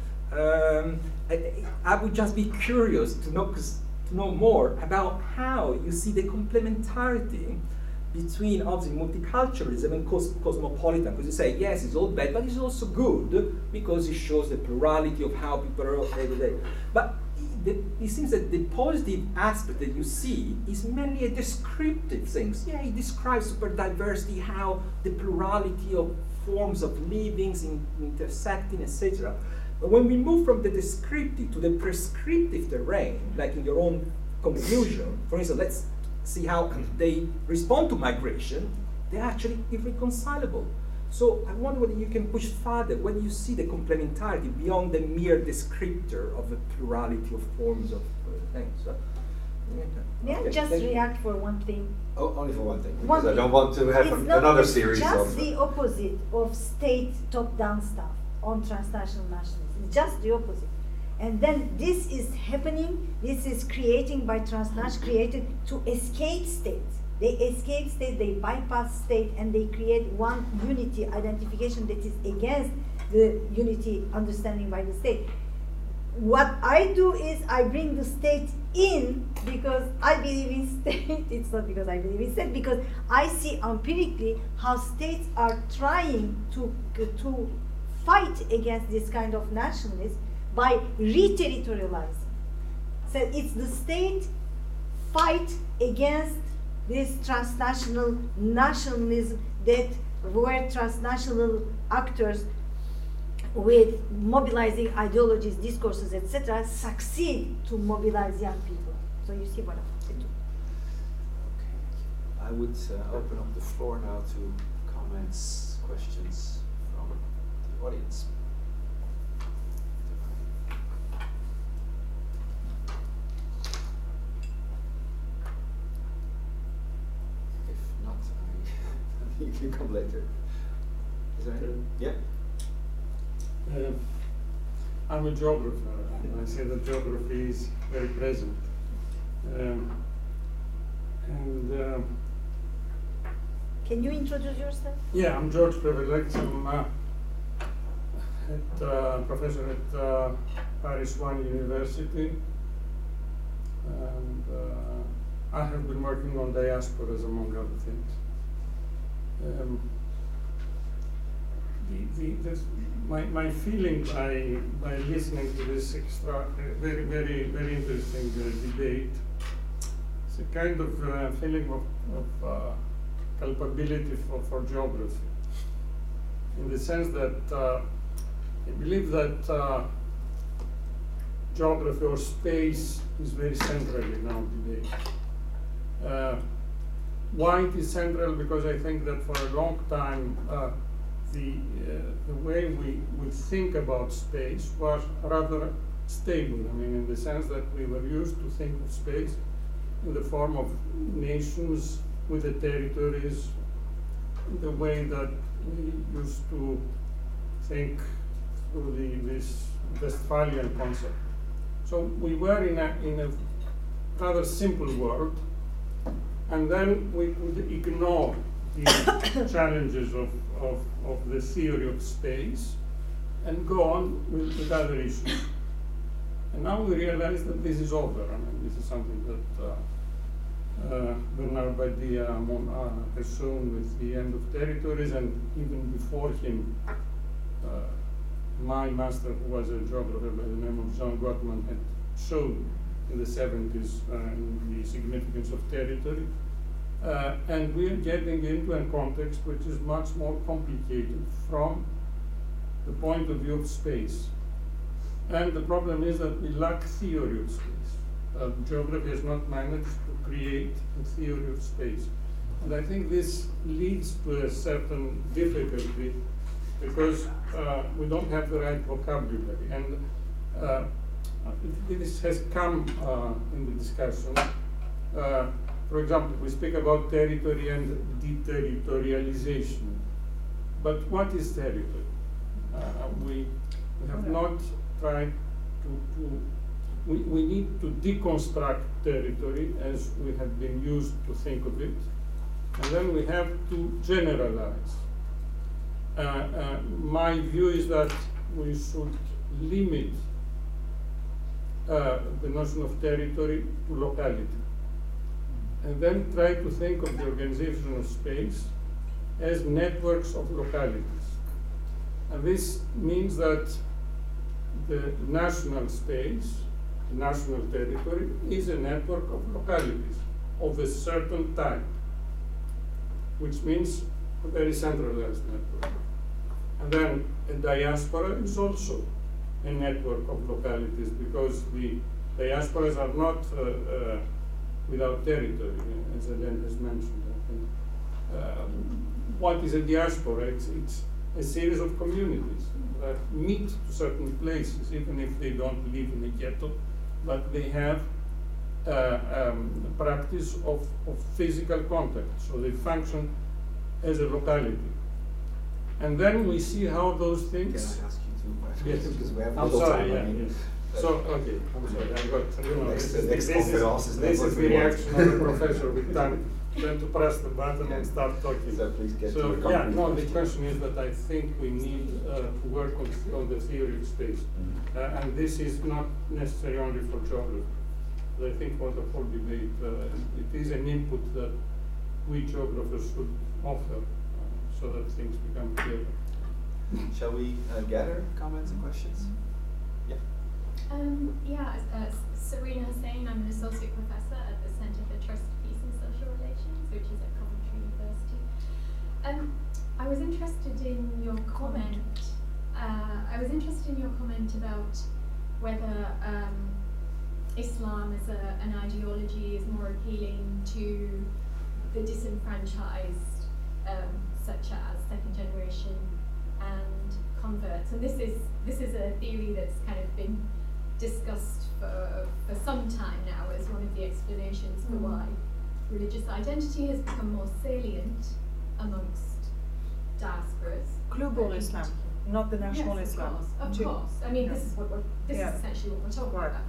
I would just be curious to know more about how you see the complementarity between obviously multiculturalism and cosmopolitan, because you say, yes, it's all bad, but it's also good because it shows the plurality of how people are every day. But it seems that the positive aspect that you see is mainly a descriptive thing. Yeah, it describes super diversity, how the plurality of forms of livings intersecting, etc. But when we move from the descriptive to the prescriptive terrain, like in your own conclusion, for instance, let's see how they respond to migration, they're actually irreconcilable. So I wonder whether you can push further, whether you see the complementarity beyond the mere descriptor of the plurality of forms of things. So, may I just react for one thing? Oh, only for one thing, because I don't want to have another series of... It's just the opposite of state top-down stuff on transnational nationalism. It's just the opposite. And then this is happening, this is creating by transnational, created to escape state. They escape state, they bypass state, and they create one unity identification that is against the unity understanding by the state. What I do is I bring the state in because I believe in state. It's not because I believe in state, because I see empirically how states are trying to fight against this kind of nationalism by re-territorializing. So it's the state fight against this transnational nationalism where transnational actors with mobilizing ideologies, discourses, etc., succeed to mobilize young people. So you see what I'm saying. Okay. I would open up the floor now to comments, questions from the audience. You can come later. Is there any? Yeah? I'm a geographer, and I say that geography is very present. Can you introduce yourself? Yeah, I'm George Prevelex. I'm professor at Paris One University. And I have been working on diasporas, among other things. My feeling by listening to this very, very, very interesting debate, it's a kind of feeling of culpability for geography, in the sense that I believe that geography or space is very central in our debate. Why it is central? Because I think that for a long time the way we think about space was rather stable. I mean, in the sense that we were used to think of space in the form of nations with the territories, in the way that we used to think through this Westphalian concept. So we were in a rather simple world. And then we could ignore the challenges of the theory of space and go on with other issues. And now we realize that this is over. I mean, this is something that Bernard Badia has shown with the end of territories, and even before him, my master, who was a geographer by the name of Jean Gottman, had shown in the 70s the significance of territory. And we are getting into a context which is much more complicated from the point of view of space. And the problem is that we lack theory of space. Geography has not managed to create a theory of space. And I think this leads to a certain difficulty because we don't have the right vocabulary. And this has come in the discussion. For example, we speak about territory and deterritorialization. But what is territory? We have not tried we need to deconstruct territory as we have been used to think of it. And then we have to generalize. My view is that we should limit the notion of territory to locality. And then try to think of the organization of space as networks of localities. And this means that the national space, national territory, is a network of localities of a certain type, which means a very centralized network. And then a diaspora is also a network of localities because the diasporas are not without territory, as Hélène has mentioned, I think. What is a diaspora? It's a series of communities that meet to certain places, even if they don't live in a ghetto, but they have a practice of physical contact, so they function as a locality. And then we see how those things... Can I ask you 2 questions? Yes. Because we have I'm little sorry, time. yeah, yes. So, okay, I'm sorry, I got, you know, Next this conference is the reaction of the professor with time, then to press the button and start talking. So please get to So, your yeah, concrete no, the questions. question is that I think we need to work on the theory of space. And this is not necessary only for geography. But I think for the whole debate, it is an input that we geographers should offer so that things become clearer. Shall we gather comments and questions? Yeah. As Serena Hussain, I'm an associate professor at the Center for Trust, Peace and Social Relations, which is at Coventry University. I was interested in your comment. About whether Islam as an ideology is more appealing to the disenfranchised, such as second generation and converts. And this is a theory that's kind of been discussed for some time now as one of the explanations for why religious identity has become more salient amongst diasporas. Global Islam, not the national yes, Islam. Of course. I mean, this is this is essentially what we're talking about.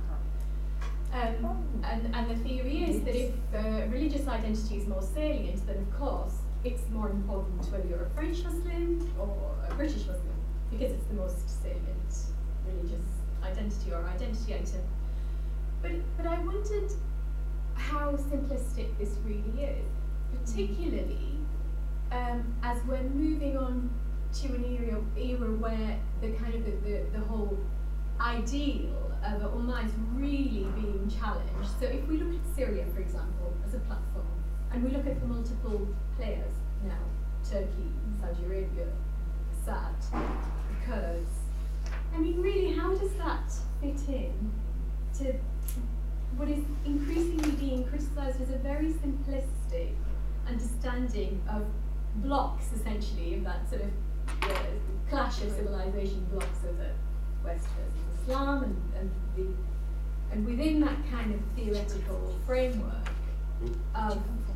And the theory is that if religious identity is more salient, then of course it's more important whether you're a French Muslim or a British Muslim, because it's the most salient religious identity or identity item. But I wondered how simplistic this really is, particularly as we're moving on to an era where the kind of the whole ideal of Ummah is really being challenged. So if we look at Syria, for example, as a platform, and we look at the multiple players now, Turkey, Saudi Arabia, Assad, the Kurds, I mean, really, how does that fit in to what is increasingly being criticised as a very simplistic understanding of blocks, essentially, of that sort of clash of civilization blocks of the West versus Islam, and within that kind of theoretical framework of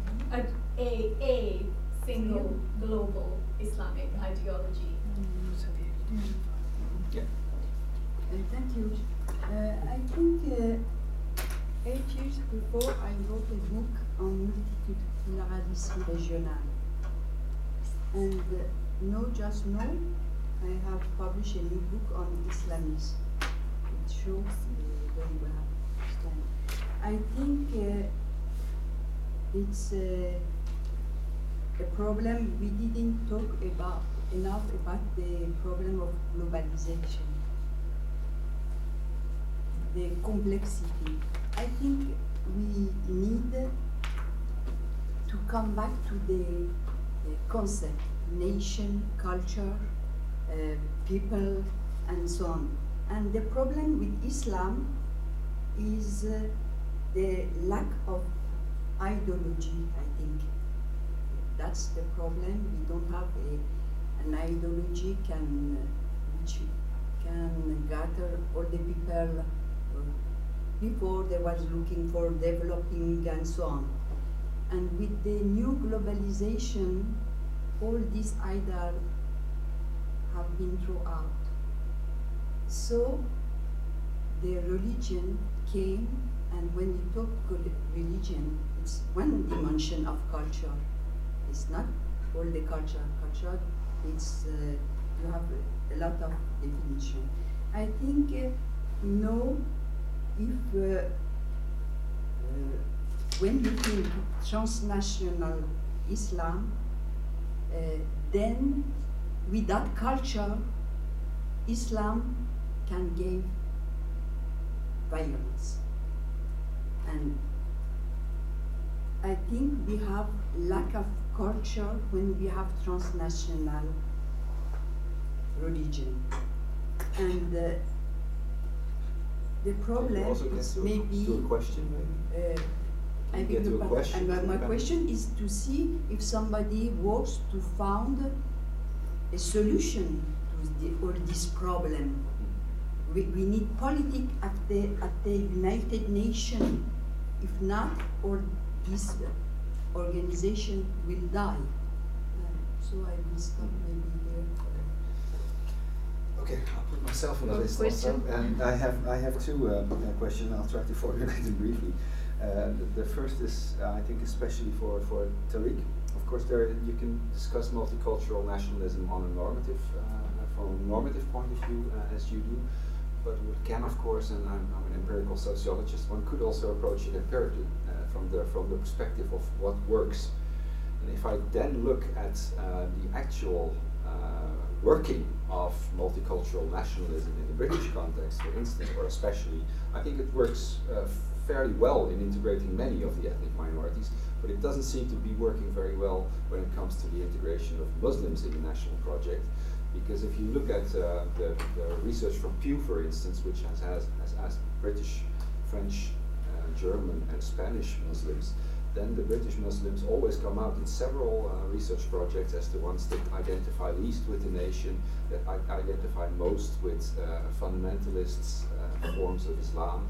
a single global Islamic ideology. Yeah. Thank you. I think 8 years before I wrote a book on multiculturalism régional. And just now, I have published a new book on Islamism. It shows very well. I think it's a problem we didn't talk about enough about the problem of globalization, the complexity. I think we need to come back to the concept, nation, culture, people, and so on. And the problem with Islam is the lack of ideology, I think. That's the problem. We don't have an ideology which can gather all the people. Before they was looking for developing and so on. And with the new globalization, all these ideas have been thrown out. So the religion came, and when you talk religion, it's one dimension of culture. It's not all the culture. Culture, it's you have a lot of definition. I think no, if when you think transnational Islam, then without culture, Islam can give violence. And I think we have lack of culture when we have transnational religion. And the problem is maybe to a question, maybe. I beg your pardon. And my question is to see if somebody works to found a solution to all this problem. We need politics at the United Nations. If not, all this organization will die. So I will stop maybe here. Okay, I'll put myself on the list also. And I have two questions. I'll try to formulate them briefly. The first is, I think, especially for Tariq. Of course, you can discuss multicultural nationalism on a normative, from a normative point of view, as you do. But one can, of course, and I'm an empirical sociologist, one could also approach it empirically from the perspective of what works. And if I then look at the actual working of multicultural nationalism in the British context, for instance, or especially, I think it works fairly well in integrating many of the ethnic minorities, but it doesn't seem to be working very well when it comes to the integration of Muslims in the national project. Because if you look at the research from Pew, for instance, which has asked British, French, German, and Spanish Muslims, then the British Muslims always come out in several research projects as the ones that identify least with the nation, that identify most with fundamentalists, forms of Islam.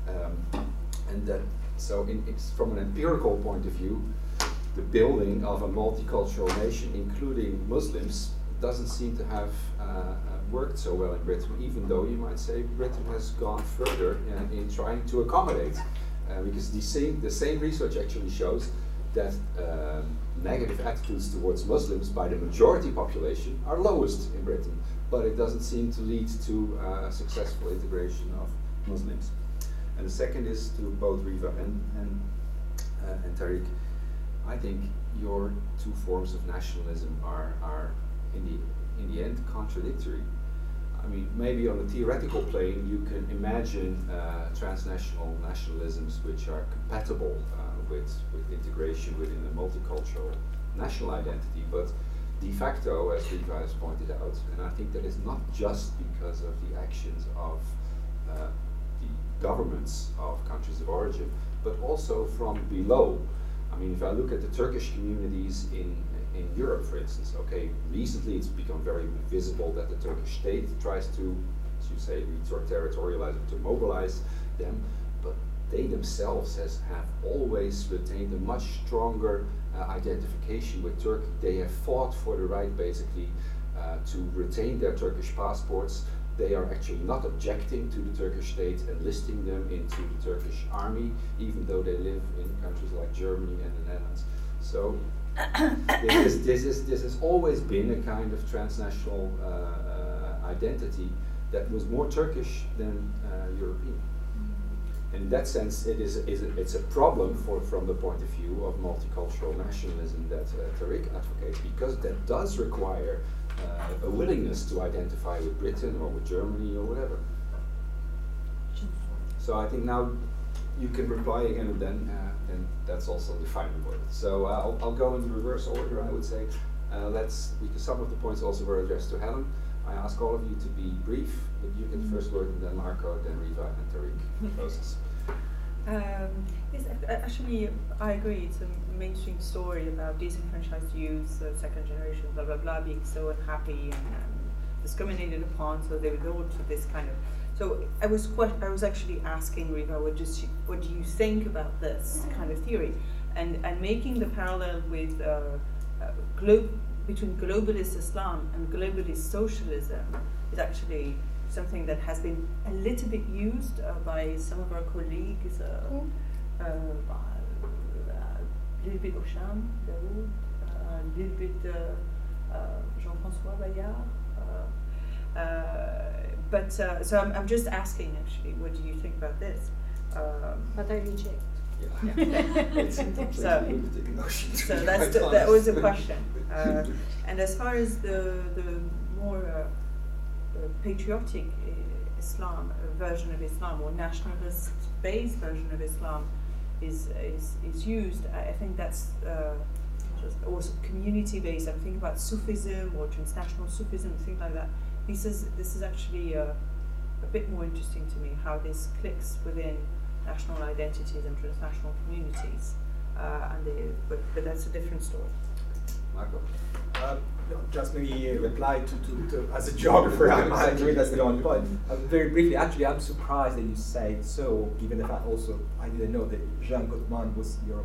And that, so from an empirical point of view, the building of a multicultural nation, including Muslims, doesn't seem to have worked so well in Britain, even though you might say Britain has gone further in trying to accommodate. Because the same research actually shows that negative attitudes towards Muslims by the majority population are lowest in Britain, but it doesn't seem to lead to successful integration of Muslims. And the second is to both Riva and Tariq. I think your two forms of nationalism are in the end contradictory. I mean, maybe on a theoretical plane you can imagine transnational nationalisms which are compatible with integration within a multicultural national identity, but de facto, as Riva has pointed out, and I think that is not just because of the actions of the governments of countries of origin, but also from below. I mean, if I look at the Turkish communities in Europe, for instance, okay, recently it's become very visible that the Turkish state tries to, as you say, re-territorialize or to mobilize them, but they themselves have always retained a much stronger identification with Turkey. They have fought for the right, basically, to retain their Turkish passports. They are actually not objecting to the Turkish state enlisting them into the Turkish army, even though they live in countries like Germany and the Netherlands. So this has always been a kind of transnational identity that was more Turkish than European. And in that sense, it's a problem from the point of view of multicultural nationalism that Tariq advocates, because that does require a willingness to identify with Britain or with Germany or whatever. So I think now you can reply again, and then that's also the final word. So I'll go in reverse order, I would say. Because some of the points also were addressed to Helen. I ask all of you to be brief, but you get the first word, and then Marco, then Riva, and Tariq closes. Yes, actually, I agree. It's a mainstream story about disenfranchised youth, second generation, blah blah blah, being so unhappy and discriminated upon. So they would go to this kind of. So I was actually asking Riva, what do you think about this kind of theory, and making the parallel with between globalist Islam and globalist socialism is actually something that has been a little bit used by some of our colleagues, a little bit Auchan, Daoud, a little bit Jean-François Bayard. But so I'm just asking, actually, what do you think about this? But I reject. Yeah. So that was a question. And as far as the more patriotic Islam version of Islam, or nationalist-based version of Islam is used, I think that's just also community-based. I'm thinking about Sufism or transnational Sufism, things like that. This is actually a bit more interesting to me, how this clicks within national identities and transnational communities, but that's a different story. Marco? Just maybe reply to as a geographer, I agree that's the only point. Very briefly, actually, I'm surprised that you say it so, given the fact also I didn't know that Jean Gottman was your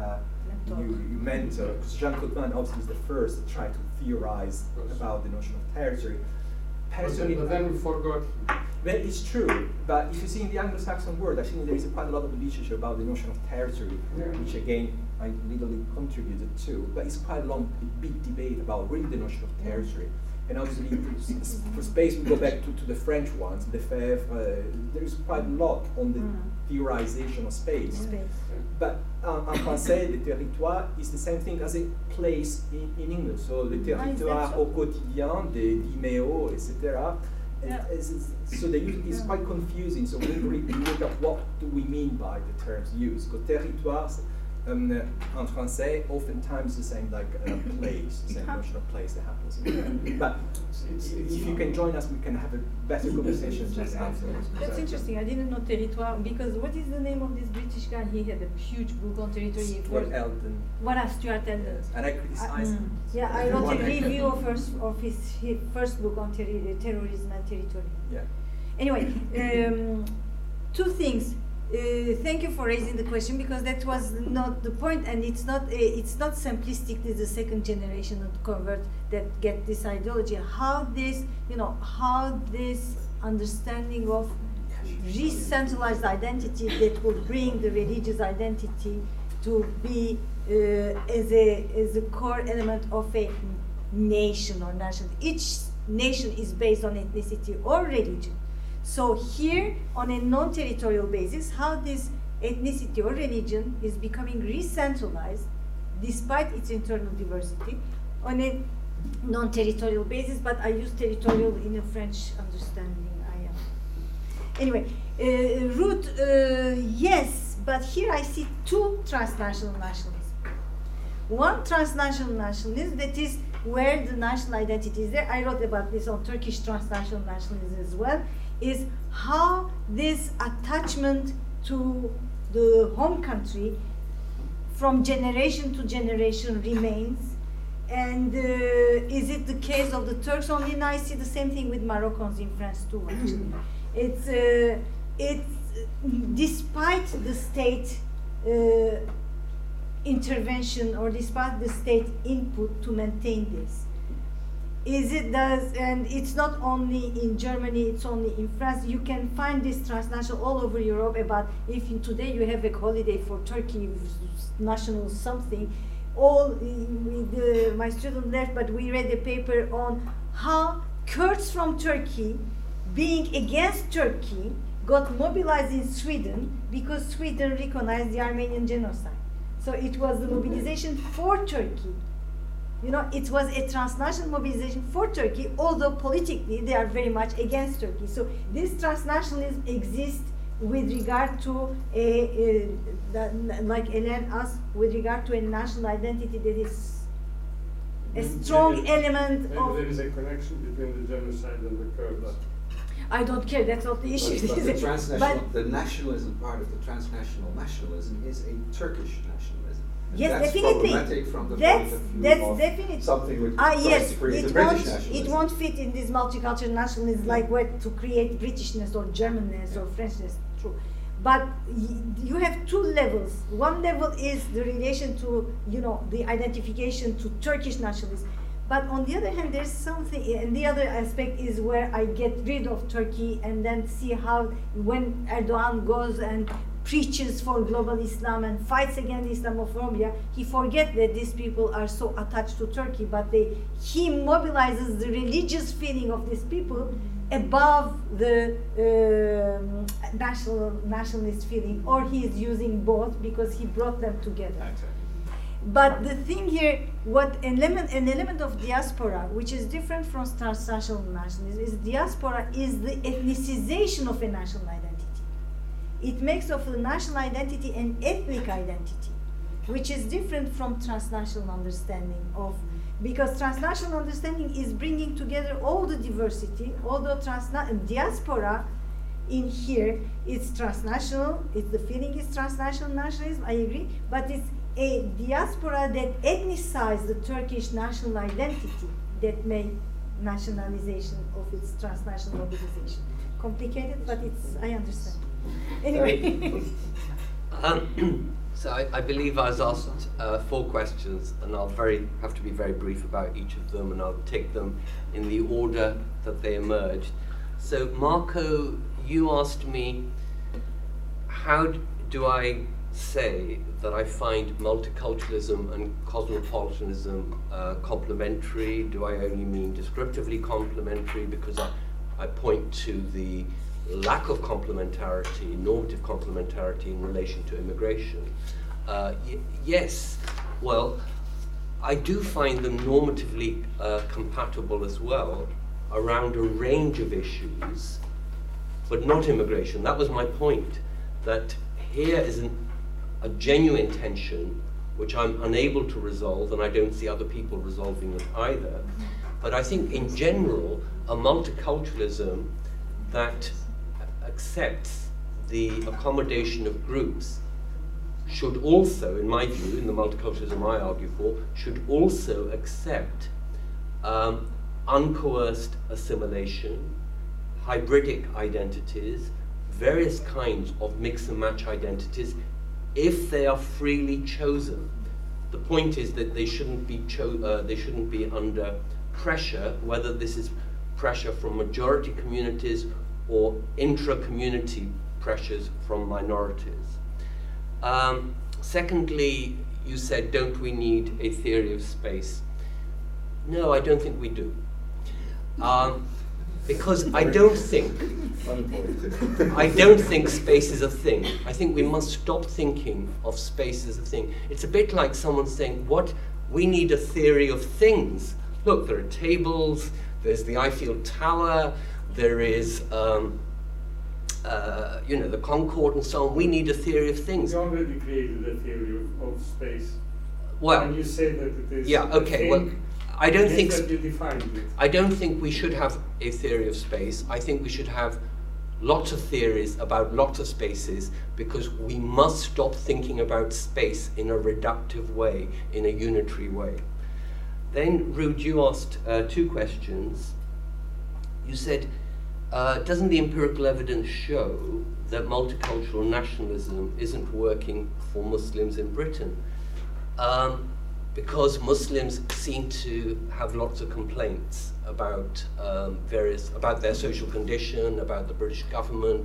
mentor, because Jean Gottman obviously is the first to try to theorize about the notion of territory. Personally, but then we forgot. Well, it's true, but if you see in the Anglo-Saxon world, I think there is quite a lot of literature about the notion of territory, which again I literally contributed to. But it's quite a long, big debate about really the notion of territory. And obviously, for space, we go back to the French ones, Lefebvre. There is quite a lot on the theorization of space. But en français, le territoire is the same thing as a place in English. So le territoire au quotidien, des Dimeo, etc. So the use is quite confusing. So when we look at what do we mean by the terms used, because territoire en français oftentimes the same like place, the same notion of place that happens. But if you can join us, we can have a better conversation just afterwards. That's interesting. I didn't know territoire, because what is the name of this British guy? He had a huge book on territory. Stuart Eldon. What Stuart Eldon? And I criticized him. Yeah, I wrote a review of his first book on terrorism and territory. Yeah. Anyway, two things. Thank you for raising the question, because that was not the point, and it's not simplistically the second generation of convert that get this ideology. How this understanding of re-centralized identity that will bring the religious identity to be as a core element of a nation or nation. Each nation is based on ethnicity or religion. So here, on a non-territorial basis, how this ethnicity or religion is becoming re-centralized, despite its internal diversity, on a non-territorial basis, but I use territorial in a French understanding. Anyway, root, yes, but here I see two transnational nationalism. One transnational nationalism, that is where the national identity is there. I wrote about this on Turkish transnational nationalism as well, is how this attachment to the home country from generation to generation remains. And is it the case of the Turks only? And I see the same thing with Moroccans in France too, actually. It's despite the state intervention or despite the state input to maintain this. And it's not only in Germany, it's only in France. You can find this transnational all over Europe about if today you have a holiday for Turkey, national something, my student left, but we read a paper on how Kurds from Turkey, being against Turkey, got mobilized in Sweden because Sweden recognized the Armenian genocide. So it was the mobilization for Turkey. It was a transnational mobilization for Turkey, although politically they are very much against Turkey. So this transnationalism exists with regard to like Hélène asked, with regard to a national identity that is a strong element maybe of... there is a connection between the genocide and the Kurds. I don't care, that's not the issue. But the transnational, the nationalism part of the transnational nationalism is a Turkish nationalism. And yes, that's definitely. Problematic from the that's point of view that's of definitely something which yes, to create it a British won't nationalism. it won't fit in this multicultural nationalism like what to create Britishness or Germanness or Frenchness. True, but you have two levels. One level is the relation to the identification to Turkish nationalism. But on the other hand, there's something, and the other aspect is where I get rid of Turkey and then see how when Erdogan goes and preaches for global Islam and fights against Islamophobia, he forgets that these people are so attached to Turkey, but he mobilizes the religious feeling of these people above the nationalist feeling, or he is using both because he brought them together. Exactly. But the thing here, an element of diaspora, which is different from transnational nationalism, is diaspora is the ethnicization of a national identity. It makes of a national identity an ethnic identity, which is different from transnational understanding of, because transnational understanding is bringing together all the diversity, although diaspora in here is transnational, the feeling is transnational nationalism, I agree, but it's a diaspora that ethnicize the Turkish national identity that made nationalization of its transnational mobilization. Complicated, but I understand. Anyway. So I believe I was asked 4 questions, and I'll have to be very brief about each of them, and I'll take them in the order that they emerged. So Marco, you asked me, how do I say that I find multiculturalism and cosmopolitanism complementary? Do I only mean descriptively complementary because I point to the lack of complementarity, normative complementarity in relation to immigration? Yes, well, I do find them normatively compatible as well around a range of issues, but not immigration. That was my point, that here is a genuine tension which I'm unable to resolve, and I don't see other people resolving it either. But I think in general, a multiculturalism that accepts the accommodation of groups should also, in my view, in the multiculturalism I argue for, should also accept uncoerced assimilation, hybridic identities, various kinds of mix and match identities, if they are freely chosen. The point is that they shouldn't be under pressure, whether this is pressure from majority communities or intra-community pressures from minorities. Secondly, you said, don't we need a theory of space? No, I don't think we do. Because I don't think space is a thing. I think we must stop thinking of space as a thing. It's a bit like someone saying, we need a theory of things. Look, there are tables, there's the Eiffel Tower, there is the Concorde and so on. We need a theory of things. You already created a theory of space. Well, and you say that it is I don't think that you defined it. I don't think we should have a theory of space. I think we should have lots of theories about lots of spaces, because we must stop thinking about space in a reductive way, in a unitary way. Then, Ruud, you asked 2 questions. You said, doesn't the empirical evidence show that multicultural nationalism isn't working for Muslims in Britain? Because Muslims seem to have lots of complaints about about their social condition, about the British government,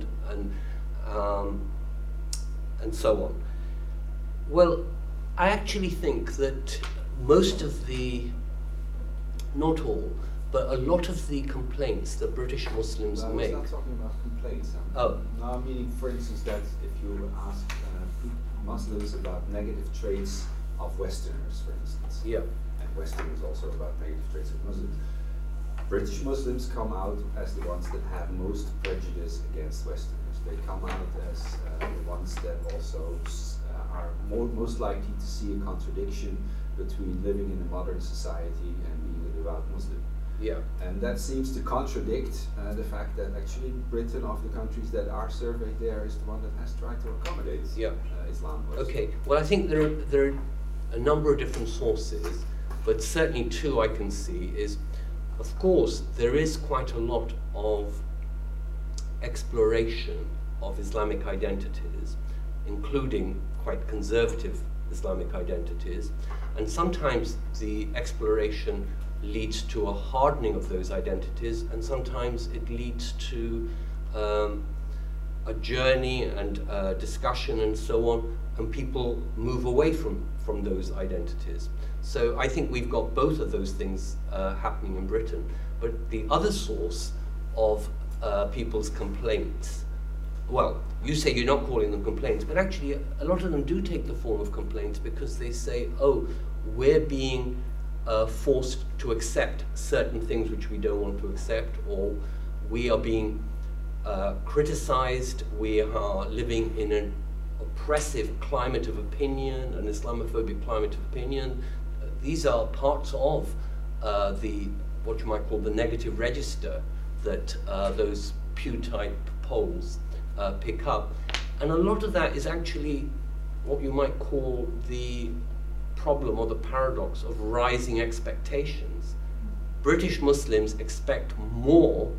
and so on. Well, I actually think that most of not all, but a lot of the complaints that British Muslims make. I was not talking about complaints. Oh. No, I'm meaning, for instance, that if you ask Muslims about negative traits of Westerners, for instance. Yeah. And Westerners also about negative traits of Muslims. British Muslims come out as the ones that have most prejudice against Westerners. They come out as the ones that also are most likely to see a contradiction between living in a modern society and being a devout Muslim. Yeah. And that seems to contradict the fact that actually Britain, of the countries that are surveyed there, is the one that has tried to accommodate Islam. Okay, well I think there are a number of different sources, but certainly two I can see is, of course, there is quite a lot of exploration of Islamic identities, including quite conservative Islamic identities, and sometimes the exploration leads to a hardening of those identities, and sometimes it leads to a journey and discussion and so on, and people move away from those identities. So I think we've got both of those things happening in Britain. But the other source of people's complaints, well, you say you're not calling them complaints, but actually a lot of them do take the form of complaints, because they say, oh, we're being forced to accept certain things which we don't want to accept, or we are being criticized, we are living in an oppressive climate of opinion, an Islamophobic climate of opinion. These are parts of what you might call the negative register that those Pew-type polls pick up. And a lot of that is actually what you might call the problem or the paradox of rising expectations. British Muslims expect more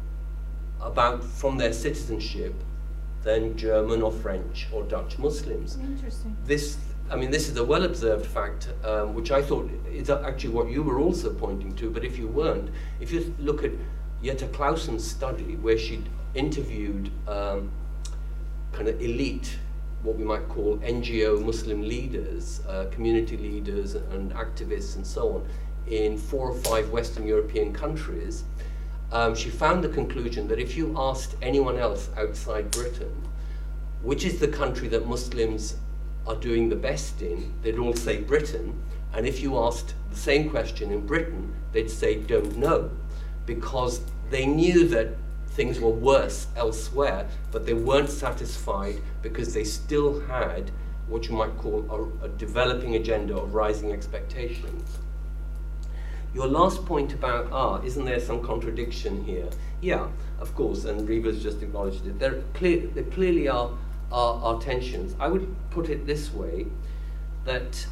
from their citizenship than German or French or Dutch Muslims. Interesting. This is a well-observed fact, which I thought is actually what you were also pointing to, but if you weren't, if you look at Jette Claussen's study, where she interviewed kind of elite, what we might call NGO Muslim leaders, community leaders and activists and so on, in 4 or 5 Western European countries, she found the conclusion that if you asked anyone else outside Britain, which is the country that Muslims are doing the best in, they'd all say Britain. And if you asked the same question in Britain, they'd say don't know, because they knew that things were worse elsewhere, but they weren't satisfied because they still had what you might call a developing agenda of rising expectations. Your last point about, isn't there some contradiction here? Yeah, of course, and Riva's just acknowledged it. There clearly are tensions. I would put it this way, that,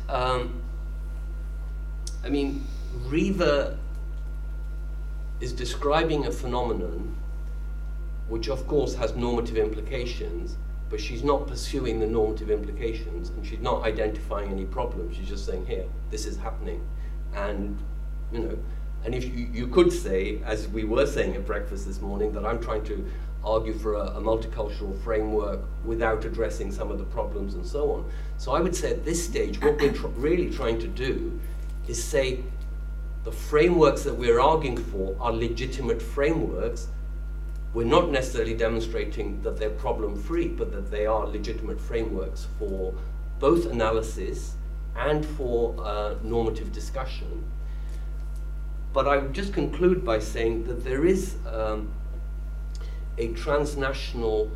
Riva is describing a phenomenon which of course has normative implications, but she's not pursuing the normative implications, and she's not identifying any problems. She's just saying, here, this is happening. And, and if you could say, as we were saying at breakfast this morning, that I'm trying to argue for a multicultural framework without addressing some of the problems and so on. So I would say at this stage, what we're really trying to do is say the frameworks that we're arguing for are legitimate frameworks. We're not necessarily demonstrating that they're problem-free, but that they are legitimate frameworks for both analysis and for normative discussion. But I would just conclude by saying that there is a transnational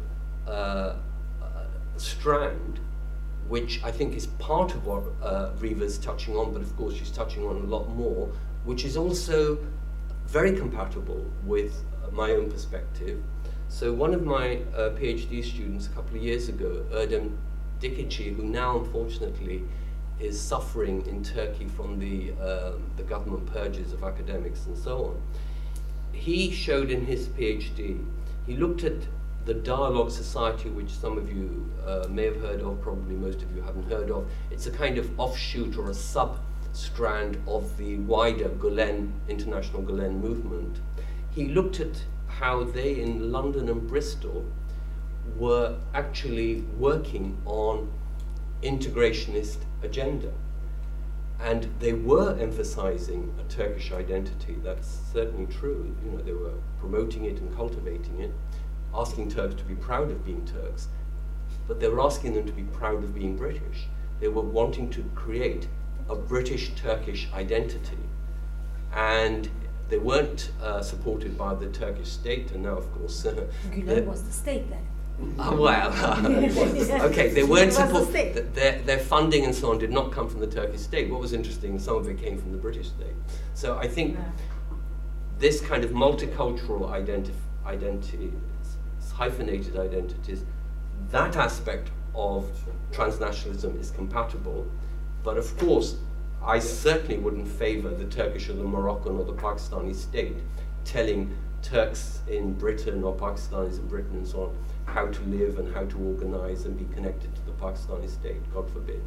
strand, which I think is part of what Riva's touching on, but of course she's touching on a lot more, which is also very compatible with my own perspective. So one of my PhD students a couple of years ago, Erdem Dikici, who now unfortunately is suffering in Turkey from the government purges of academics and so on, he showed in his PhD, he looked at the Dialogue Society, which some of you may have heard of, probably most of you haven't heard of. It's a kind of offshoot or a sub-strand of the wider Gulen, International Gulen movement. He looked at how they in London and Bristol were actually working on integrationist agenda. And they were emphasizing a Turkish identity. That's certainly true. They were promoting it and cultivating it, asking Turks to be proud of being Turks, but they were asking them to be proud of being British. They were wanting to create a British-Turkish identity. And they weren't supported by the Turkish state, and now, of course... Gulen was the state then. Well, okay, they weren't their funding and so on did not come from the Turkish state. What was interesting, some of it came from the British state. So I think this kind of multicultural identity, hyphenated identities, that aspect of transnationalism is compatible. But of course, I certainly wouldn't favor the Turkish or the Moroccan or the Pakistani state telling Turks in Britain or Pakistanis in Britain and so on how to live and how to organize and be connected to the Pakistani state, God forbid.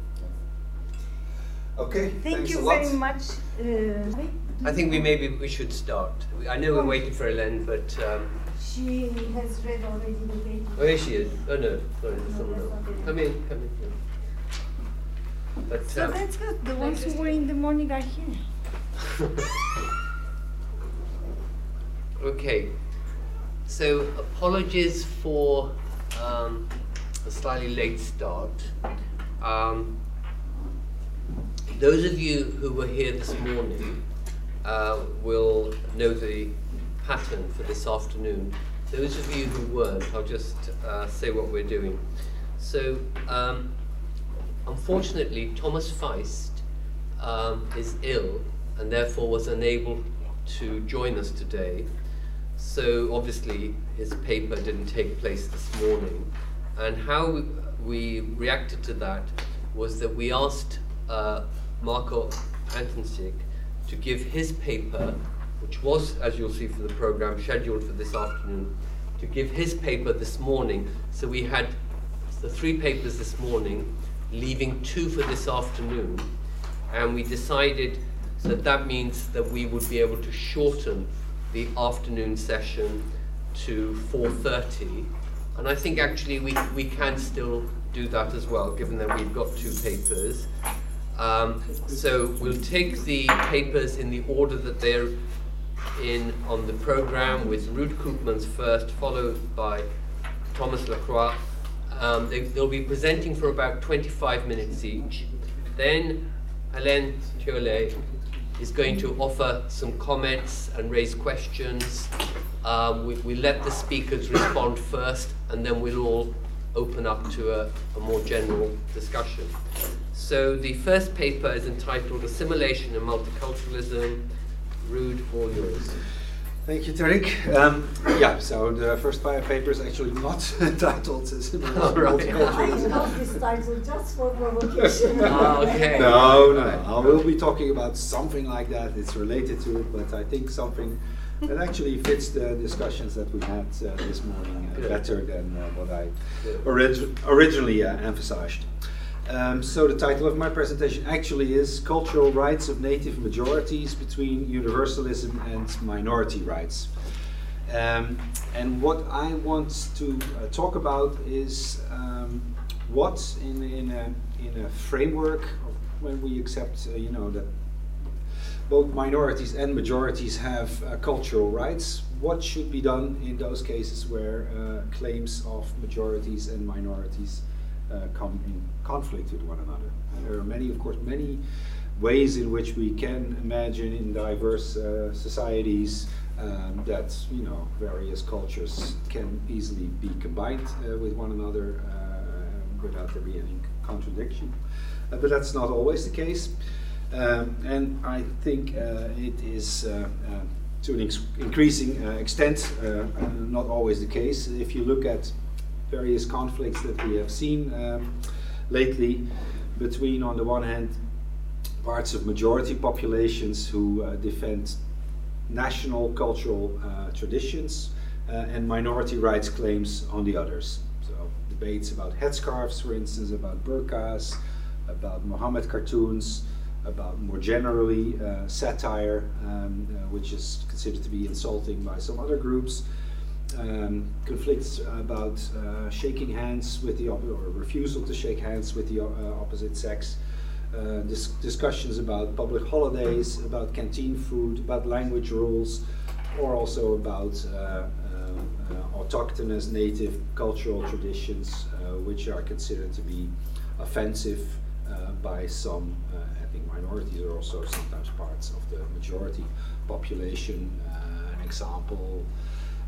Okay, thank you very much. I think we should start. I know we're waiting for Hélène, but she has read already the paper. Oh, here she is. Oh no, sorry, there's someone else. Come in. But, so that's good. The ones who were in the morning are here. Okay. So apologies for a slightly late start. Those of you who were here this morning will know the pattern for this afternoon. Those of you who weren't, I'll just say what we're doing. So, unfortunately, Thomas Feist is ill and therefore was unable to join us today. So obviously his paper didn't take place this morning. And how we reacted to that was that we asked Marko Antoncic to give his paper, which was, as you'll see for the program, scheduled for this afternoon, to give his paper this morning. So we had the 3 papers this morning, leaving 2 for this afternoon. And we decided that means that we would be able to shorten the afternoon session to 4:30. And I think actually we can still do that as well, given that we've got 2 papers. So we'll take the papers in the order that they're in on the program, with Ruud Koopmans first, followed by Thomas Lacroix. They'll be presenting for about 25 minutes each. Then Hélène Thiollet is going to offer some comments and raise questions. We let the speakers respond first, and then we'll all open up to a more general discussion. So the first paper is entitled Assimilation and Multiculturalism. Ruud, all yours. Thank you, Tariq. So the first paper is actually not titled Assimilation and Multiculturalism. I love this title just for provocation. Okay. No. I will be talking about something like that. It's related to it, but I think something that actually fits the discussions that we had this morning better than what I originally emphasized. So the title of my presentation actually is Cultural Rights of Native Majorities Between Universalism and Minority Rights. And what I want to talk about is what in a framework of when we accept that both minorities and majorities have cultural rights, what should be done in those cases where claims of majorities and minorities come in conflict with one another. And there are many ways in which we can imagine in diverse societies that various cultures can easily be combined with one another without there being any contradiction. But that's not always the case. And I think it is to an increasing extent not always the case. If you look at various conflicts that we have seen lately between, on the one hand, parts of majority populations who defend national cultural traditions and minority rights claims on the others. So debates about headscarves, for instance, about burqas, about Muhammad cartoons, about more generally satire, which is considered to be insulting by some other groups. Conflicts about shaking hands with the or refusal to shake hands with the opposite sex. Discussions about public holidays, about canteen food, about language rules, or also about autochthonous native cultural traditions, which are considered to be offensive by some ethnic minorities, or also sometimes parts of the majority population. An example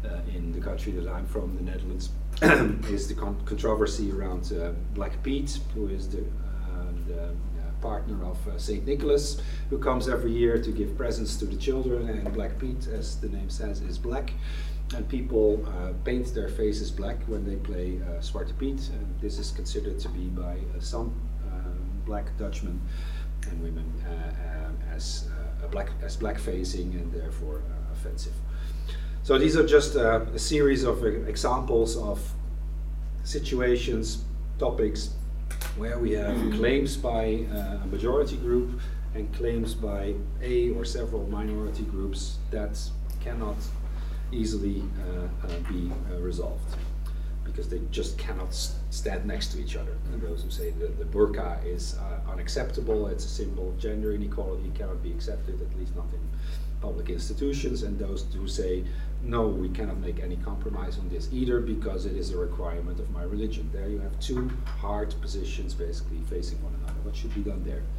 in the country that I'm from, the Netherlands, is the controversy around Black Pete, who is the partner of St. Nicholas, who comes every year to give presents to the children, and Black Pete, as the name says, is black. And people paint their faces black when they play Zwarte Piet, and this is considered to be by some black Dutchmen and women as black-facing and therefore offensive. So these are just a series of examples of situations, topics, where we have claims by a majority group and claims by a or several minority groups that cannot easily be resolved, because they just cannot stand next to each other. And those who say that the burqa is unacceptable, it's a symbol of gender inequality, cannot be accepted, at least not in public institutions, and those who say, no, we cannot make any compromise on this either because it is a requirement of my religion. There you have two hard positions basically facing one another. What should be done there?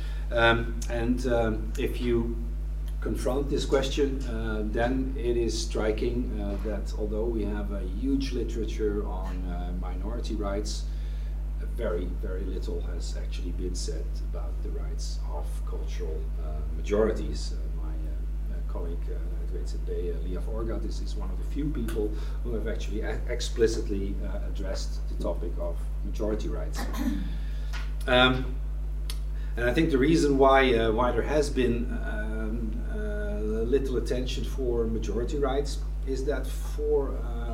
If you confront this question, then it is striking that although we have a huge literature on minority rights, very, very little has actually been said about the rights of cultural majorities. My colleague Liaf Orgat is one of the few people who have actually explicitly addressed the topic of majority rights. And I think the reason why there has been little attention for majority rights is that for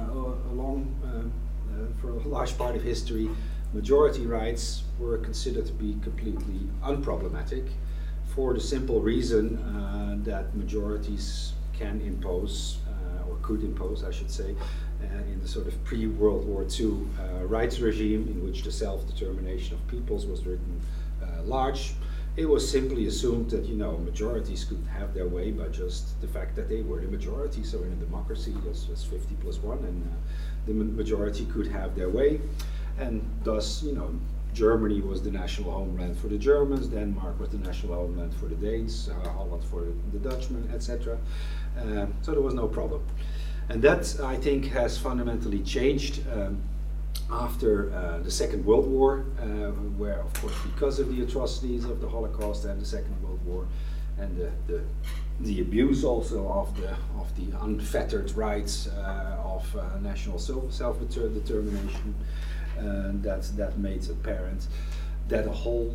a large part of history, majority rights were considered to be completely unproblematic, for the simple reason that majorities can impose, or could impose, I should say, in the sort of pre-World War II rights regime in which the self-determination of peoples was written large. It was simply assumed that, you know, majorities could have their way by just the fact that they were the majority. So in a democracy, this was 50+1, and the majority could have their way. And thus, you know, Germany was the national homeland for the Germans, Denmark was the national homeland for the Danes, Holland for the Dutchmen, etc. So there was no problem. And that, I think, has fundamentally changed after the Second World War, where, of course, because of the atrocities of the Holocaust and the Second World War, and the abuse also of the unfettered rights of national self-determination, that made apparent that a whole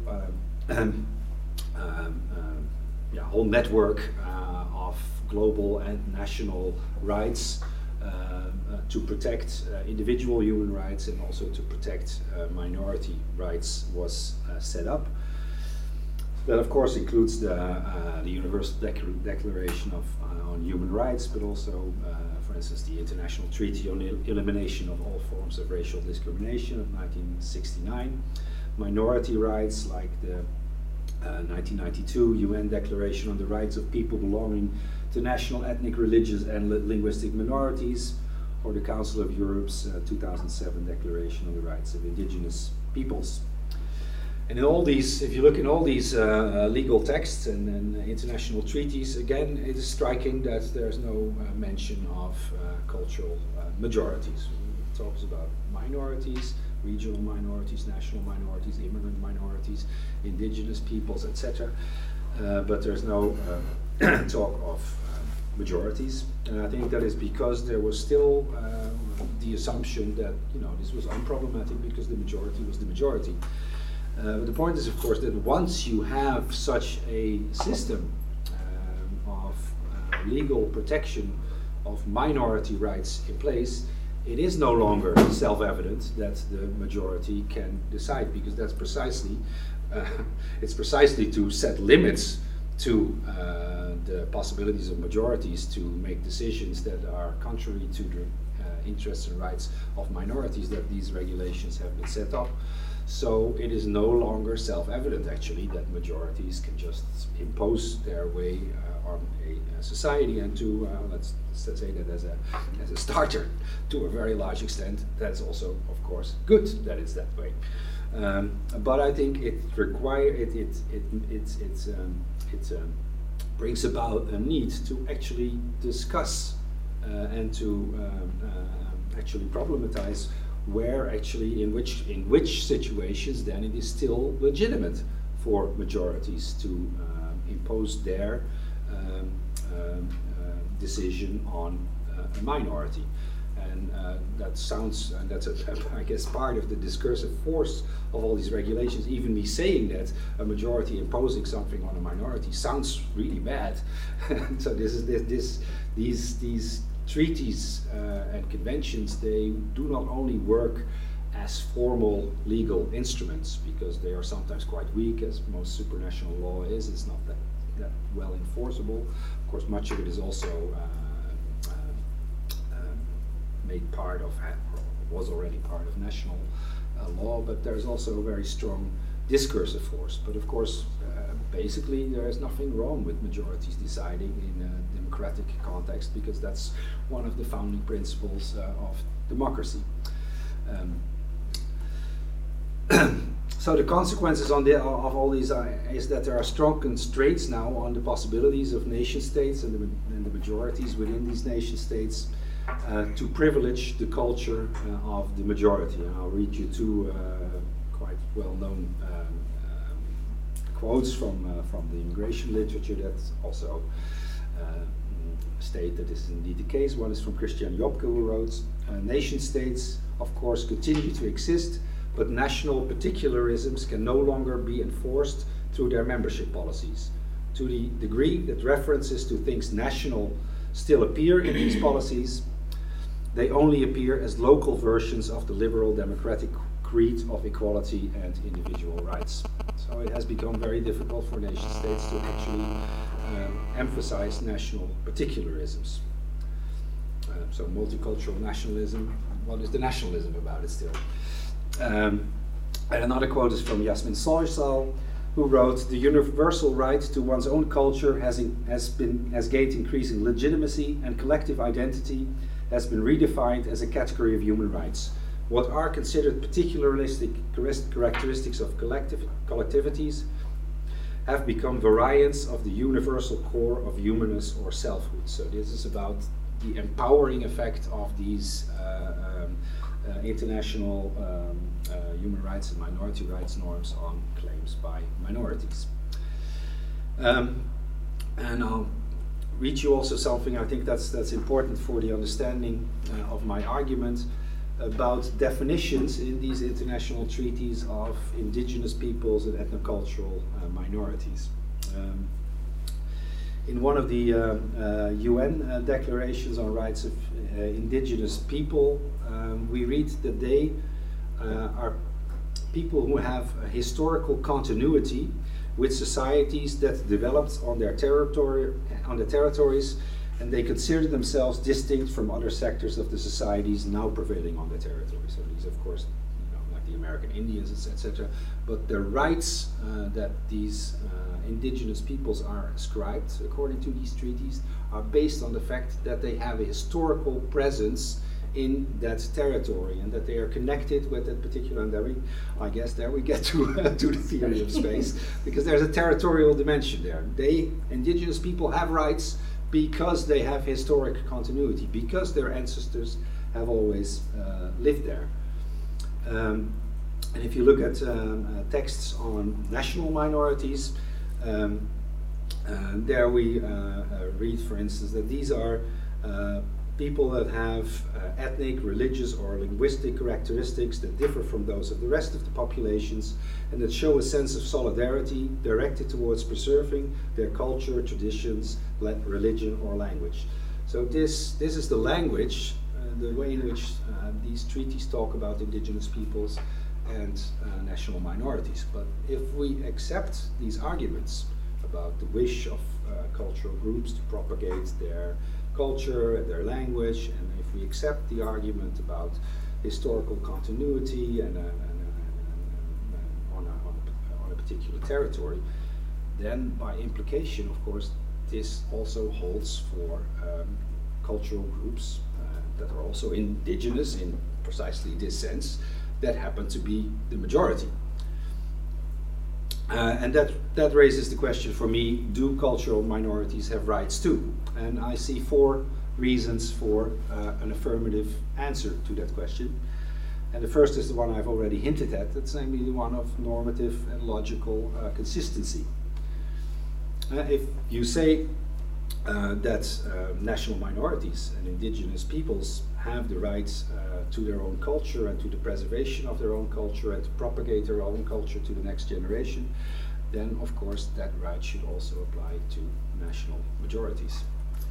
whole network of global and national rights to protect individual human rights and also to protect minority rights was set up. That, of course, includes the Universal Declaration on Human Rights, but also, for instance, the International Treaty on the Elimination of All Forms of Racial Discrimination of 1969, minority rights like the 1992 UN Declaration on the Rights of People Belonging to National, Ethnic, Religious and Linguistic Minorities, or the Council of Europe's 2007 Declaration on the Rights of Indigenous Peoples. And in all these, if you look in all these legal texts and international treaties, again, it is striking that there's no mention of cultural majorities. It talks about minorities, regional minorities, national minorities, immigrant minorities, indigenous peoples, etc. But there's no talk of majorities. And I think that is because there was still the assumption that, you know, this was unproblematic because the majority was the majority. But the point is, of course, that once you have such a system of legal protection of minority rights in place, it is no longer self-evident that the majority can decide, because that's precisely, it's precisely to set limits to the possibilities of majorities to make decisions that are contrary to the interests and rights of minorities that these regulations have been set up. So it is no longer self-evident, actually, that majorities can just impose their way on a society, and to let's say that as a starter, to a very large extent, that's also, of course, good that it's that way. But I think it brings about a need to actually discuss and and to actually problematize where actually in which situations then it is still legitimate for majorities to impose their decision on a minority. And that sounds, and that's I guess part of the discursive force of all these regulations. Even me saying that a majority imposing something on a minority sounds really bad. So these treaties and conventions, they do not only work as formal legal instruments, because they are sometimes quite weak, as most supranational law is. It's not that well enforceable. Of course, much of it is also made part of, or was already part of national law, but there's also a very strong discursive force. But of course, basically there is nothing wrong with majorities deciding in a democratic context, because that's one of the founding principles of democracy. So the consequences of all these is that there are strong constraints now on the possibilities of nation states and the majorities within these nation states to privilege the culture of the majority. And I'll read you two quite well-known quotes from the immigration literature that also state that this is indeed the case. One is from Christian Jobke, who wrote, "Nation states, of course, continue to exist, but national particularisms can no longer be enforced through their membership policies. To the degree that references to things national still appear in these policies, they only appear as local versions of the liberal democratic creed of equality and individual rights." So it has become very difficult for nation states to actually emphasize national particularisms. So multicultural nationalism, what is the nationalism about it still? And another quote is from Yasmin Soysal, who wrote, "The universal right to one's own culture has gained increasing legitimacy, and collective identity has been redefined as a category of human rights. What are considered particularistic characteristics of collectivities have become variants of the universal core of humanness or selfhood." So this is about the empowering effect of these international human rights and minority rights norms on claims by minorities. And I'll read you also something, I think that's important for the understanding of my argument, about definitions in these international treaties of indigenous peoples and ethnocultural minorities. In one of the UN declarations on rights of indigenous people, we read that they are people who have a historical continuity with societies that developed on their territories, and they consider themselves distinct from other sectors of the societies now prevailing on their territory. So these, of course, like the American Indians, etc. But the rights that these indigenous peoples are ascribed, according to these treaties, are based on the fact that they have a historical presence in that territory, and that they are connected with that particular, and I guess there we get to the theory of space, because there's a territorial dimension there. Indigenous people have rights because they have historic continuity, because their ancestors have always lived there. And if you look at texts on national minorities, there we read, for instance, that these are people that have ethnic, religious, or linguistic characteristics that differ from those of the rest of the populations, and that show a sense of solidarity directed towards preserving their culture, traditions, religion, or language. So this is the language, the way in which these treaties talk about indigenous peoples and national minorities. But if we accept these arguments about the wish of cultural groups to propagate their culture, their language, and if we accept the argument about historical continuity and on a particular territory, then by implication, of course, this also holds for cultural groups that are also indigenous in precisely this sense, that happen to be the majority. And that raises the question for me, do cultural minorities have rights too? And I see four reasons for an affirmative answer to that question. And the first is the one I've already hinted at. That's namely the one of normative and logical consistency. If you say that national minorities and indigenous peoples have the rights to their own culture and to the preservation of their own culture and to propagate their own culture to the next generation, then of course that right should also apply to national majorities.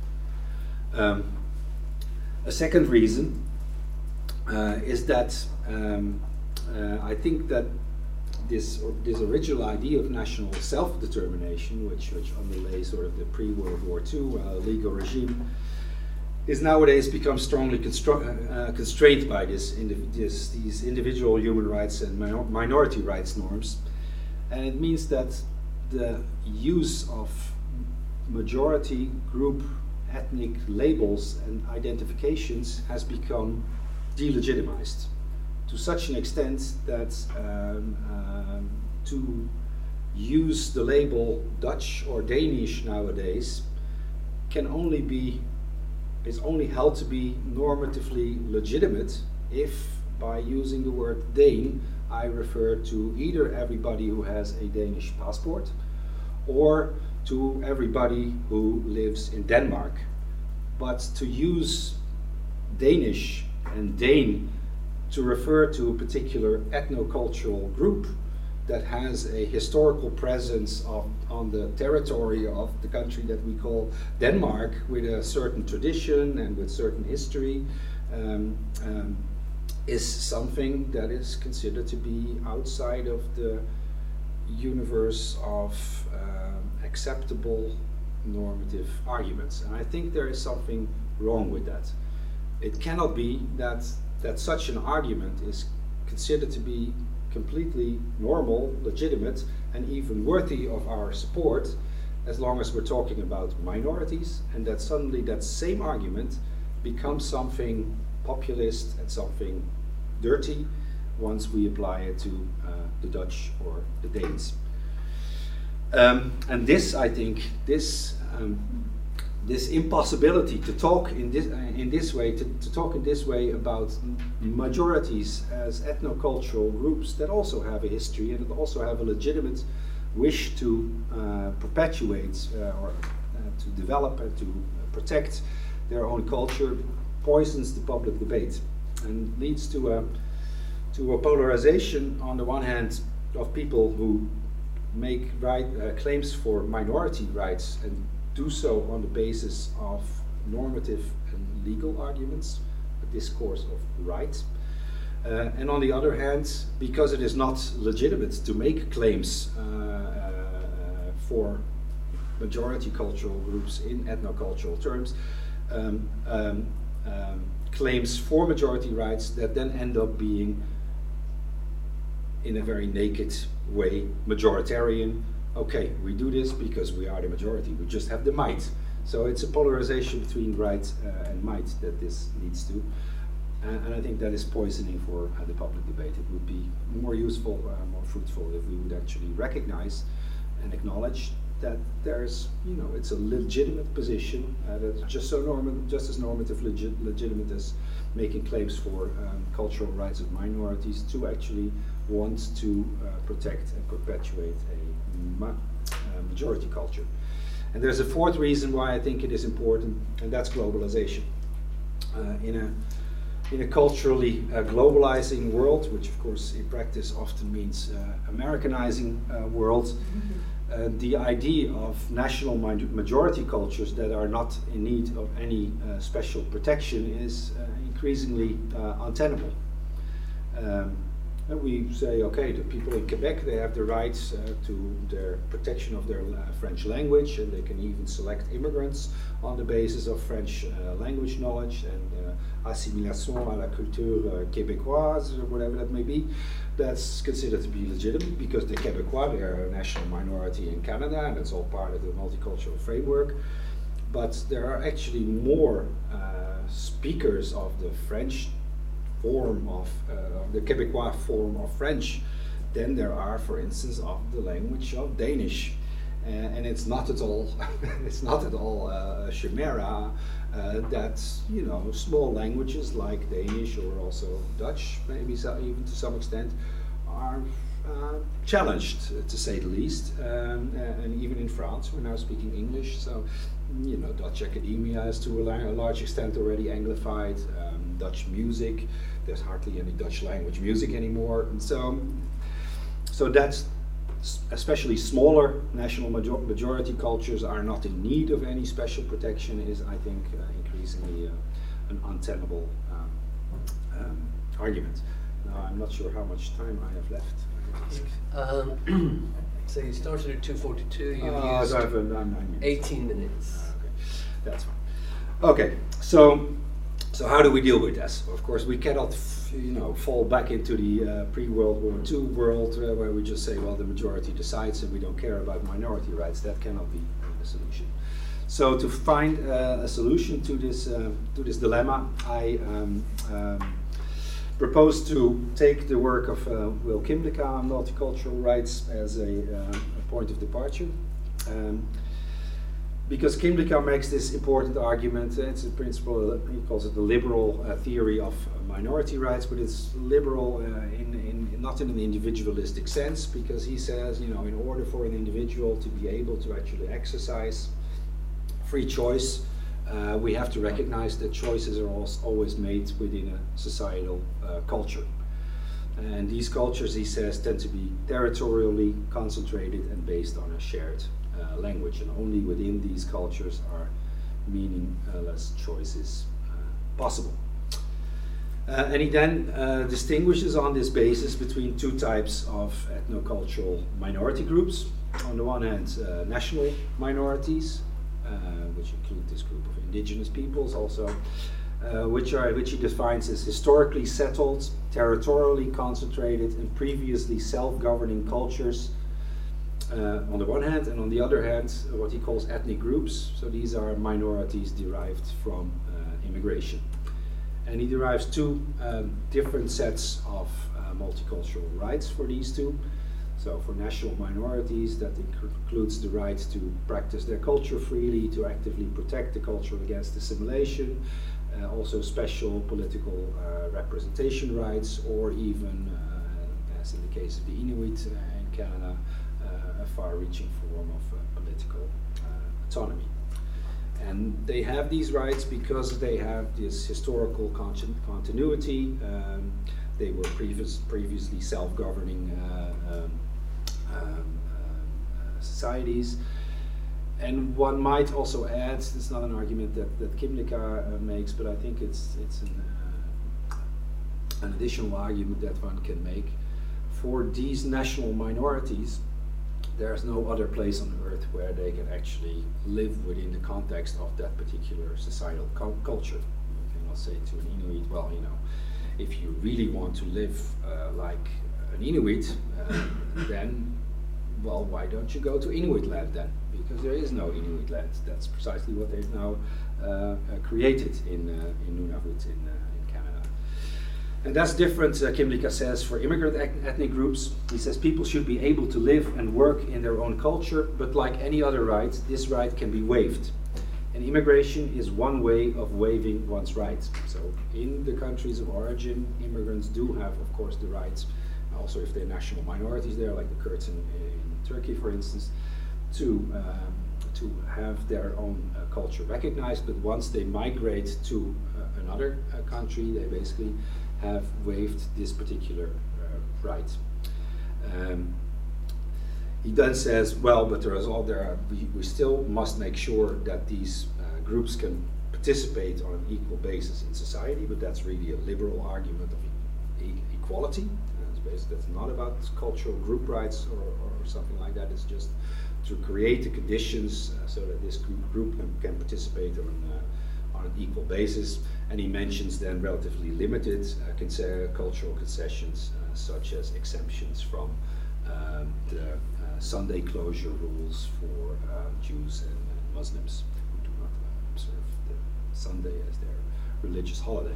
A second reason is that I think that this original idea of national self-determination, which underlays sort of the pre-World War II legal regime, is nowadays become strongly constrained by these individual human rights and minority rights norms. And it means that the use of majority group ethnic labels and identifications has become delegitimized to such an extent that to use the label Dutch or Danish nowadays is only held to be normatively legitimate if, by using the word Dane, I refer to either everybody who has a Danish passport or to everybody who lives in Denmark. But to use Danish and Dane to refer to a particular ethnocultural group that has a historical presence on the territory of the country that we call Denmark, with a certain tradition and with certain history, is something that is considered to be outside of the universe of acceptable normative arguments. And I think there is something wrong with that. It cannot be that such an argument is considered to be completely normal, legitimate, and even worthy of our support, as long as we're talking about minorities, and that suddenly that same argument becomes something populist and something dirty once we apply it to the Dutch or the Danes. And this, I think, this impossibility to talk in this way, to talk in this way about majorities as ethnocultural groups that also have a history and that also have a legitimate wish to perpetuate or to develop and to protect their own culture, poisons the public debate and leads to a polarization on the one hand of people who make claims for minority rights and do so on the basis of normative and legal arguments, a discourse of right. And on the other hand, because it is not legitimate to make claims for majority cultural groups in ethnocultural terms, claims for majority rights that then end up being, in a very naked way, majoritarian. Okay, we do this because we are the majority, we just have the might. So it's a polarization between right and might that this leads to. And I think that is poisoning for the public debate. It would be more useful, more fruitful if we would actually recognize and acknowledge that there's, it's a legitimate position that's just as normative legitimate as making claims for cultural rights of minorities to actually want to protect and perpetuate a majority culture. And there's a fourth reason why I think it is important, and that's globalization. In a culturally globalizing world, which of course in practice often means Americanizing world, the idea of national majority cultures that are not in need of any special protection is increasingly untenable. And we say, okay, the people in Quebec, they have the rights to their protection of their French language, and they can even select immigrants on the basis of French language knowledge and assimilation à la culture québécoise, or whatever that may be. That's considered to be legitimate because the Québécois, they are a national minority in Canada, and it's all part of the multicultural framework. But there are actually more speakers of the French form of the Québécois form of French than there are, for instance, of the language of Danish. And it's not at all it's not at all a chimera that small languages like Danish or also Dutch, maybe even to some extent, are challenged, to say the least. And even in France, we're now speaking English, so Dutch academia is to a large extent already Anglified. Dutch music, there's hardly any Dutch language music anymore, and so that's especially smaller national majority cultures are not in need of any special protection is, I think, increasingly an untenable argument. Now, I'm not sure how much time I have left. So you started at 2:42, you've used I have 9 minutes. 18 minutes. Okay, that's fine. Okay, so how do we deal with this? Of course, we cannot fall back into the pre-World War II world where we just say, well, the majority decides and we don't care about minority rights. That cannot be the solution. So to find a solution to this dilemma, I propose to take the work of Will Kymlicka on multicultural rights as a point of departure. Because Kymlicka makes this important argument. It's a principle, he calls it the liberal theory of minority rights, but it's liberal not in an individualistic sense, because he says, in order for an individual to be able to actually exercise free choice, we have to recognize that choices are always made within a societal culture. And these cultures, he says, tend to be territorially concentrated and based on a shared language, and only within these cultures are meaningless choices possible. And he then distinguishes on this basis between two types of ethnocultural minority groups. On the one hand, national minorities, which include this group of indigenous peoples also, which he defines as historically settled, territorially concentrated, and previously self-governing cultures on the one hand, and on the other hand, what he calls ethnic groups. So these are minorities derived from immigration. And he derives two different sets of multicultural rights for these two. So for national minorities, that includes the right to practice their culture freely, to actively protect the culture against assimilation, also special political representation rights, or even, as in the case of the Inuit in Canada, a far-reaching form of political autonomy. And they have these rights because they have this historical continuity. They were previously self-governing societies. And one might also add, it's not an argument that Kymlicka makes, but I think it's an additional argument that one can make. For these national minorities, there's no other place on earth where they can actually live within the context of that particular societal culture. You cannot say to an Inuit, well, if you really want to live like an Inuit, then, well, why don't you go to Inuit land then? Because there is no Inuit land. That's precisely what they've now created in Nunavut in Canada. And that's different, Kymlicka says, for immigrant ethnic groups. He says people should be able to live and work in their own culture, but like any other right, this right can be waived. And immigration is one way of waiving one's rights. So in the countries of origin, immigrants do have, of course, the rights, also if they're national minorities there, like the Kurds in Turkey, for instance, to have their own culture recognized. But once they migrate to another country, they basically have waived this particular right. He then says, well, but we still must make sure that these groups can participate on an equal basis in society, but that's really a liberal argument of equality. That's not about cultural group rights or something like that. It's just to create the conditions so that this group can participate on an equal basis. And he mentions then relatively limited cultural concessions, such as exemptions from the Sunday closure rules for Jews and Muslims who do not observe the Sunday as their religious holiday.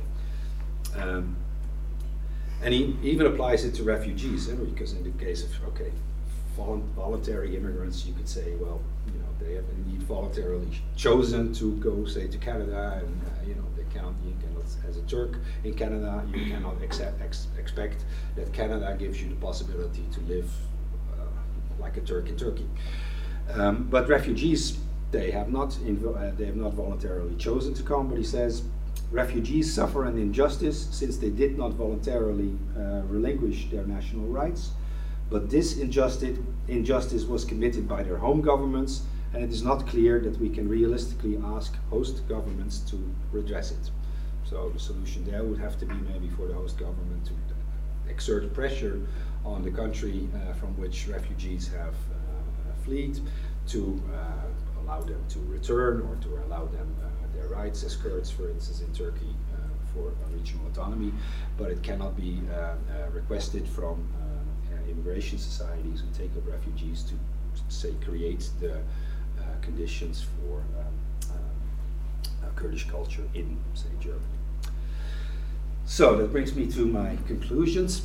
And he even applies it to refugees, because in the case of, voluntary immigrants, you could say, well, you know, they have indeed voluntarily chosen to go, say, to Canada, and you know, you cannot, as a Turk in Canada, you cannot expect that Canada gives you the possibility to live like a Turk in Turkey. But refugees, they have not voluntarily chosen to come. But he says, refugees suffer an injustice since they did not voluntarily relinquish their national rights. But this injustice was committed by their home governments, and it is not clear that we can realistically ask host governments to redress it. So the solution there would have to be maybe for the host government to exert pressure on the country from which refugees have fled to allow them to return, or to allow them their rights as Kurds, for instance, in Turkey, for regional autonomy. But it cannot be requested from immigration societies who take up refugees to, say, create the conditions for Kurdish culture in, say, Germany. So that brings me to my conclusions.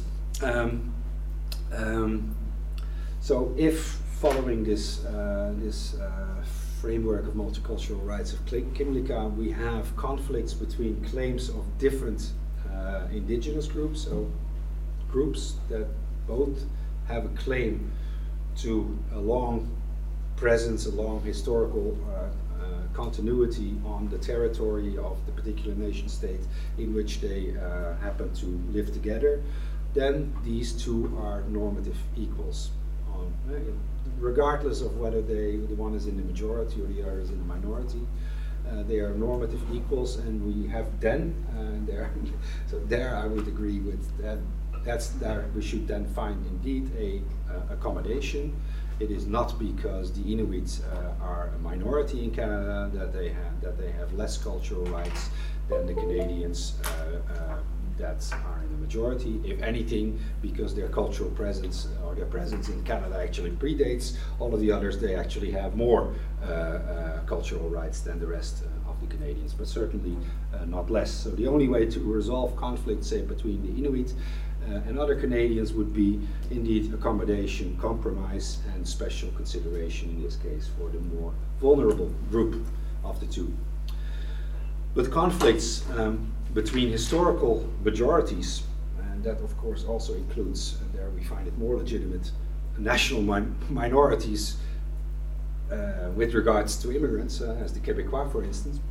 So if following this framework of multicultural rights of Kymlicka, we have conflicts between claims of different indigenous groups, so groups that both have a claim to a long presence, a long historical continuity on the territory of the particular nation state in which they happen to live together, then these two are normative equals, regardless of whether the one is in the majority or the other is in the minority. They are normative equals, and we have then so there I would agree with that. That's there. We should then find indeed a accommodation. It is not because the Inuits are a minority in Canada that they have less cultural rights than the Canadians that are in the majority. If anything, because their cultural presence or their presence in Canada actually predates all of the others, they actually have more cultural rights than the rest of the Canadians, but certainly not less. So the only way to resolve conflict, say, between the Inuit and other Canadians would be indeed accommodation, compromise, and special consideration in this case for the more vulnerable group of the two. But conflicts between historical majorities, and that of course also includes, and there we find it more legitimate, national minorities with regards to immigrants, as the Québécois, for instance.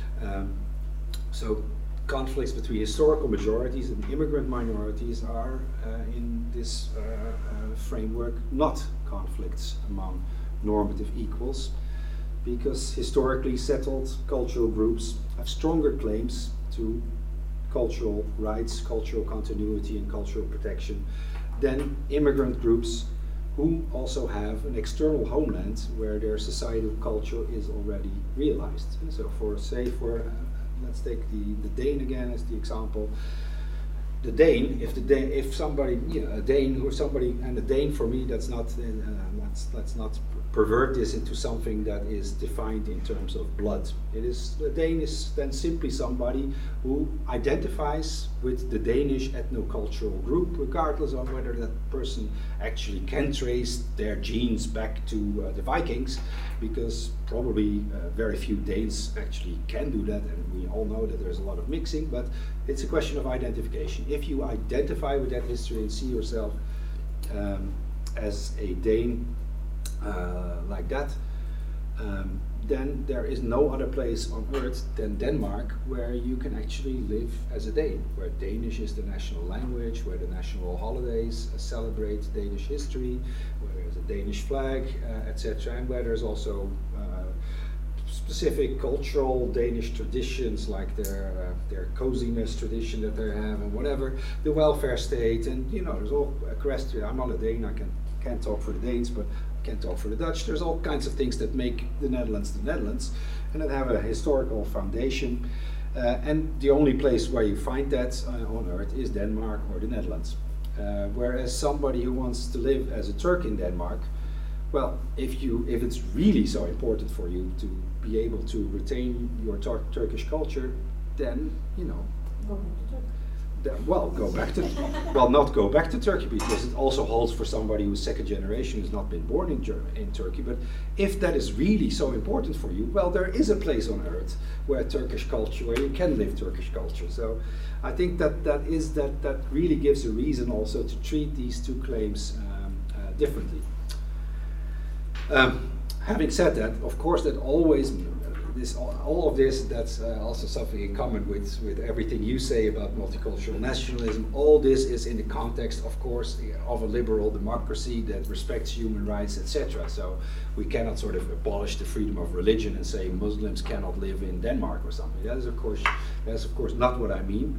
So conflicts between historical majorities and immigrant minorities are, in this framework, not conflicts among normative equals, because historically settled cultural groups have stronger claims to cultural rights, cultural continuity, and cultural protection than immigrant groups who also have an external homeland where their societal culture is already realized. And so let's take the Dane again as the example. The Dane, if somebody, a Dane or somebody, and a Dane for me, let's not pervert this into something that is defined in terms of blood. The Dane is then simply somebody who identifies with the Danish ethnocultural group, regardless of whether that person actually can trace their genes back to the Vikings, because probably very few Danes actually can do that, and we all know that there's a lot of mixing, but it's a question of identification. If you identify with that history and see yourself as a Dane like that, then there is no other place on earth than Denmark where you can actually live as a Dane, where Danish is the national language, where the national holidays celebrate Danish history, where there's a Danish flag, etc., and where there's also specific cultural Danish traditions, like their coziness tradition that they have, and whatever, the welfare state, and there's all equestrian. I'm not a Dane, I can't talk for the Danes, but I can talk for the Dutch. There's all kinds of things that make the Netherlands, and that have a historical foundation. And the only place where you find that on earth is Denmark or the Netherlands. Whereas somebody who wants to live as a Turk in Denmark, well, if it's really so important for you to be able to retain your Turkish culture, then well, go back to, well, not go back to Turkey, because it also holds for somebody who's second generation, who's not been born in Turkey. But if that is really so important for you, well, there is a place on earth where Turkish culture, where you can live Turkish culture. So I think that really gives a reason also to treat these two claims differently. Having said that, of course, that always all of this, that's also something in common with everything you say about multicultural nationalism. All this is in the context, of course, of a liberal democracy that respects human rights, etc. So we cannot sort of abolish the freedom of religion and say Muslims cannot live in Denmark or something. That is, of course, not what I mean.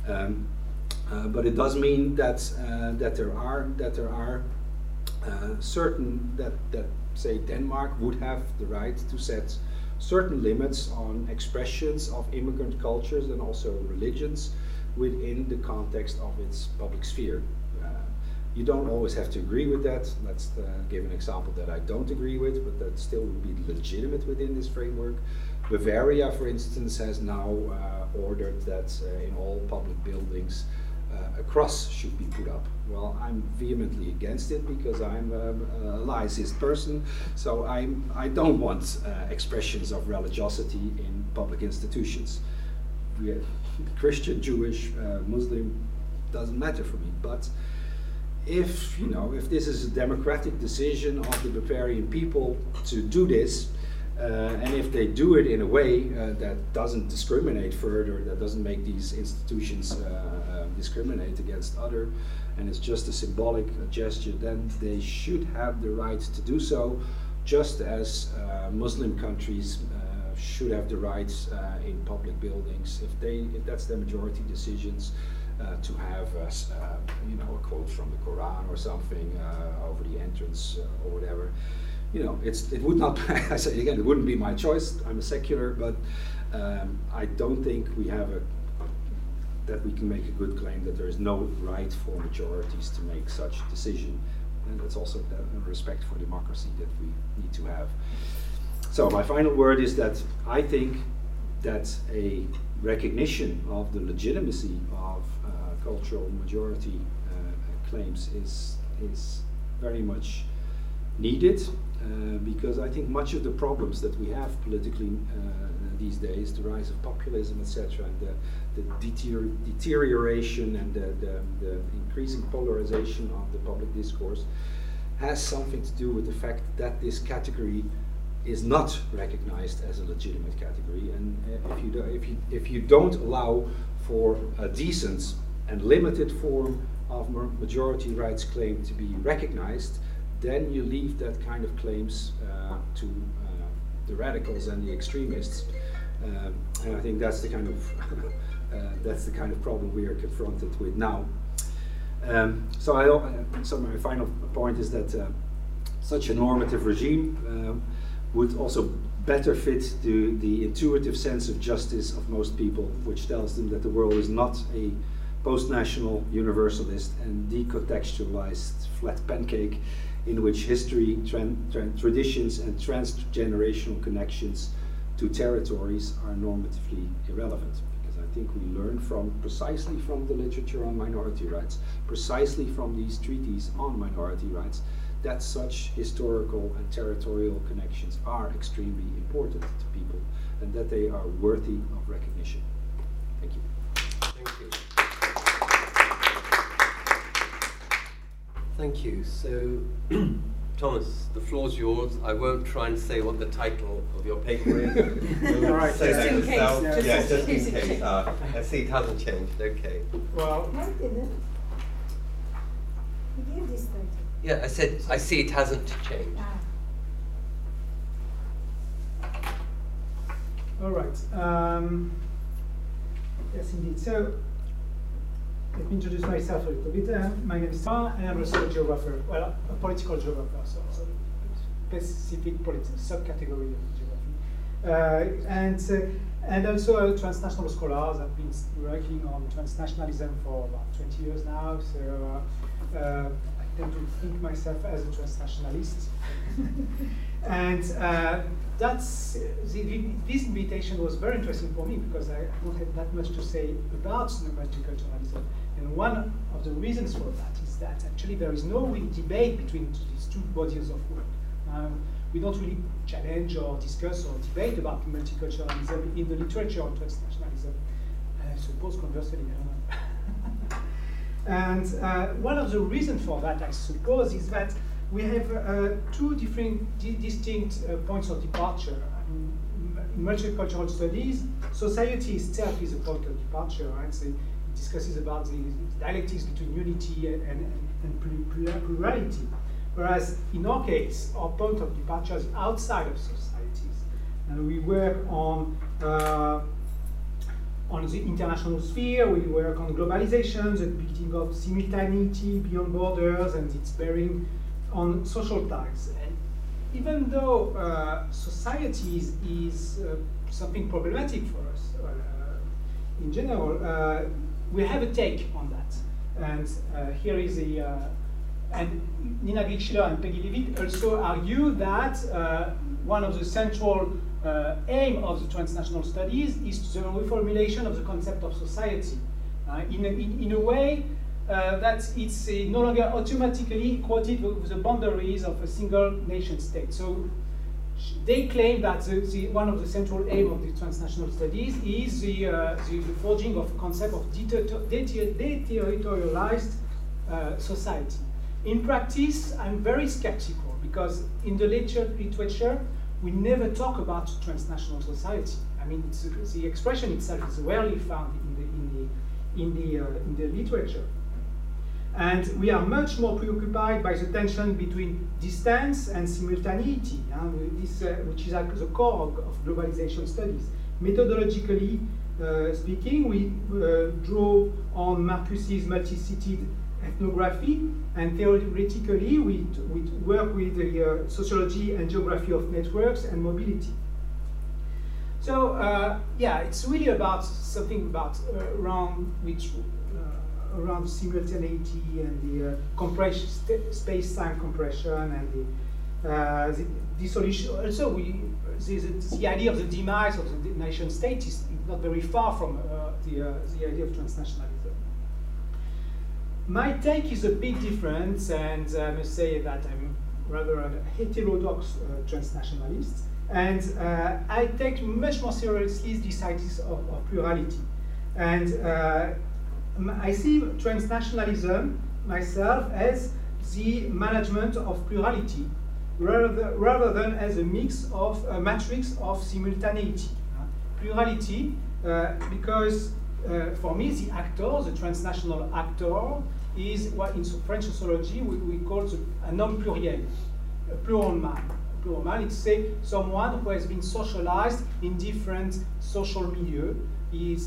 But it does mean that there are certain that say Denmark would have the right to set certain limits on expressions of immigrant cultures and also religions within the context of its public sphere. You don't always have to agree with that. Let's give an example that I don't agree with, but that still would be legitimate within this framework. Bavaria, for instance, has now ordered that in all public buildings a cross should be put up. Well, I'm vehemently against it because I'm a laicist person, so I don't want expressions of religiosity in public institutions. Christian, Jewish, Muslim, doesn't matter for me. But if this is a democratic decision of the Bavarian people to do this, and if they do it in a way that doesn't discriminate further, that doesn't make these institutions discriminate against other, and it's just a symbolic gesture, then they should have the right to do so, just as Muslim countries should have the rights in public buildings, if that's their majority decisions, to have a quote from the Quran or something over the entrance or whatever. It would not. I say again, it wouldn't be my choice. I'm a secular, but I don't think that we can make a good claim that there is no right for majorities to make such a decision, and that's also a respect for democracy that we need to have. So my final word is that I think that a recognition of the legitimacy of cultural majority claims is very much needed, because I think much of the problems that we have politically these days, the rise of populism, etc., and the deterioration and the increasing polarization of the public discourse, has something to do with the fact that this category is not recognized as a legitimate category. And if you don't allow for a decent and limited form of majority rights claim to be recognized, then you leave that kind of claims to the radicals and the extremists, and I think that's the kind of problem we are confronted with now. So my final point is that such a normative regime would also better fit the intuitive sense of justice of most people, which tells them that the world is not a post-national universalist and decontextualized flat pancake in which history, traditions, and transgenerational connections to territories are normatively irrelevant. Because I think we learn precisely from the literature on minority rights, precisely from these treaties on minority rights, that such historical and territorial connections are extremely important to people, and that they are worthy of recognition. Thank you. Thank you. Thank you. So, Thomas, the floor's yours. I won't try and say what the title of your paper is. All right, just in case. Yeah, just in case. I see it hasn't changed. Okay. Well, No, it didn't. You gave this title. Yeah, I said I see it hasn't changed. all right. Yes, indeed. So, let me introduce myself a little bit. My name is Thomas, and I'm also a geographer. Well, a political geographer, so specific subcategory of geography. And also a transnational scholar. I've been working on transnationalism for about 20 years now. So I tend to think myself as a transnationalist. And this invitation was very interesting for me because I don't have that much to say about multiculturalism. And one of the reasons for that is that actually there is no real debate between these two bodies of work. We don't really challenge or discuss or debate about multiculturalism in the literature of transnationalism. I suppose conversely, I don't know. And one of the reasons for that, I suppose, is that we have two different, distinct points of departure. In multicultural studies, society itself is a point of departure, right? So it discusses about the dialectics between unity and plurality. Whereas in our case, our point of departure is outside of societies. And we work on the international sphere, we work on globalization, the beginning of simultaneity beyond borders, and its bearing on social ties. And even though society is something problematic for us in general, we have a take on that. And here is the, and Nina Glick-Schiller and Peggy Leavitt also argue that one of the central aim of the transnational studies is the reformulation of the concept of society in a way that it's no longer automatically quoted with the boundaries of a single nation state. So they claim that one of the central aims of the transnational studies is the forging of a concept of deterritorialized society. In practice, I'm very skeptical because in the literature, we never talk about transnational society. I mean, the expression itself is rarely found in the literature. And we are much more preoccupied by the tension between distance and simultaneity, which is at the core of globalization studies. Methodologically speaking, we draw on Marcus's multi-seated ethnography, and theoretically we work with the sociology and geography of networks and mobility. So yeah, it's really about something about around simultaneity and the compression, space-time compression, and the dissolution. Also, the idea of the demise of the nation state is not very far from the idea of transnationalism. My take is a bit different, and I must say that I'm rather a heterodox transnationalist, and I take much more seriously these ideas of plurality. And I see transnationalism myself as the management of plurality, rather than as a mix of a matrix of simultaneity. Plurality, because for me, the actor, the transnational actor, is what in French sociology we call un homme pluriel, a plural man. A plural man, it's say someone who has been socialized in different social milieux. Is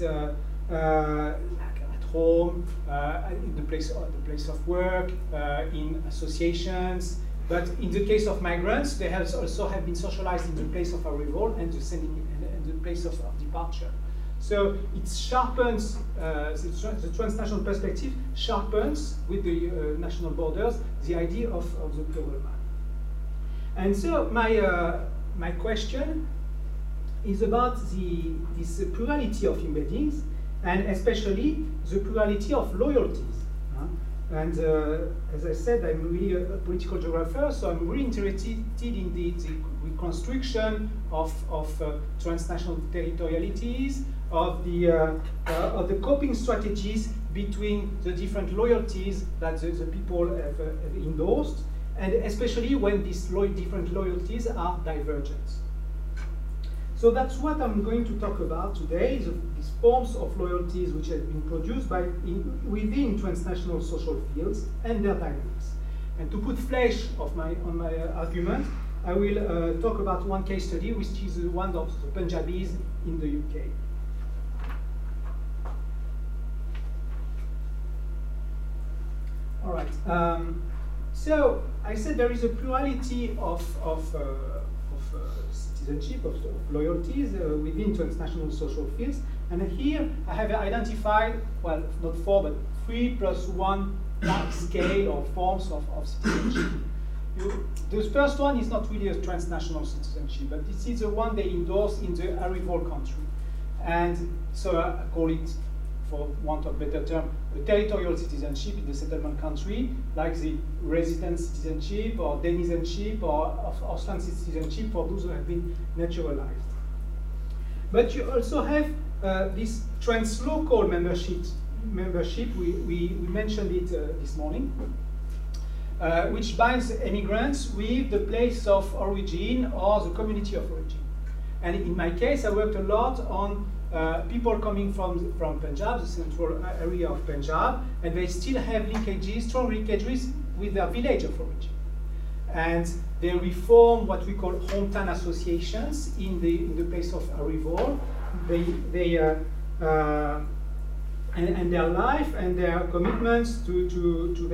at home, in the place of work, in associations. But in the case of migrants, they have also have been socialized in the place of arrival and the place of departure. So it sharpens, the transnational perspective sharpens with the national borders the idea of the plural man. And so my question is about this plurality of embeddings, and especially the plurality of loyalties. And as I said, I'm really a political geographer, so I'm really interested in the reconstruction of transnational territorialities, of the coping strategies between the different loyalties that the people have endorsed, and especially when these different loyalties are divergent. So that's what I'm going to talk about today, these forms of loyalties which have been produced within transnational social fields and their dynamics. And to put flesh on my argument, I will talk about one case study, which is one of the Punjabis in the UK. All right. So I said there is a plurality of citizenship, of loyalties within transnational social fields. And here I have identified, well, not 4, but 3 + 1 scale or forms of citizenship. The first one is not really a transnational citizenship, but this is the one they endorse in the arrival country. And so I call it, for want of a better term, a territorial citizenship in the settlement country, like the resident citizenship or denizenship or Ausland citizenship for those who have been naturalized. But you also have this translocal membership. We mentioned it this morning, which binds immigrants with the place of origin or the community of origin. And in my case, I worked a lot on people coming from Punjab, the central area of Punjab, and they still have linkages, strong linkages with their village of origin. And they reform what we call hometown associations in the place of arrival. And their life and their commitments to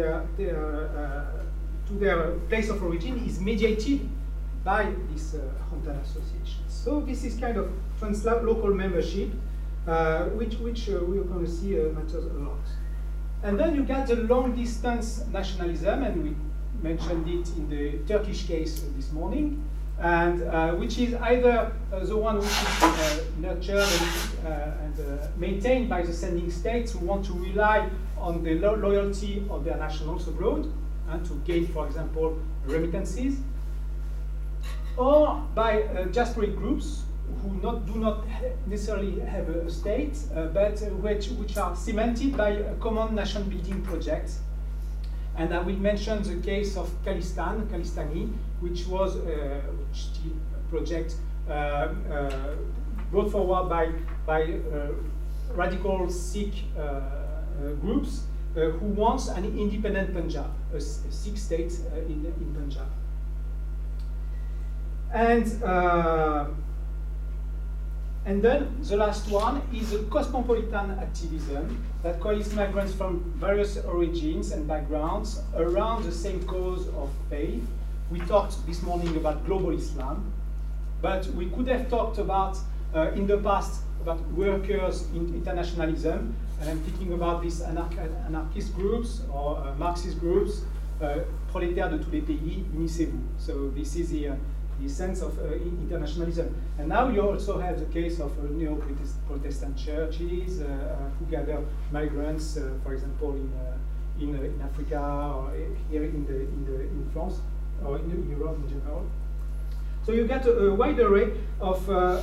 their place of origin is mediated by these hometown associations. So this is kind of translocal membership, which we're going to see matters a lot. And then you get the long-distance nationalism, and we mentioned it in the Turkish case this morning, and which is either the one which is nurtured and maintained by the sending states who want to rely on the loyalty of their nationals abroad and to gain, for example, remittances, or by diasporic groups who do not necessarily have a state, but which are cemented by a common nation-building project. And I will mention the case of Khalistani, which was a project brought forward by radical Sikh groups who wants an independent Punjab, a Sikh state in Punjab. And then the last one is a cosmopolitan activism that coalesces migrants from various origins and backgrounds around the same cause of faith. We talked this morning about global Islam, but we could have talked about, in the past, about workers' internationalism, and I'm thinking about these anarchist groups or Marxist groups, prolétaires de tous les pays, unissez-vous. So this is the sense of internationalism. And now you also have the case of neo-Protestant churches who gather migrants, for example, in Africa or here in France or in Europe in general. So you get a wide array of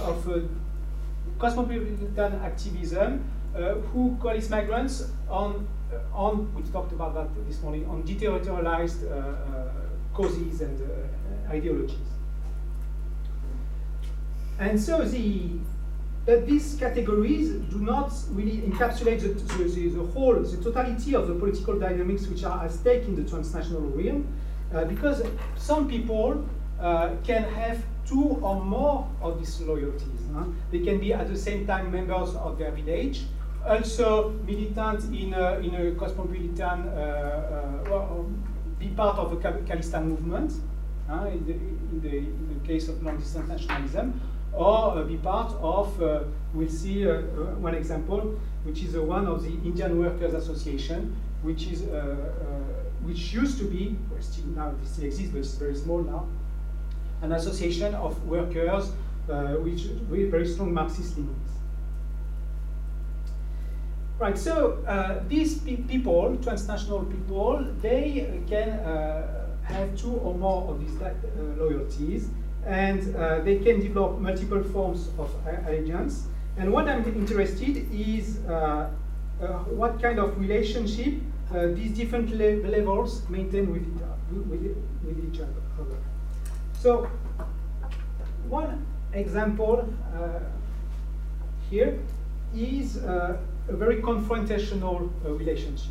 cosmopolitan activism who coalesce migrants on we talked about that this morning, on deterritorialized causes and ideologies. And so these categories do not really encapsulate the totality of the political dynamics which are at stake in the transnational realm, because some people can have two or more of these loyalties. They can be at the same time members of their village, also militant in a cosmopolitan, be part of the Khalistan movement, in the case of long-distance nationalism, or be part of, we'll see one example, which is one of the Indian Workers Association, which used to be, now it still exists, but it's very small now, an association of workers with very strong Marxist leanings. Right, so these people, transnational people, they can have two or more of these loyalties, and they can develop multiple forms of allegiance. And what I'm interested is what kind of relationship these different levels maintain with each other. So one example here is a very confrontational relationship.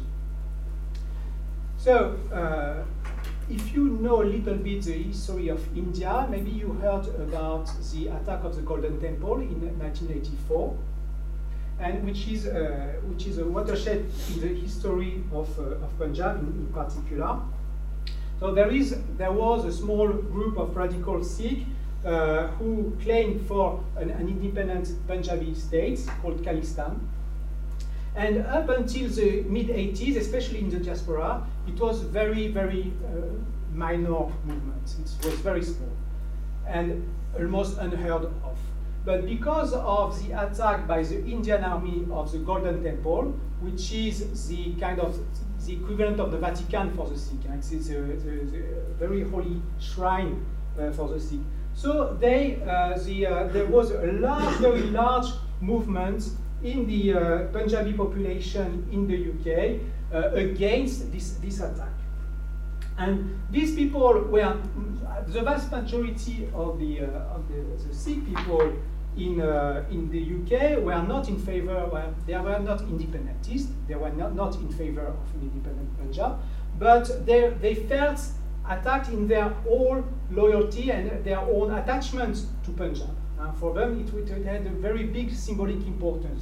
So if you know a little bit the history of India, maybe you heard about the attack of the Golden Temple in 1984, and which is a watershed in the history of Punjab in particular. So there was a small group of radical Sikh who claimed for an independent Punjabi state called Khalistan. And up until the mid-80s, especially in the diaspora, it was very, very minor movement. It was very small and almost unheard of. But because of the attack by the Indian army of the Golden Temple, which is the kind of the equivalent of the Vatican for the Sikh, it's the very holy shrine for the Sikh. So there was a large, very large movement in the Punjabi population in the UK against this attack. And these people were, the vast majority of the Sikh people in the UK were not in favor, they were not independentists, they were not in favor of an independent Punjab, but they felt attacked in their own loyalty and their own attachment to Punjab. For them, it had a very big symbolic importance.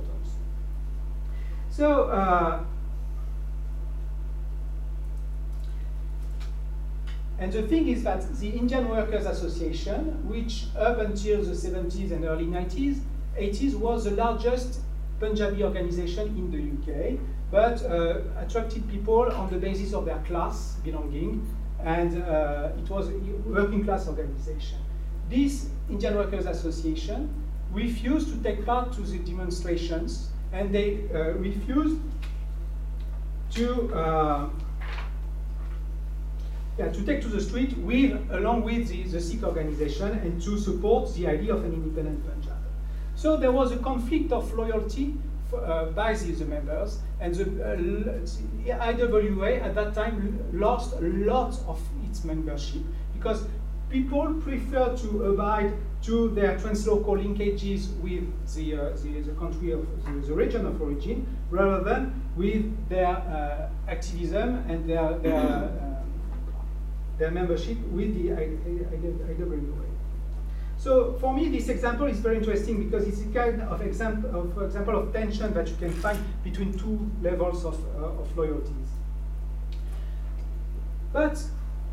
So, and the thing is that the Indian Workers Association, which up until the 70s and early 80s was the largest Punjabi organization in the UK, but attracted people on the basis of their class belonging, and it was a working class organization. This Indian Workers Association refused to take part to the demonstrations, and they refused to take to the street along with the Sikh organization and to support the idea of an independent Punjab. So there was a conflict of loyalty by the members, and the IWA at that time lost a lot of its membership because people prefer to abide to their translocal linkages with the country of the region of origin rather than with their activism and their membership with the IWA. So for me, this example is very interesting because it's a kind of example of tension that you can find between two levels of loyalties. But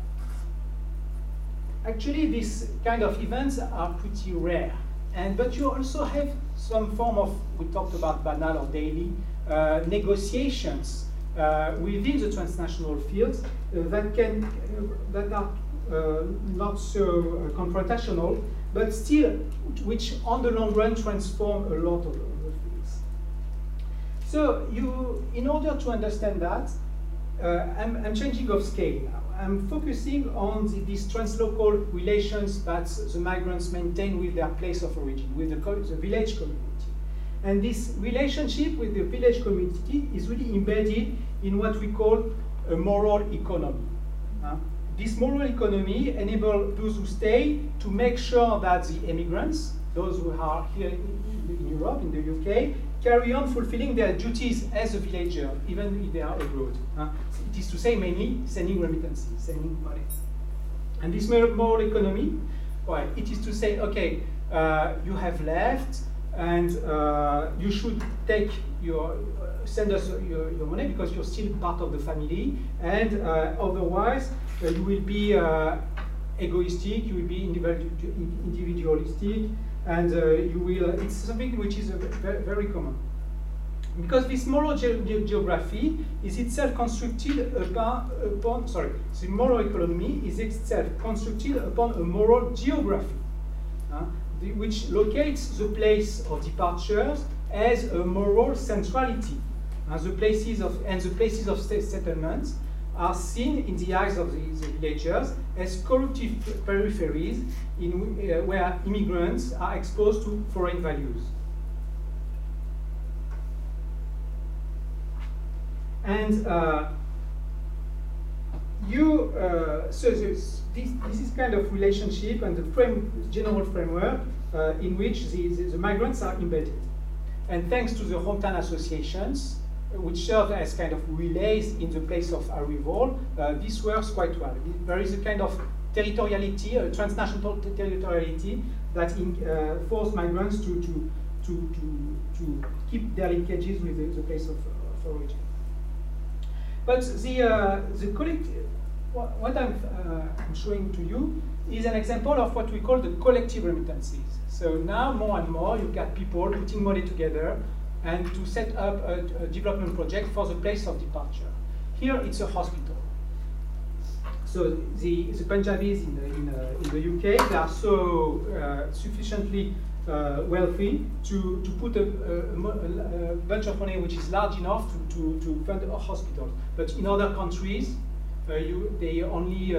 actually, these kind of events are pretty rare. But you also have some form of, we talked about banal or daily, negotiations within the transnational fields that are not so confrontational, but still, which on the long run transform a lot of fields. So in order to understand that, I'm changing of scale now. I'm focusing on these translocal relations that the migrants maintain with their place of origin, with the village community. And this relationship with the village community is really embedded in what we call a moral economy. This moral economy enables those who stay to make sure that the immigrants, those who are here in Europe, in the UK, carry on fulfilling their duties as a villager, even if they are abroad. It is to say mainly sending remittances, sending money. And this moral economy, well, it is to say, okay, you have left, and you should take send us your money because you're still part of the family, and otherwise you will be egoistic, you will be individualistic, and you will. It's something which is very, very common. Because this moral geography is itself constructed upon, sorry, the moral economy is itself constructed upon a moral geography, which locates the place of departures as a moral centrality. The places of settlements are seen in the eyes of the villagers as corruptive peripheries where immigrants are exposed to foreign values. And so this is kind of relationship and the general framework in which the migrants are embedded. And thanks to the hometown associations, which serve as kind of relays in the place of arrival, this works quite well. There is a kind of territoriality, a transnational territoriality that forces migrants to keep their linkages with the place of origin. But the collective, what I'm showing to you is an example of what we call the collective remittances. So now more and more you got people putting money together and to set up a development project for the place of departure. Here it's a hospital. So the Punjabis in the UK, they are so sufficiently wealthy to put a bunch of money which is large enough to fund a hospital. But in other countries, they only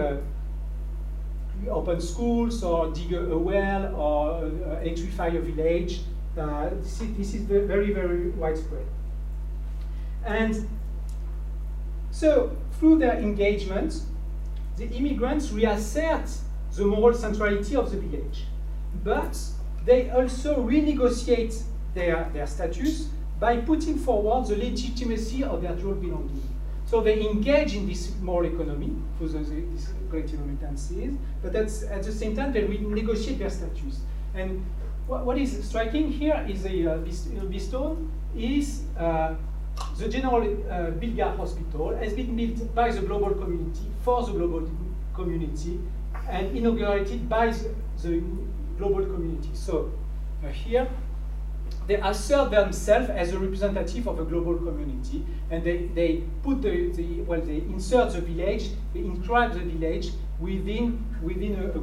open schools or dig a well or electrify a village. This is very, very widespread. And so through their engagement, the immigrants reassert the moral centrality of the village. But they also renegotiate their status by putting forward the legitimacy of their dual belonging. So they engage in this moral economy through these collective remittances, but at the same time they renegotiate their status. And what is striking here is Beestone is the General Bilga Hospital has been built by the global community, for the global community, and inaugurated by the global community. So here, they assert themselves as a representative of a global community, and they put they insert the village, they inscribe the village within a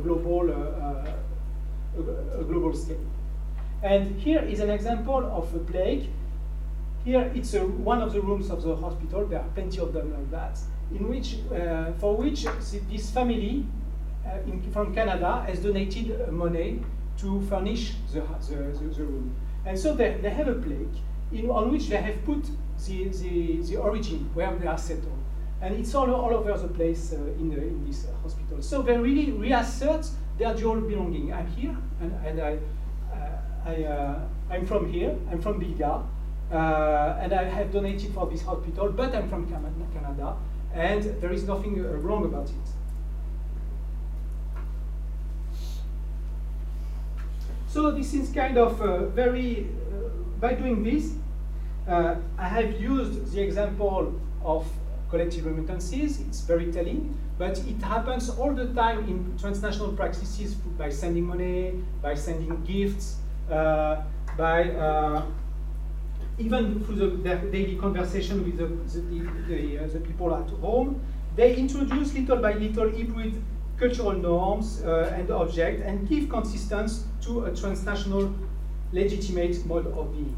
global scale. And here is an example of a plaque. Here it's one of the rooms of the hospital. There are plenty of them like that, in which for which this family from Canada has donated money to furnish the room. And so they have a plaque on which they have put the origin, where they are settled. And it's all over the place in this hospital. So they really reassert their dual belonging. I'm here, and I'm from here, I'm from Bilga, and I have donated for this hospital, but I'm from Canada, and there is nothing wrong about it. So this is kind of by doing this, I have used the example of collective remittances. It's very telling, but it happens all the time in transnational practices by sending money, by sending gifts, by even through their daily conversation with the people at home. They introduce little by little hybrid cultural norms and objects and give consistence to a transnational legitimate mode of being.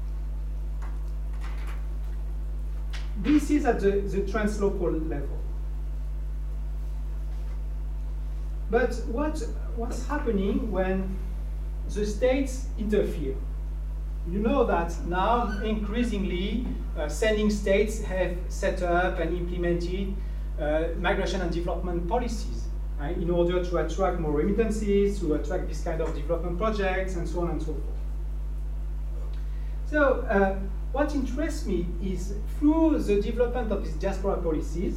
This is at the translocal level. But what's happening when the states interfere? You know that now increasingly sending states have set up and implemented migration and development policies in order to attract more remittances, to attract this kind of development projects, and so on and so forth. So what interests me is through the development of these diaspora policies,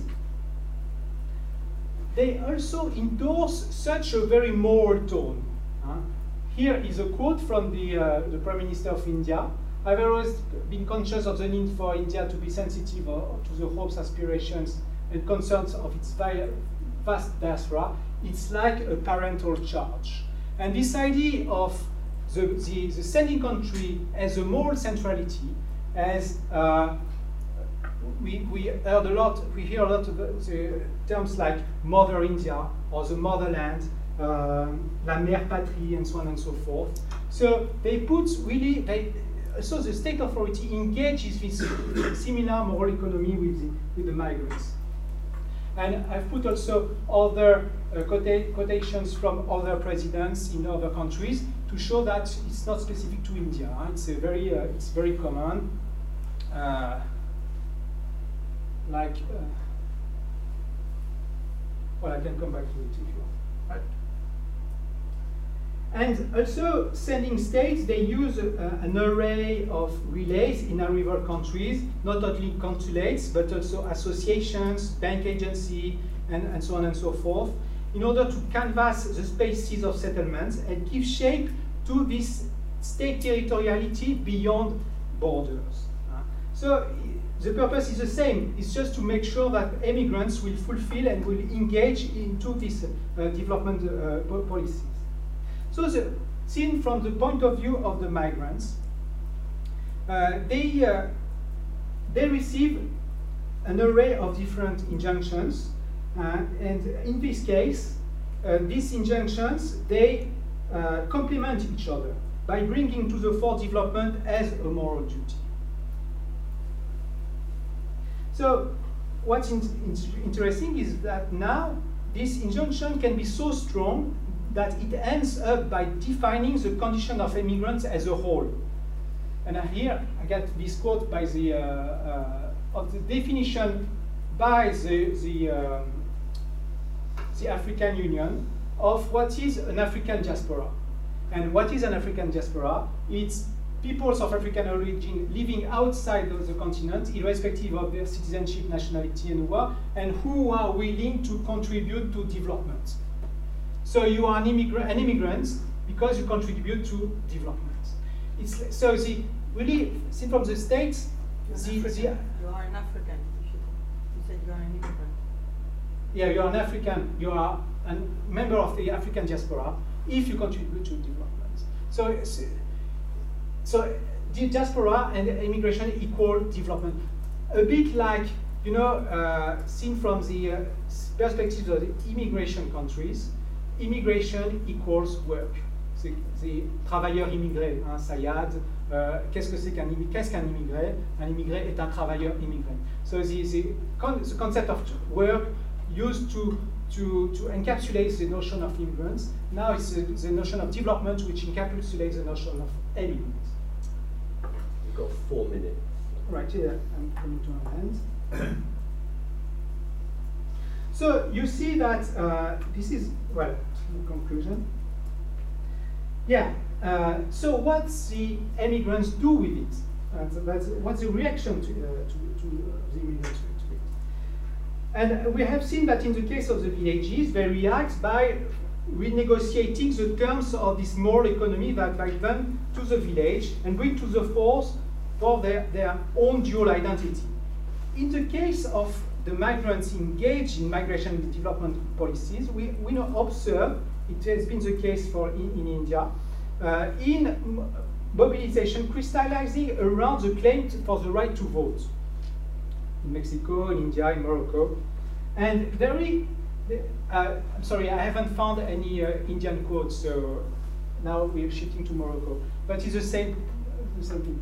they also endorse such a very moral tone. Here is a quote from the Prime Minister of India. I've always been conscious of the need for India to be sensitive to the hopes, aspirations, and concerns of its vast diaspora. It's like a parental charge. And this idea of the sending country as a moral centrality, as we hear a lot of the terms like Mother India or the motherland, la mère patrie, and so on and so forth. So they put really, so the state authority engages with similar moral economy with the migrants. And I've put also other quotations from other presidents in other countries to show that it's not specific to India. It's very common. Well, I can come back to it if you want. Right. And also, sending states, they use an array of relays in our river countries, not only consulates, but also associations, bank agency, and so on and so forth, in order to canvass the spaces of settlements and give shape to this state territoriality beyond borders. So the purpose is the same. It's just to make sure that immigrants will fulfill and will engage into this development policies. So seen from the point of view of the migrants, they receive an array of different injunctions, and in this case, these injunctions, they complement each other by bringing to the fore development as a moral duty. So what's interesting is that now this injunction can be so strong that it ends up by defining the condition of immigrants as a whole. And here I get this quote by the of the definition by the African Union of what is an African diaspora. And what is an African diaspora? It's peoples of African origin living outside of the continent, irrespective of their citizenship, nationality, and war, and who are willing to contribute to development. So you are an immigrant because you contribute to development. It's so really seen from the States. You are an African. You said you are an immigrant. Yeah, you are an African. You are a member of the African diaspora if you contribute to development. So the diaspora and immigration equal development. A bit like, you know, seen from the perspective of the immigration countries, immigration equals work. The travailleur immigré, hein, Sayad, qu'est-ce qu'un immigré? Un immigré est un travailleur immigré. So the concept of work used to encapsulate the notion of immigrants. Now it's the notion of development which encapsulates the notion of immigrants. You've got 4 minutes. Right, here, I'm coming to an end. So you see that this is, well, in conclusion. Yeah, so what the immigrants do with it? What's the reaction to the immigrants to it? And we have seen that in the case of the villages, they react by renegotiating the terms of this moral economy that bind them to the village and bring to the force for their own dual identity. In the case of the migrants engaged in migration and development policies, we now observe, it has been the case in India, in mobilization crystallizing around the claim for the right to vote. In Mexico, in India, in Morocco. And I'm sorry, I haven't found any Indian quotes, so now we're shifting to Morocco. But it's the same thing.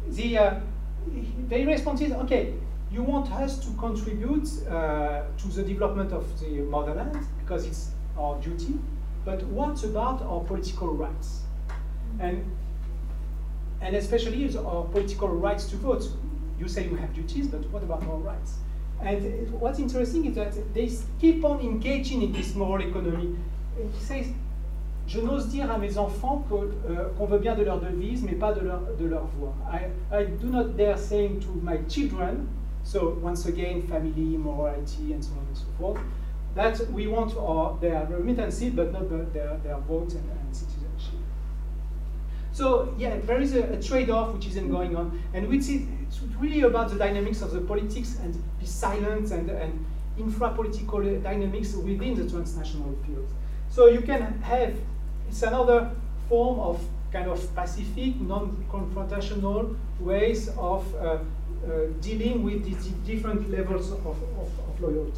The response is, okay, you want us to contribute to the development of the motherland, because it's our duty, but what about our political rights? And especially our political rights to vote. You say you have duties, but what about our rights? And what's interesting is that they keep on engaging in this moral economy. He says, je n'ose dire à mes enfants qu'on veut bien de leur devise, mais pas de leur voix. I do not dare saying to my children, so once again, family, morality, and so on and so forth, that we want their remittances, but not their vote and citizenship. So yeah, there is a trade-off which isn't going on, and which is it's really about the dynamics of the politics and the silent and infra-political dynamics within the transnational field. So you can have, it's another form of kind of pacific, non-confrontational ways of dealing with these different levels of loyalty.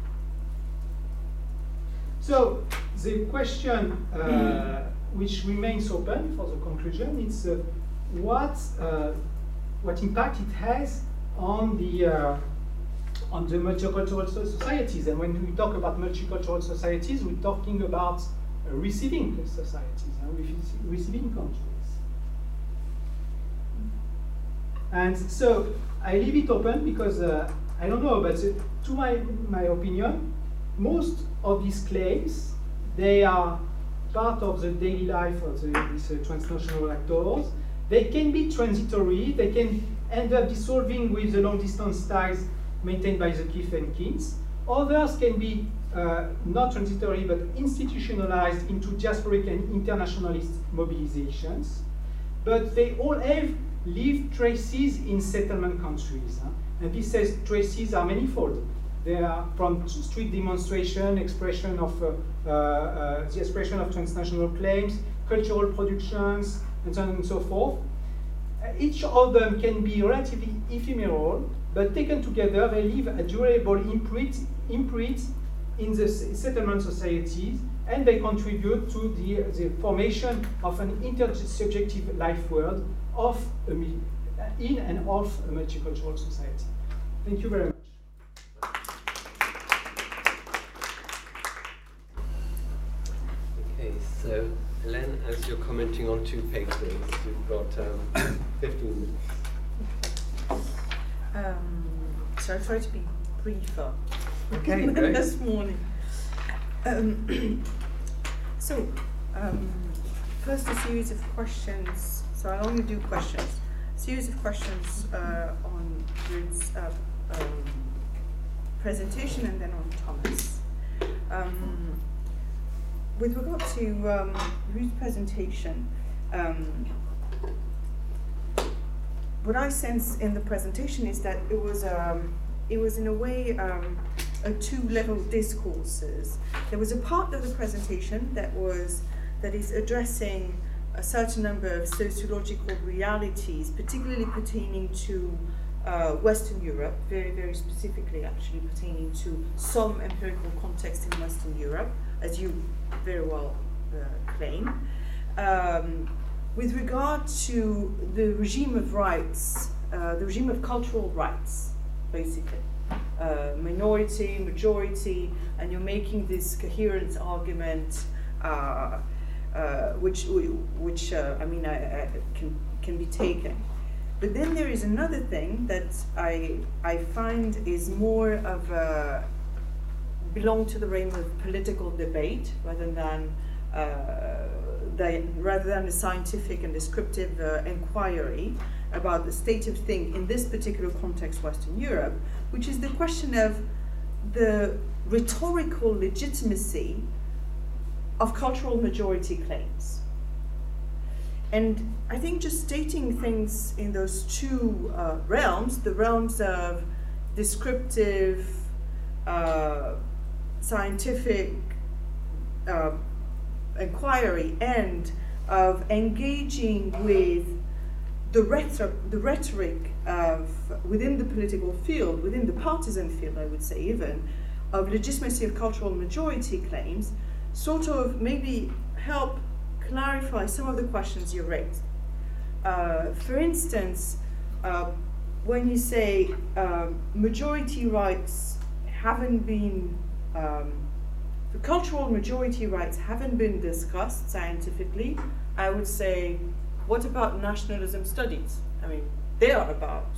So the question which remains open for the conclusion is what impact it has on the multicultural societies. And when we talk about multicultural societies, we're talking about receiving societies, receiving countries. And so I leave it open because I don't know, but to my opinion, most of these claims, they are part of the daily life of these transnational actors. They can be transitory, they can end up dissolving with the long-distance ties maintained by the kith and kins. Others can be not transitory, but institutionalized into diasporic and internationalist mobilizations. But they all have leave traces in settlement countries. And these traces are manifold. They are from street demonstration, expression of the expression of transnational claims, cultural productions, and so on and so forth. Each of them can be relatively ephemeral, but taken together, they leave a durable imprint in the settlement societies, and they contribute to the formation of an intersubjective life world in and of a multicultural society. Thank you very much. Okay, so Hélène, as you're commenting on two papers, you've got 15 minutes. So I'll try to be briefer Okay, than this morning. First a series of questions. So I'll only do questions. A series of questions on Ruth's presentation and then on Thomas. With regard to Ruth's presentation, what I sense in the presentation is that it was in a way a two-level discourses. There was a part of the presentation that is addressing a certain number of sociological realities, particularly pertaining to Western Europe, very, very specifically actually pertaining to some empirical context in Western Europe, as you very well claim. With regard to the regime of rights, the regime of cultural rights, basically, minority, majority, and you're making this coherence argument, which I mean, can be taken. But then there is another thing that I find is more of belong to the realm of political debate rather than a scientific and descriptive inquiry about the state of things in this particular context, Western Europe, which is the question of the rhetorical legitimacy of cultural majority claims. And I think just stating things in those two realms, the realms of descriptive, scientific inquiry and of engaging with the rhetoric of within the political field, within the partisan field, I would say even, of legitimacy of cultural majority claims, sort of maybe help clarify some of the questions you raised. For instance, when you say majority rights haven't been, the cultural majority rights haven't been discussed scientifically, I would say, what about nationalism studies? I mean, they are about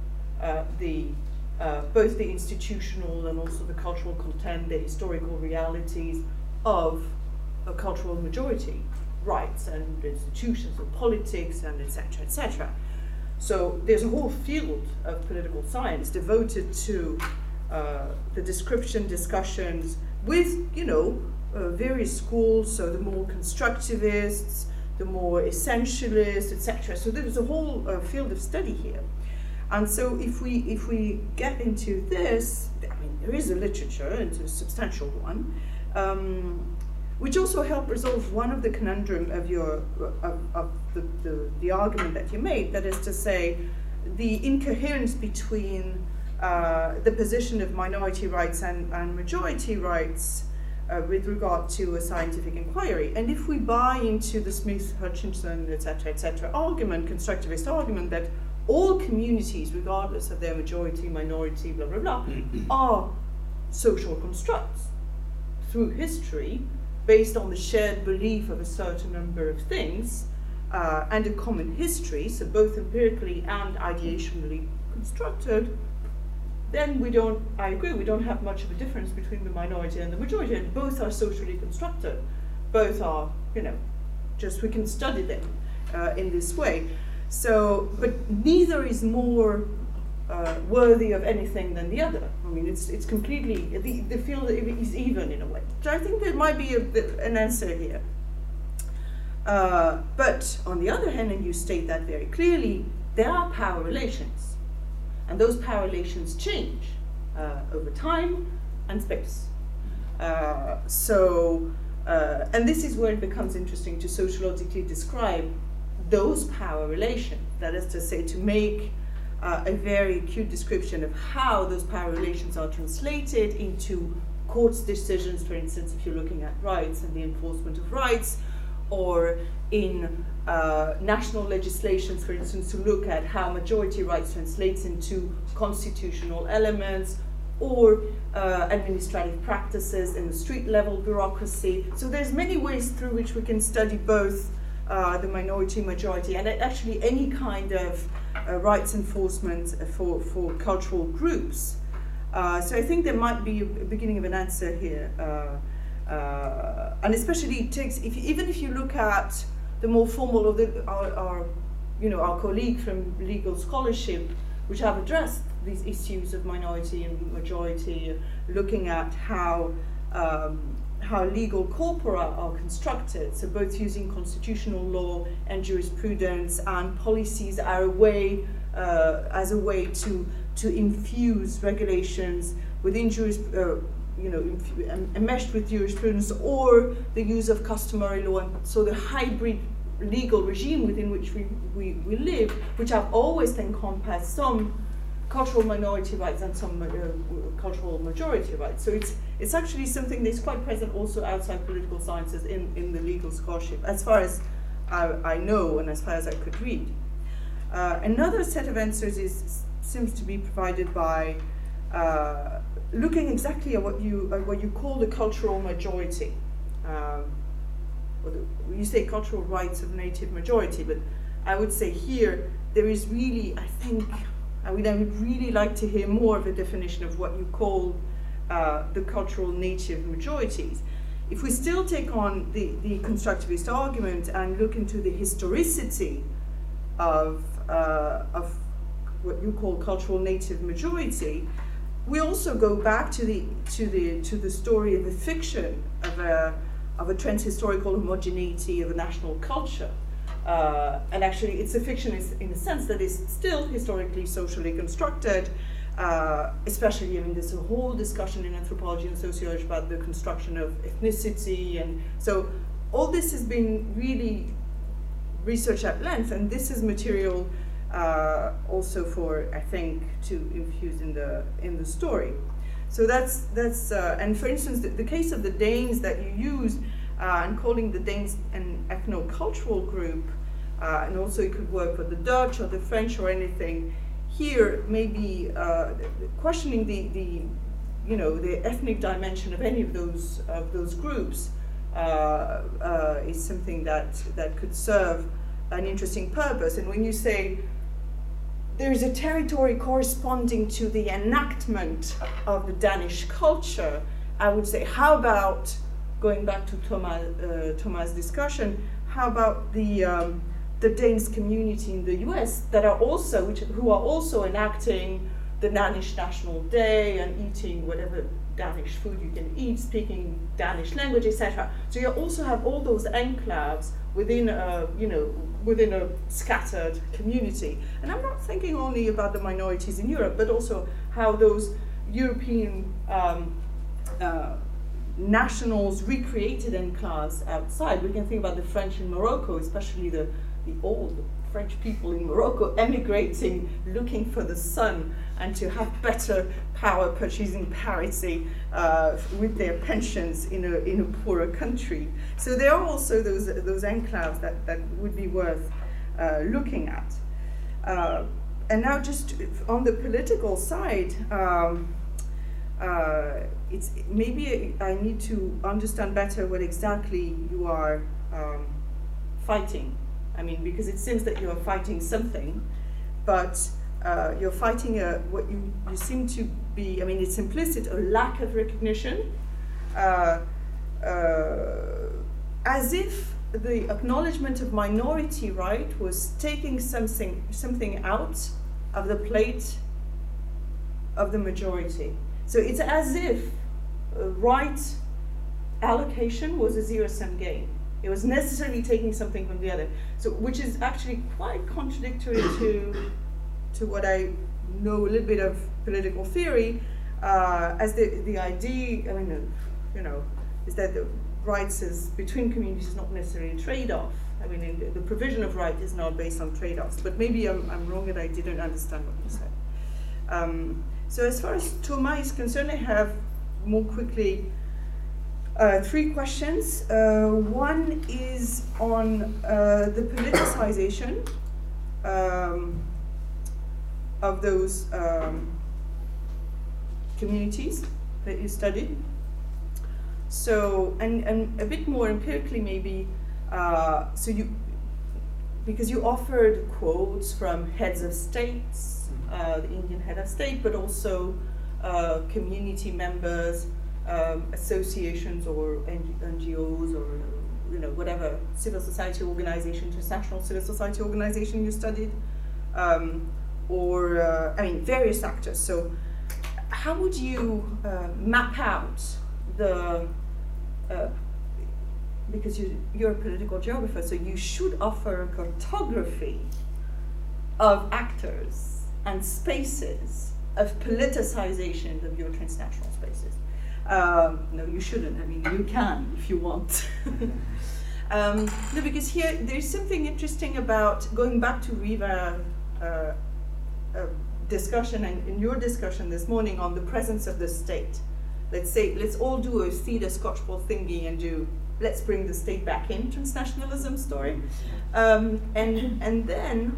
both the institutional and also the cultural content, the historical realities of a cultural majority rights and institutions and politics and etc., etc. So there's a whole field of political science devoted to the description discussions with, various schools, so the more constructivists, the more essentialists, etc. So there's a whole field of study here. And so if we get into this, I mean, there is a literature, and it's a substantial one, which also help resolve one of the conundrum of the argument that you made, that is to say, the incoherence between the position of minority rights and majority rights with regard to a scientific inquiry. And if we buy into the Smith, Hutchinson, etc., argument, constructivist argument, that all communities, regardless of their majority, minority, blah, blah, blah, are social constructs through history, based on the shared belief of a certain number of things, and a common history, so both empirically and ideationally constructed, then I agree, we don't have much of a difference between the minority and the majority, and both are socially constructed. Both are, just we can study them in this way. So, but neither is more worthy of anything than the other. I mean, it's completely, the field is even in a way. So I think there might be an answer here. But on the other hand, and you state that very clearly, there are power relations. And those power relations change over time and space. And this is where it becomes interesting to sociologically describe those power relations. That is to say, to make a very acute description of how those power relations are translated into courts' decisions, for instance, if you're looking at rights and the enforcement of rights, or in national legislations, for instance, to look at how majority rights translates into constitutional elements, or administrative practices in the street level bureaucracy. So there's many ways through which we can study both the minority, majority, and actually any kind of rights enforcement for cultural groups. So I think there might be a beginning of an answer here. And especially it takes, even if you look at the more formal of our colleague from legal scholarship, which have addressed these issues of minority and majority, looking at how legal corpora are constructed, so both using constitutional law and jurisprudence and policies are as a way to infuse regulations within enmeshed with jurisprudence, or the use of customary law, and so the hybrid legal regime within which we live, which have always encompassed some cultural minority rights and some cultural majority rights. So it's actually something that's quite present also outside political sciences in the legal scholarship, as far as I know and as far as I could read. Another set of answers seems to be provided by looking exactly at what you call the cultural majority. You say cultural rights of native majority, but I would say here there is really, I think, I would really like to hear more of a definition of what you call the cultural native majorities. If we still take on the constructivist argument and look into the historicity of what you call cultural native majority, we also go back to the story of a fiction of a transhistorical homogeneity of a national culture. And actually, it's a fiction in the sense that it's still historically, socially constructed, especially, I mean, there's a whole discussion in anthropology and sociology about the construction of ethnicity. And so all this has been really researched at length, and this is material also for, I think, to infuse in the story. So that's and for instance, the case of the Danes that you used, and calling the Danes an ethnocultural group, and also it could work for the Dutch or the French or anything. Here, maybe questioning the ethnic dimension of any of those groups is something that could serve an interesting purpose. And when you say there is a territory corresponding to the enactment of the Danish culture, I would say, how about, going back to Thomas' discussion, how about the Danish community in the US that are also, who are also enacting the Danish National Day and eating whatever Danish food you can eat, speaking Danish language, etc. So you also have all those enclaves within a scattered community. And I'm not thinking only about the minorities in Europe, but also how those European nationals recreated enclaves outside. We can think about the French in Morocco, especially the old French people in Morocco emigrating, looking for the sun and to have better power purchasing parity with their pensions in a poorer country. So there are also those enclaves that would be worth looking at. And now, just on the political side, it's maybe I need to understand better what exactly you are fighting. I mean, because it seems that you are fighting something, but you're fighting what you seem to be, I mean, it's implicit, a lack of recognition, as if the acknowledgement of minority right was taking something out of the plate of the majority. So it's as if right allocation was a zero-sum game. It was necessarily taking something from the other. So, which is actually quite contradictory to what I know a little bit of political theory, as the idea, I mean, is that the rights between communities is not necessarily a trade-off. I mean, the provision of right is not based on trade-offs, but maybe I'm wrong and I didn't understand what you said. So as far as Thomas is concerned, I have more quickly 3 questions. One is on the politicization of those communities that you studied. So, and a bit more empirically maybe, because you offered quotes from heads of states, the Indian head of state, but also community members, associations or NGOs or whatever civil society organization, international civil society organization you studied, various actors. So how would you map out the, because you're a political geographer, so you should offer a cartography of actors and spaces of politicization of your transnational spaces. No, you shouldn't. I mean, you can if you want. No, because here there's something interesting about going back to Riva discussion and in your discussion this morning on the presence of the state. Let's all do a theatre Scotchball thingy and let's bring the state back in transnationalism story, and then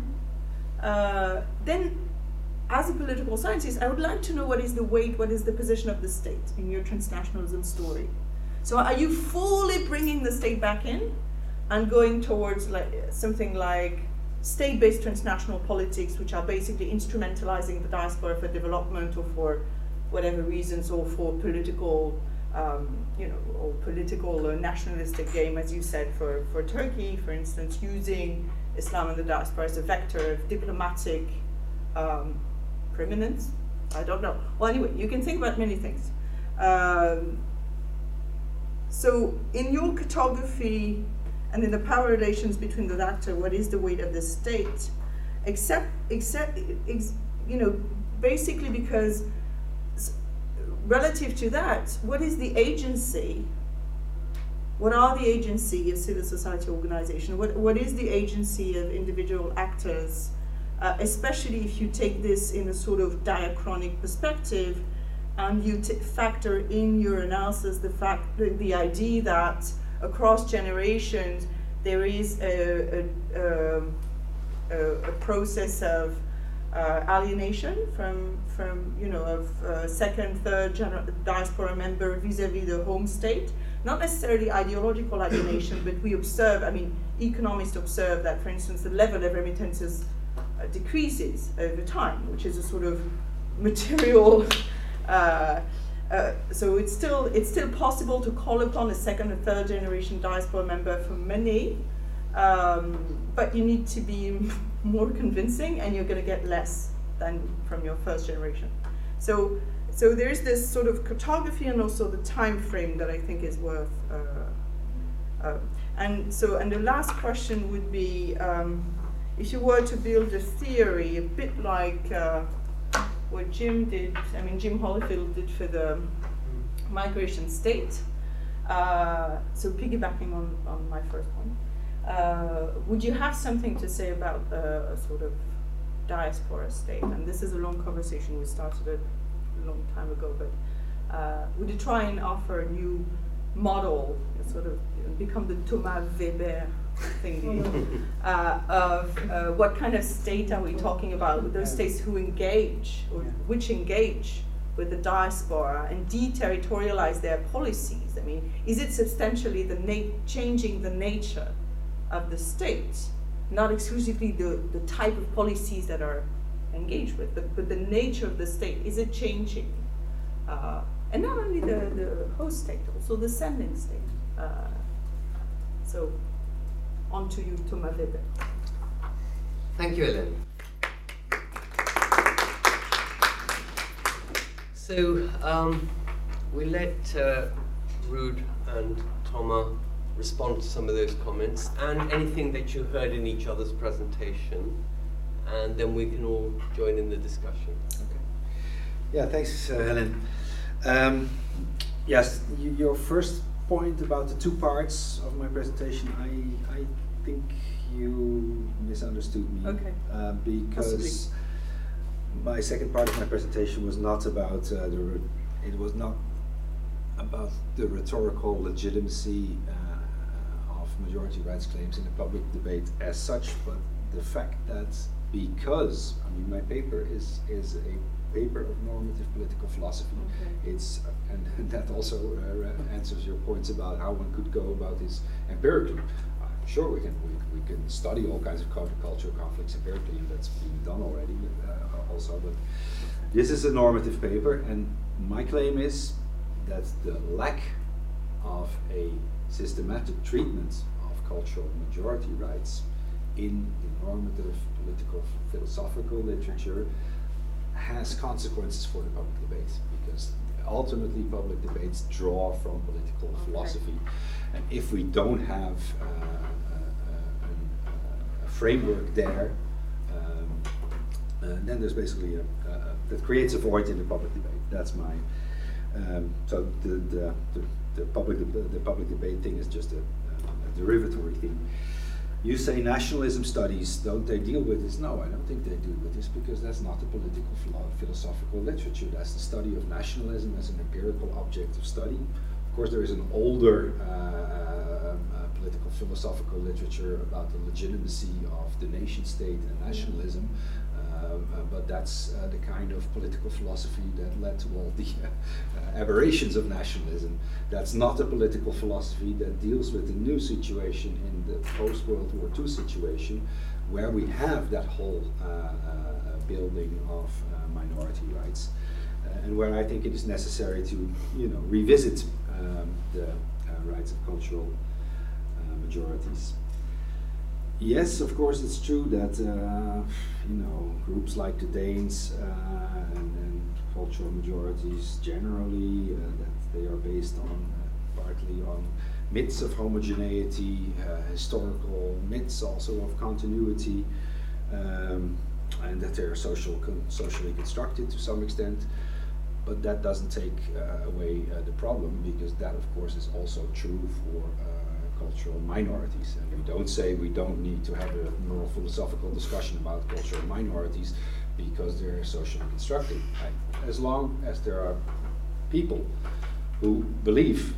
as a political scientist, I would like to know what is the position of the state in your transnationalism story. So are you fully bringing the state back in and going towards something like state-based transnational politics, which are basically instrumentalizing the diaspora for development or for whatever reasons, or for political, or political nationalistic game, as you said, for Turkey, for instance, using Islam and the diaspora as a vector of diplomatic preeminence? I don't know. Well, anyway, you can think about many things. So in your cartography and in the power relations between the actor, what is the weight of the state? Basically because relative to that, what is the agency? What are the agency of civil society organization? What is the agency of individual actors? Especially if you take this in a sort of diachronic perspective, and you factor in your analysis the idea that across generations there is a process of alienation from second, third diaspora member vis-a-vis the home state. Not necessarily ideological alienation, but we observe, economists observe that, for instance, the level of remittances decreases over time, which is a sort of material. So it's still possible to call upon a second or third generation diaspora member for money, but you need to be more convincing, and you're going to get less than from your first generation. So there's this sort of cartography and also the time frame that I think is worth. And the last question would be, if you were to build a theory, a bit like what Jim did, Jim Holyfield did for the migration state. So piggybacking on my first point, would you have something to say about a sort of diaspora state? And this is a long conversation, we started it a long time ago, but would you try and offer a new model, sort of become the Thomas Weber thingy, of what kind of state are we talking about, with those states who engage, or which engage with the diaspora and deterritorialize their policies? Is it substantially changing the nature of the state, not exclusively the type of policies that are engaged with, but the nature of the state? Is it changing? And not only the host state, also the sending state. So on to you, Thomas Weber. Thank you, Hélène. So we let Ruud and Thomas respond to some of those comments and anything that you heard in each other's presentation, and then we can all join in the discussion. Okay. Yeah, thanks, Hélène. Yes, your first point about the two parts of my presentation, I think you misunderstood me. Okay. Because Possibly. my second part of my presentation was not about it was not about the rhetorical legitimacy of majority rights claims in the public debate as such, but the fact that because, I mean, my paper is a paper of normative political philosophy. Okay. It's and that also answers your points about how one could go about this empirically. Sure, we can study all kinds of countercultural conflicts empirically, and that's being done already also. But this is a normative paper, and my claim is that the lack of a systematic treatment of cultural majority rights in the normative political philosophical literature has consequences for the public debate, because ultimately public debates draw from political philosophy, and if we don't have a framework there, then there's basically that creates a void in the public debate. That's my so the public debate thing is just a derivatory thing. You say nationalism studies, don't they deal with this? No, I don't think they deal with this, because that's not the political philosophical literature. That's the study of nationalism as an empirical object of study. Of course, there is an older political philosophical literature about the legitimacy of the nation state and nationalism, but that's the kind of political philosophy that led to all the aberrations of nationalism. That's not a political philosophy that deals with the new situation in the post-World War II situation, where we have that whole building of minority rights, and where I think it is necessary to, revisit the rights of cultural majorities. Yes, of course, it's true that groups like the Danes and cultural majorities generally that they are based on partly on myths of homogeneity, historical myths also of continuity, and that they are socially constructed to some extent. But that doesn't take away the problem, because that, of course, is also true for cultural minorities. And we don't say we don't need to have a more philosophical discussion about cultural minorities because they're socially constructed. As long as there are people who believe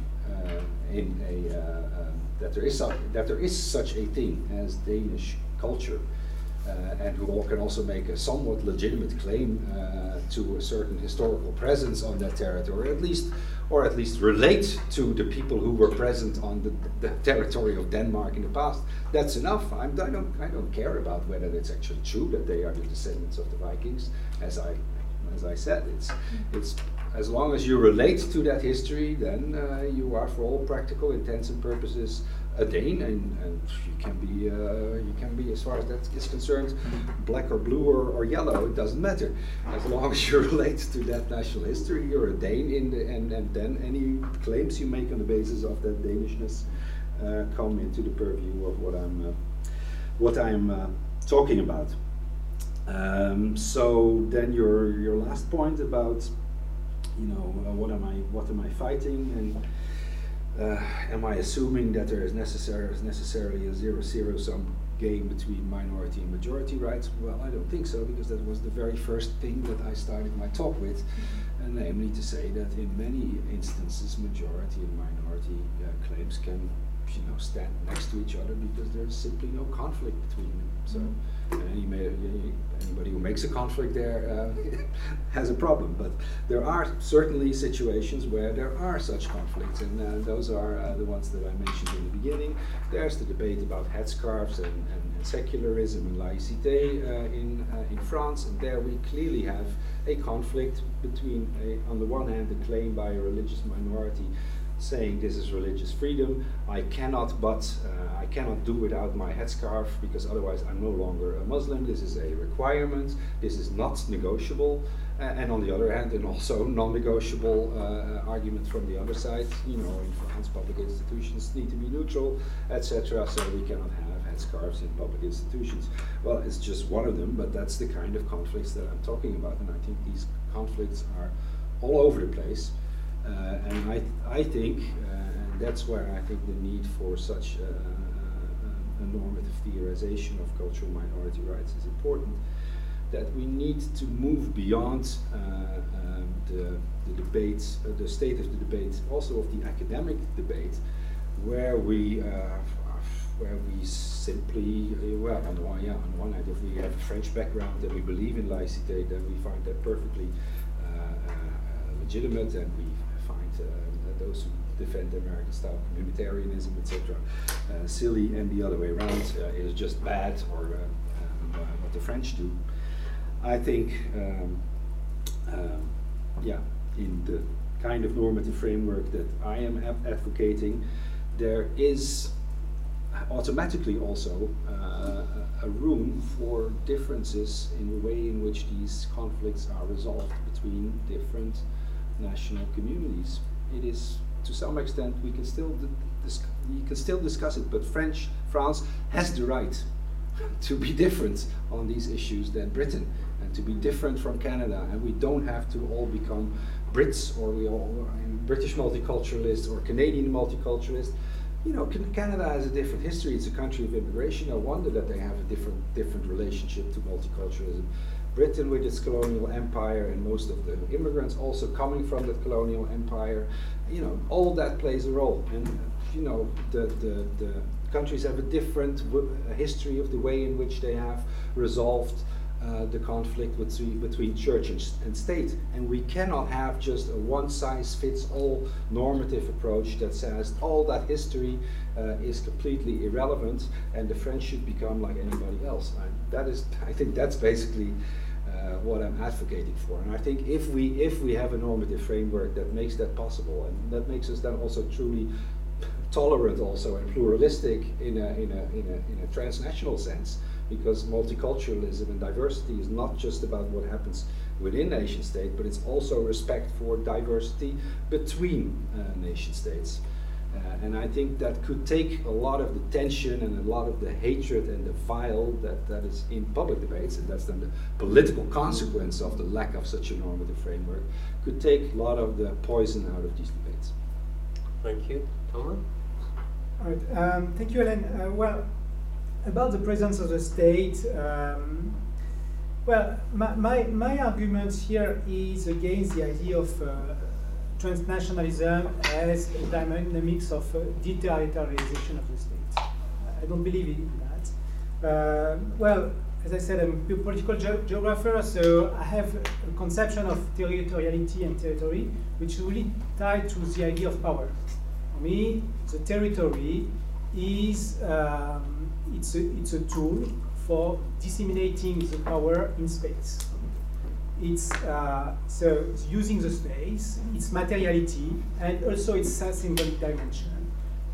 that there is such a thing as Danish culture, and who can also make a somewhat legitimate claim to a certain historical presence on that territory, or at least relate to the people who were present on the territory of Denmark in the past. That's enough. I don't care about whether it's actually true that they are the descendants of the Vikings. As I said, it's as long as you relate to that history, then you are, for all practical intents and purposes, a Dane, and you can be, as far as that is concerned, black or blue or yellow. It doesn't matter. As long as you relate to that national history, you're a Dane. And then any claims you make on the basis of that Danishness come into the purview of what I'm talking about. So then your last point about what am I fighting, and am I assuming that there is necessarily a zero-sum game between minority and majority rights? Well, I don't think so, because that was the very first thing that I started my talk with, and namely to say that in many instances majority and minority claims can stand next to each other because there's simply no conflict between them. So anybody who makes a conflict there has a problem. But there are certainly situations where there are such conflicts, and those are the ones that I mentioned in the beginning. There's the debate about headscarves and secularism and laïcité in France, and there we clearly have a conflict between, on the one hand, the claim by a religious minority saying this is religious freedom. I cannot do without my headscarf because otherwise I'm no longer a Muslim. This is a requirement. This is not negotiable. And on the other hand, and also non-negotiable argument from the other side. In France, public institutions need to be neutral, etc. So we cannot have headscarves in public institutions. Well, it's just one of them, but that's the kind of conflicts that I'm talking about, and I think these conflicts are all over the place. And I think, and that's where I think the need for such a normative theorization of cultural minority rights is important, that we need to move beyond the debates, the state of the debate, also of the academic debate, where we simply, well, on the one hand, if we have a French background and we believe in laïcité, then we find that perfectly legitimate, and we find those who defend American-style communitarianism, etc., silly, and the other way around is just bad, or what the French do. I think, in the kind of normative framework that I am advocating, there is automatically also a room for differences in the way in which these conflicts are resolved between different national communities. It is, to some extent, we can still discuss it, but France has the right to be different on these issues than Britain, and to be different from Canada, and we don't have to all become Brits, or we all British multiculturalists or Canadian multiculturalists. You know, Canada has a different history. It's a country of immigration. No wonder that they have a different relationship to multiculturalism. Britain, with its colonial empire, and most of the immigrants also coming from that colonial empire, you know, all that plays a role. And you know, the countries have a different history of the way in which they have resolved the conflict between church and state. And we cannot have just a one-size-fits-all normative approach that says all that history is completely irrelevant and the French should become like anybody else. I think that's basically what I'm advocating for. And I think if we have a normative framework that makes that possible, and that makes us then also truly tolerant also and pluralistic in a transnational sense, because multiculturalism and diversity is not just about what happens within nation state, but it's also respect for diversity between nation states. And I think that could take a lot of the tension and a lot of the hatred and the vile that is in public debates, and that's then the political consequence of the lack of such a normative framework, could take a lot of the poison out of these debates. Thank you. Thomas? All right. Thank you, Hélène. Well, about the presence of the state, well, my argument here is against the idea of transnationalism as a dynamics of deterritorialization of the state. I don't believe in that. Well, as I said, I'm a political geographer, so I have a conception of territoriality and territory, which is really tied to the idea of power. For me, the territory is it's a tool for disseminating the power in space. It's so it's using the space, its materiality, and also its symbolic dimension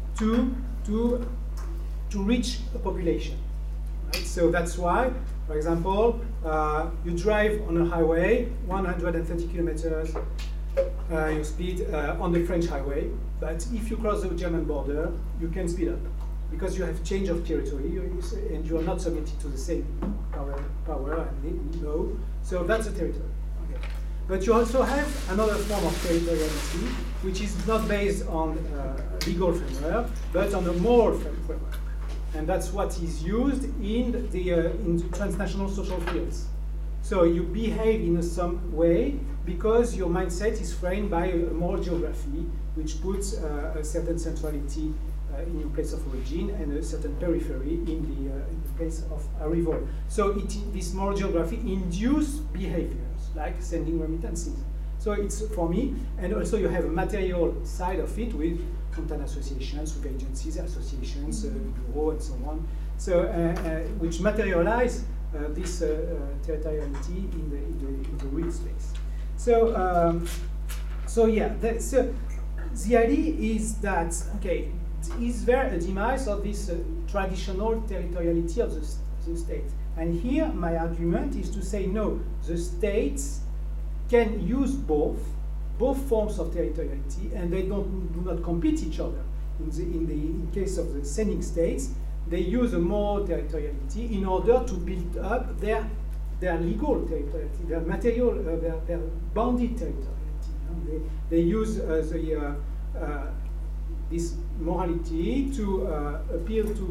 to reach a population. Right? So that's why, for example, you drive on a highway, 130 kilometers your speed on the French highway, but if you cross the German border, you can speed up, because you have change of territory and you are not submitted to the same power and law. So that's a territory. Okay. But you also have another form of territoriality, which is not based on a legal framework, but on a moral framework. And that's what is used in the transnational social fields. So you behave in some way because your mindset is framed by a moral geography, which puts a certain centrality in your place of origin and a certain periphery in the place of arrival. So this moral geography induces behaviors like sending remittances. So it's for me, and also you have a material side of it with content associations, with agencies, associations, bureau, and so on. So which materialize this territoriality in the real space. So so yeah, the idea is that okay. Is there a demise of this traditional territoriality of the state? And here my argument is to say no, the states can use both forms of territoriality, and they do not compete each other. In case of the sending states, they use a more territoriality in order to build up their legal territoriality, their material, their bounded territoriality. They use this morality to appeal to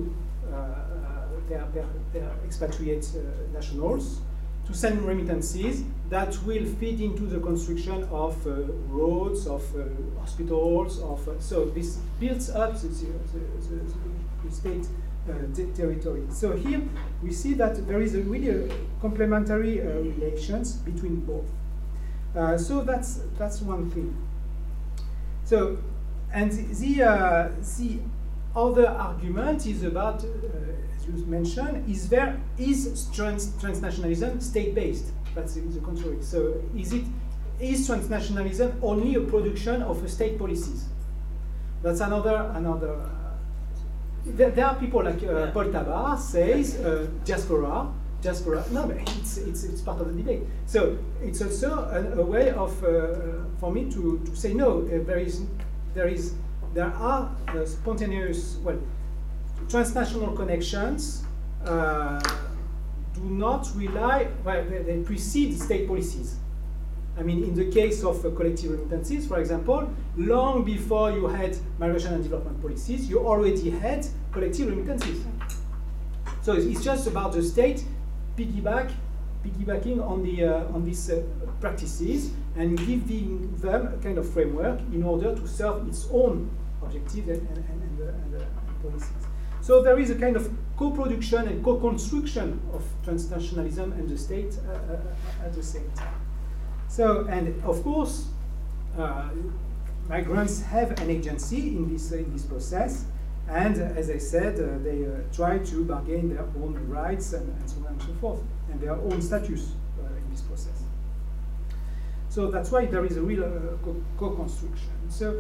their expatriate nationals, to send remittances that will feed into the construction of roads, of hospitals, so this builds up the state territory. So here we see that there is a really complementary relations between both. So that's one thing. So, and the other argument is about, as you mentioned, is transnationalism state-based? That's the contrary. So, is transnationalism only a production of state policies? That's another. There are people like Paul Tabar says diaspora. No, but it's part of the debate. So it's also a way of for me to say no. There are spontaneous, well, transnational connections do not rely, well, they precede state policies. I mean, in the case of collective remittances, for example, long before you had migration and development policies, you already had collective remittances. So it's just about the state piggybacking on these practices and giving them a kind of framework in order to serve its own objectives and policies. So there is a kind of co-production and co-construction of transnationalism and the state at the same time. So, and of course, migrants have an agency in this process, and as I said, they try to bargain their own rights and so on and so forth, and their own status in this process. So that's why there is a real co-construction. So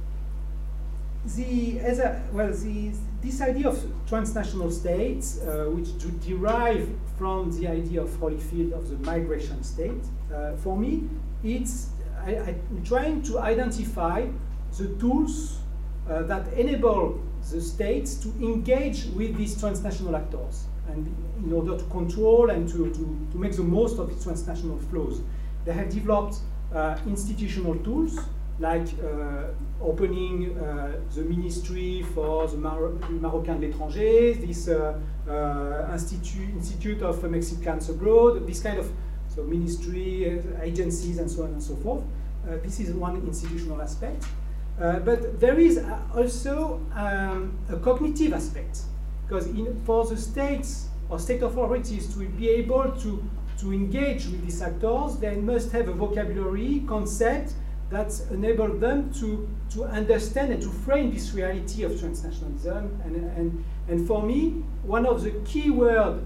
this idea of transnational states, which derive from the idea of Holyfield of the migration state, for me, I'm trying to identify the tools that enable the states to engage with these transnational actors, and in order to control and to make the most of its transnational flows. They have developed institutional tools, like opening the Ministry for the Marocains de l'Étranger, this Institute of Mexicans Abroad, this kind of ministry, agencies, and so on and so forth. This is one institutional aspect. But there is also a cognitive aspect, because for the states or state authorities to be able to engage with these actors, they must have a vocabulary, concept, that enable them to understand and to frame this reality of transnationalism. And for me, one of the key words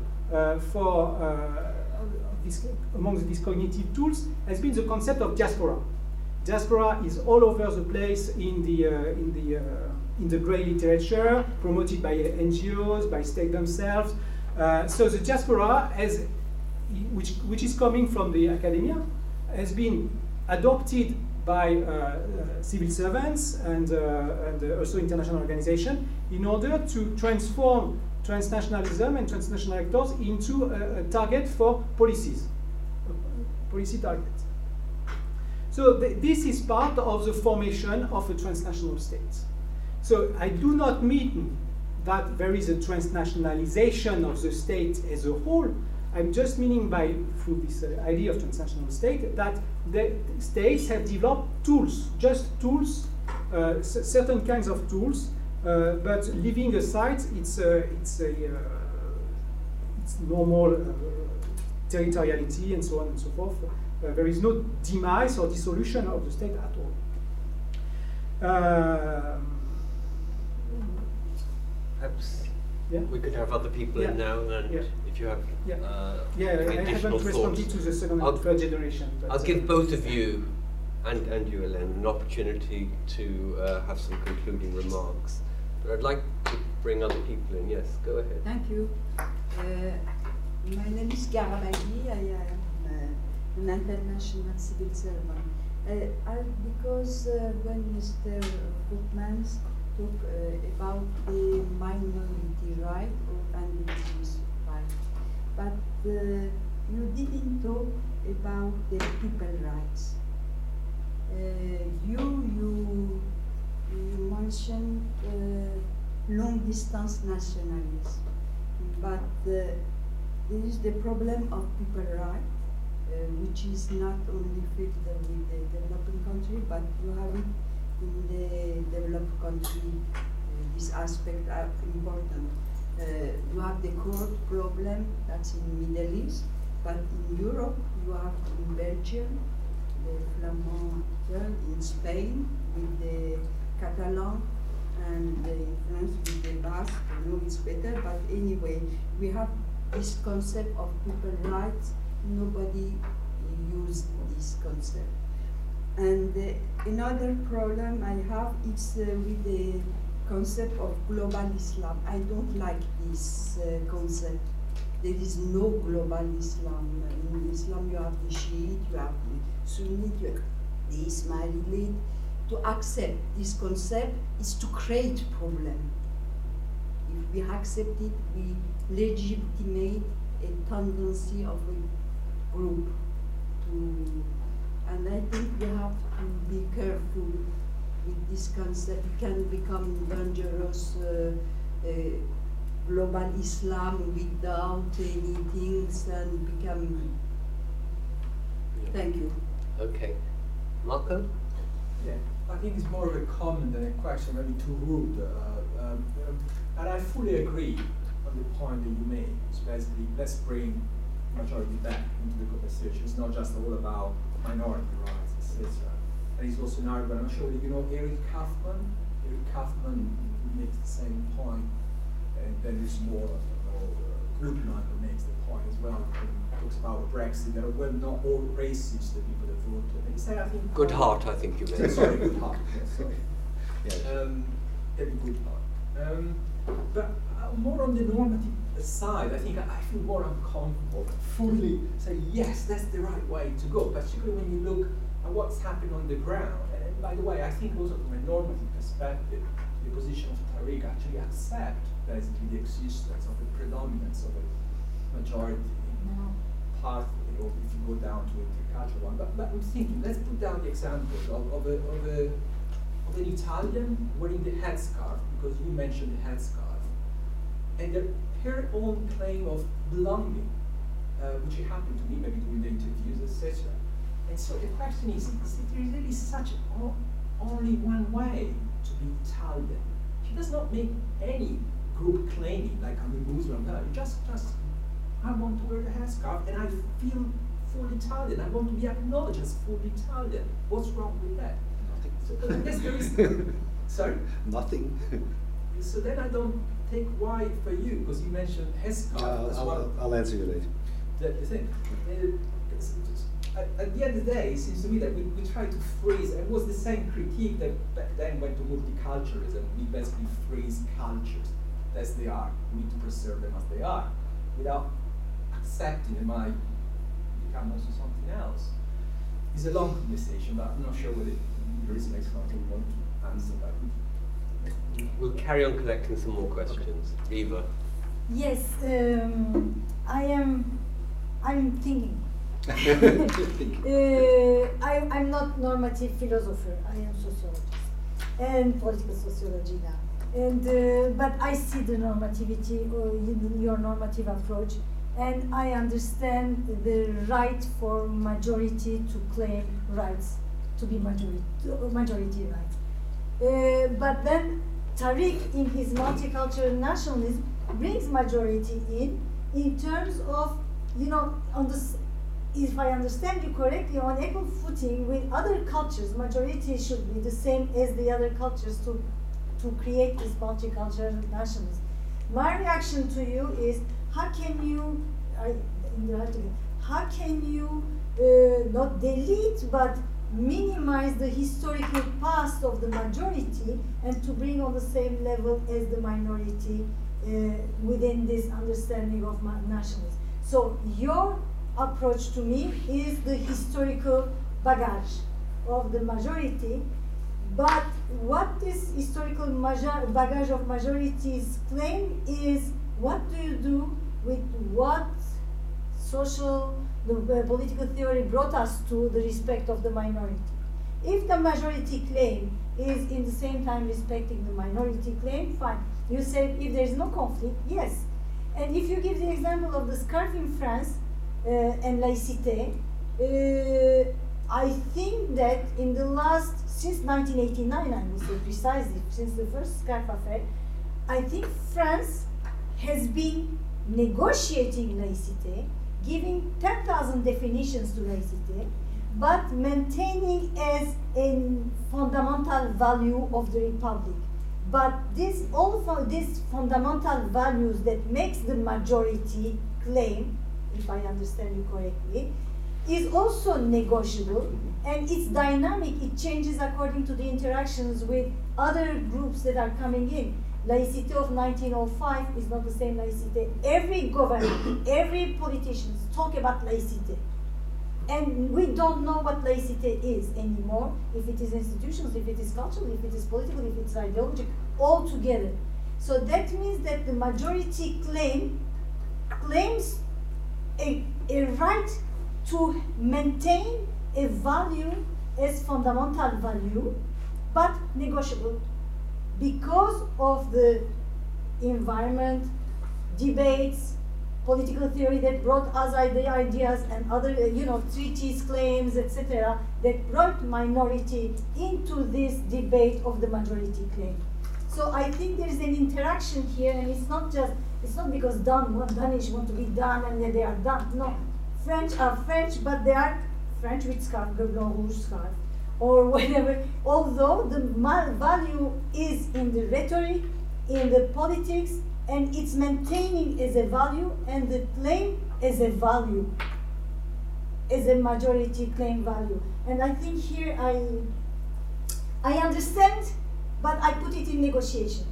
among these cognitive tools has been the concept of diaspora. Diaspora is all over the place in the grey literature, promoted by NGOs, by state themselves. So the diaspora, which is coming from the academia, has been adopted by civil servants and also international organizations in order to transform transnationalism and transnational actors into a target for policies, policy target. So this is part of the formation of a transnational state. So I do not mean that there is a transnationalization of the state as a whole. I'm just meaning through this idea of transnational state, that the states have developed tools, just tools, certain kinds of tools, but leaving aside its normal territoriality and so on and so forth. There is no demise or dissolution of the state at all. Perhaps yeah? we could have other people in now, and if you have I haven't responded to the second and third generation. I'll give both of you and you, Hélène, an opportunity to have some concluding remarks. But I'd like to bring other people in. Yes, go ahead. Thank you. My name is Garamagi. I am an international civil servant. Because when Mr. Voetmans talked about the minority right or indigenous right, but you didn't talk about the people rights. You mentioned long long-distance nationalism. But there is the problem of people rights, which is not only felt with the developing country, but you have it in the developed country. This aspect are important. You have the court problem, that's in Middle East, but in Europe you have in Belgium, the Flamand, in Spain with the Catalan, and in France with the Basque. I know it's better, but anyway, we have this concept of people's rights. Nobody used this concept. And another problem I have is with the concept of global Islam. I don't like this concept. There is no global Islam. In Islam you have the Shiite, you have the Sunni, you have the Ismailite. To accept this concept is to create problem. If we accept it, we legitimate a tendency of a group to, and I think we have to be careful with this concept. It can become dangerous global Islam without any things and become. Thank you. Okay. Marco? Yeah, I think it's more of a comment than a question, maybe too rude. And I fully agree on the point that you made. It's basically, let's bring majority back into the conversation. It's not just all about minority rights, etc. And it's also an argument. I'm sure you know Eric Kaufman. Eric Kaufman makes the same point, and then there's more Goodman who makes the point as well. He talks about Brexit. That well, not all racist, the people that voted. And he said, I think Goodhart, I think you meant. Sorry, Goodhart. Yes, sorry. Yes. David Goodhart. But more on the normative side, I think I feel more uncomfortable fully say yes, that's the right way to go. Particularly when you look at what's happening on the ground. And by the way, I think also from a normative perspective, the position of Tariq actually accept basically the existence of the predominance of a majority pathway, or if you go down to a intercultural one. But I'm thinking, let's put down the example of an Italian wearing the headscarf, because you mentioned the headscarf, and her own claim of belonging, which happened to me maybe during the interviews, etc. And so the question is there really such only one way to be Italian? She does not make any group claiming like I'm a Muslim. No, just I want to wear the headscarf and I feel full Italian. I want to be acknowledged as full Italian. What's wrong with that? Nothing. So unless there is sorry? Nothing. So then I don't take why for you, because you mentioned headscarf as well. I'll answer you later. The thing. At the end of the day, it seems to me that we try to freeze, and it was the same critique that back then went to multiculturalism. We basically freeze cultures as they are. We need to preserve them as they are, without accepting they might become also something else. It's a long conversation, but I'm not sure whether there is an expert who want to answer that. We'll carry on collecting some more questions. Okay. Eva. Yes, I'm thinking. I'm not normative philosopher. I am sociologist and political sociology now. And but I see the normativity in your normative approach, and I understand the right for majority to claim rights, to be majority rights. But then Tariq, in his multicultural nationalism, brings majority in terms of, you know, on the. If I understand you correctly, on equal footing with other cultures, majority should be the same as the other cultures to create this multicultural nationalism. My reaction to you is, how can you, not delete but minimize the historical past of the majority and to bring on the same level as the minority within this understanding of nationalism? So your approach to me is the historical baggage of the majority, but what this historical baggage of majorities claim is, what do you do with what political theory brought us to, the respect of the minority? If the majority claim is in the same time respecting the minority claim, fine. You said if there is no conflict, yes. And if you give the example of the scarf in France and laïcité, I think that in the last, since 1989, I will say precisely, since the first scarf affair, I think France has been negotiating laïcité, giving 10,000 definitions to laïcité, but maintaining as a fundamental value of the Republic. But this, these fundamental values that makes the majority claim, if I understand you correctly, is also negotiable, and it's dynamic. It changes according to the interactions with other groups that are coming in. Laïcité of 1905 is not the same laïcité. Every government, every politician talk about laïcité. And we don't know what laïcité is anymore, if it is institutions, if it is cultural, if it is political, if it's ideological, all together. So that means that the majority claims a right to maintain a value as fundamental value, but negotiable, because of the environment, debates, political theory that brought us the ideas and other, treaties, claims, etc., that brought minority into this debate of the majority claim. So I think there is an interaction here, and it's not because Danish want to be done and then they are done. No, French are French, but they are French with scarf, Blanc Rouge scarf, or whatever. Although the value is in the rhetoric, in the politics, and it's maintaining as a value, and the claim as a value, as a majority claim value. And I think here I understand, but I put it in negotiation.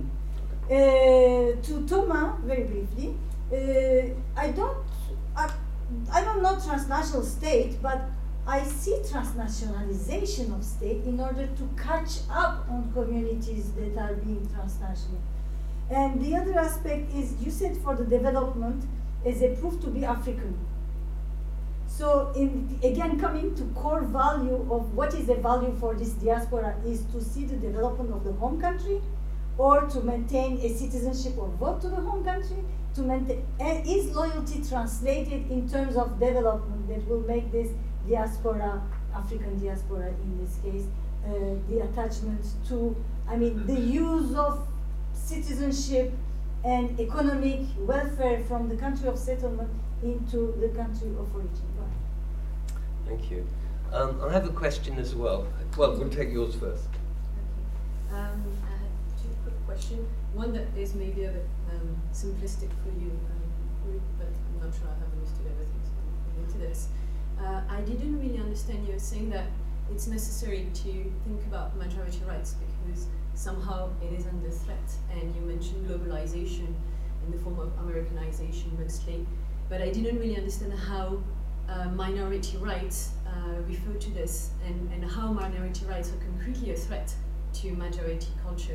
To Thomas, very briefly, I don't know transnational state, but I see transnationalization of state in order to catch up on communities that are being transnational. And the other aspect is, you said for the development as a proof to be African. So again, coming to core value of what is the value for this diaspora is to see the development of the home country, or to maintain a citizenship or vote to the home country, to maintain, and is loyalty translated in terms of development that will make this diaspora, African diaspora in this case, the attachment to, the use of citizenship and economic welfare from the country of settlement into the country of origin. Thank you. I have a question as well. Well, we'll take yours first. Okay. I had two quick questions. One that is maybe a bit simplistic for you, but I'm not sure I have understood everything into this. I didn't really understand you saying that it's necessary to think about majority rights because somehow it is under threat, and you mentioned globalization in the form of Americanization mostly, but I didn't really understand how minority rights refer to this, and how minority rights are concretely a threat to majority culture.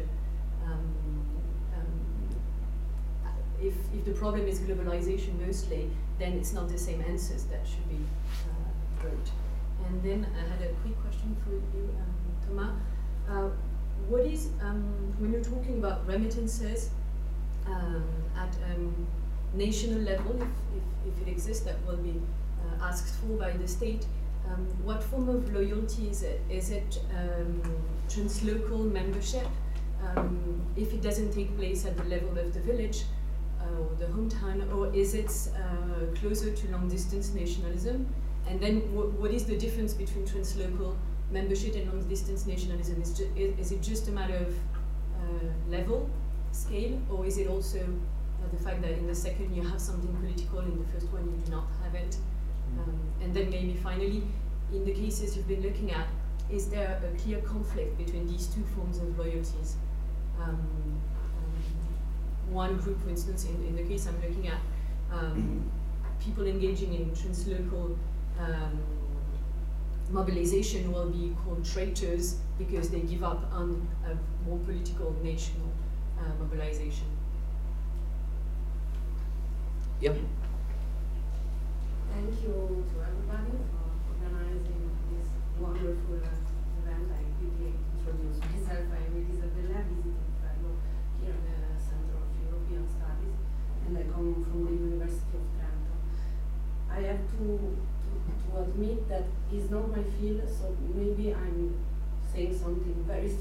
If the problem is globalization mostly, then it's not the same answers that should be brought. And then I had a quick question for you, Thomas. What is, when you're talking about remittances at national level, if it exists, that will be asked for by the state, what form of loyalty is it? Is it translocal membership? If it doesn't take place at the level of the village or the hometown, or is it closer to long-distance nationalism? And then what is the difference between translocal membership and long-distance nationalism? Is it just a matter of level, scale, or is it also the fact that in the second you have something political, in the first one you do not have it? And then maybe finally, in the cases you've been looking at, is there a clear conflict between these two forms of loyalties? One group, for instance, in the case I'm looking at, people engaging in translocal mobilization will be called traitors because they give up on a more political national mobilization. Yep. Thank you to everybody for organizing this wonderful event. I quickly introduce myself. I'm Elisabella, visiting fellow here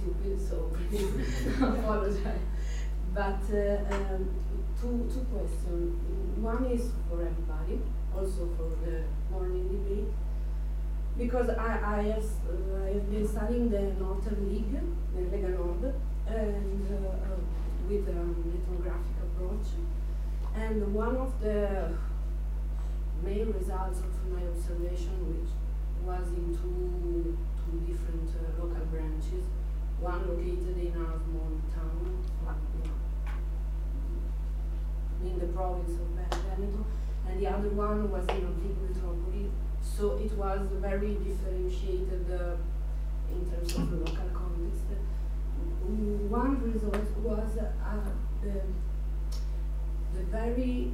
stupid, so please apologize. But two questions. One is for everybody, also for the morning debate, because I have been studying the Northern League, the Lega Nord, and with an ethnographic approach. And one of the main results of my observation, which was in two different local branches, one located in a small town in the province of Veneto, and the other one was in a big metropolis. So it was very differentiated in terms of the local context. One result was the very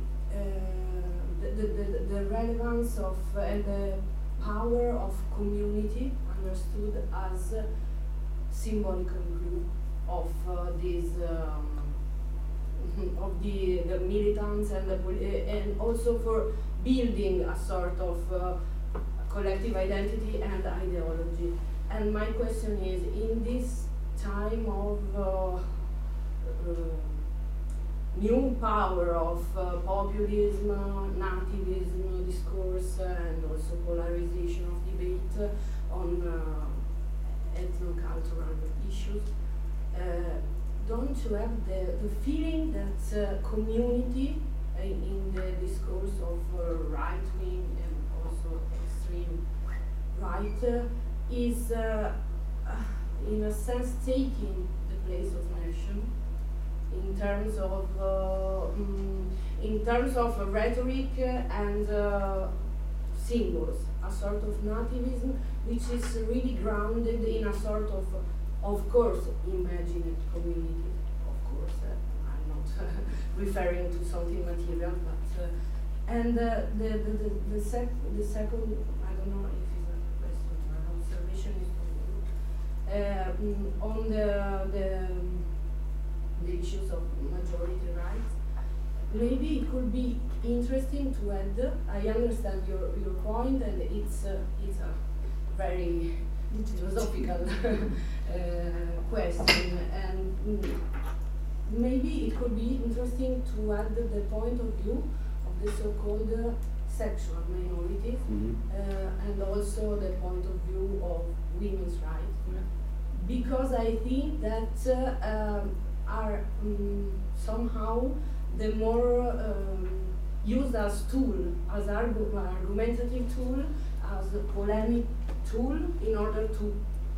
the relevance of and the power of community understood as symbolical glue of these of the militants and also for building a sort of collective identity and ideology. And my question is, in this time of new power of populism, nativism discourse, and also polarization of debate on ethno-cultural issues, don't you have the feeling that community in the discourse of right-wing and also extreme right is in a sense taking the place of nation in terms of rhetoric and symbols, a sort of nativism which is really grounded in a sort of course, imagined community. Of course, I'm not referring to something material, but and the second, I don't know if it's a question or an observation, is on the issues of majority rights. Maybe it could be interesting to add. I understand your point, and it's a very philosophical question, and maybe it could be interesting to add the point of view of the so-called sexual minorities, and also the point of view of women's rights, because I think that are somehow the more used as tool, as argumentative tool, as a polemic tool in order to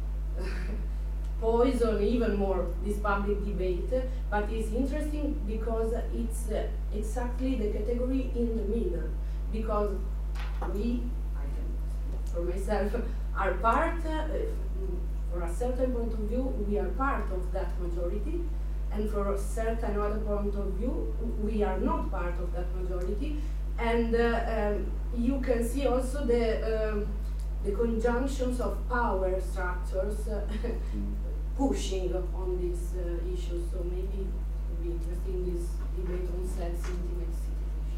poison even more this public debate. But it's interesting because it's exactly the category in the middle, because we, I can speak for myself, are part, for a certain point of view, we are part of that majority, and for a certain other point of view, we are not part of that majority. And you can see also the conjunctions of power structures pushing on these issues. So maybe it would be interesting, this debate on sex intimacy.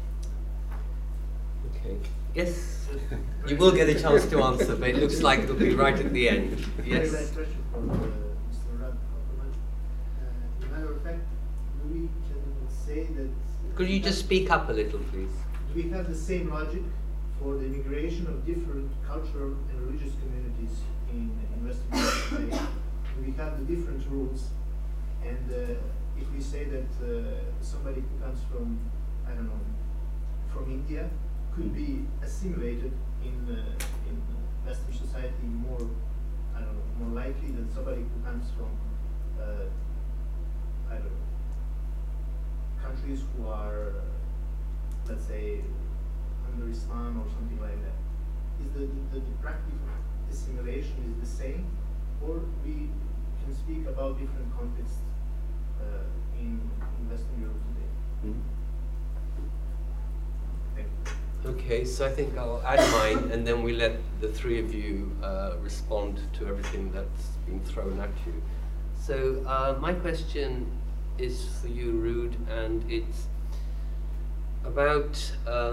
Okay. Yes, you will get a chance to answer, but it looks like it'll be right at the end. Yes. Very question for Mr. Rad. As a matter of fact, we can say that. Could you just speak up a little, please? Do we have the same logic for the immigration of different cultural and religious communities in Western Europe today? Do we have the different rules? And if we say that somebody who comes from, I don't know, from India could be assimilated in Western society more, I don't know, more likely than somebody who comes from, I don't know, countries who are, let's say, under Islam or something like that. Is the practice of assimilation is the same, or we can speak about different contexts in Western Europe today? Thank you. Okay, so I think I'll add mine, and then we let the three of you respond to everything that's been thrown at you. So my question is for you, Ruud, and it's about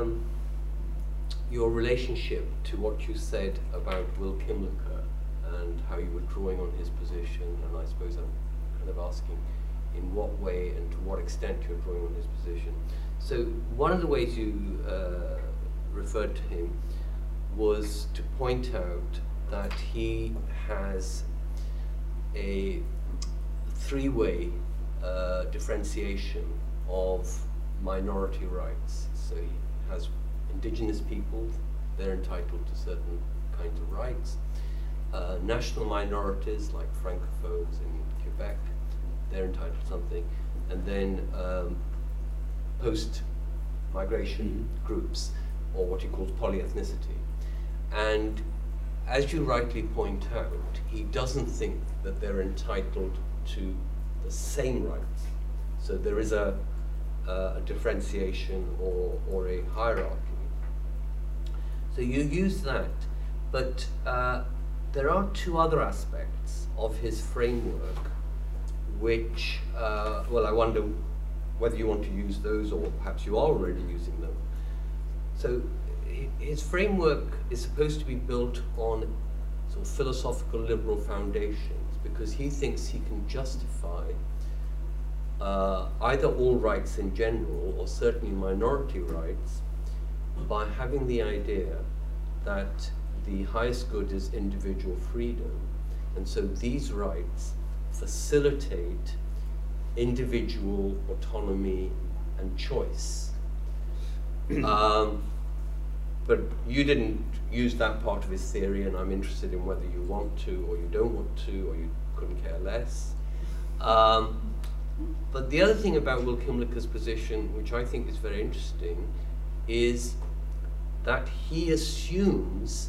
your relationship to what you said about Will Kimlicka and how you were drawing on his position, and I suppose I'm kind of asking in what way and to what extent you're drawing on his position. So one of the ways you referred to him was to point out that he has a three-way differentiation of minority rights. So he has indigenous people, they're entitled to certain kinds of rights. National minorities like francophones in Quebec, they're entitled to something. And then post-migration groups, or what he calls polyethnicity. And as you rightly point out, he doesn't think that they're entitled to the same rights. So there is a differentiation or a hierarchy. So you use that, but there are two other aspects of his framework which, well, I wonder whether you want to use those or perhaps you are already using them. So his framework is supposed to be built on sort of philosophical liberal foundations, because he thinks he can justify either all rights in general or certainly minority rights by having the idea that the highest good is individual freedom, and so these rights facilitate individual autonomy and choice. But you didn't use that part of his theory, and I'm interested in whether you want to or you don't want to, or you couldn't care less. But the other thing about Will Kymlicka's position, which I think is very interesting, is that he assumes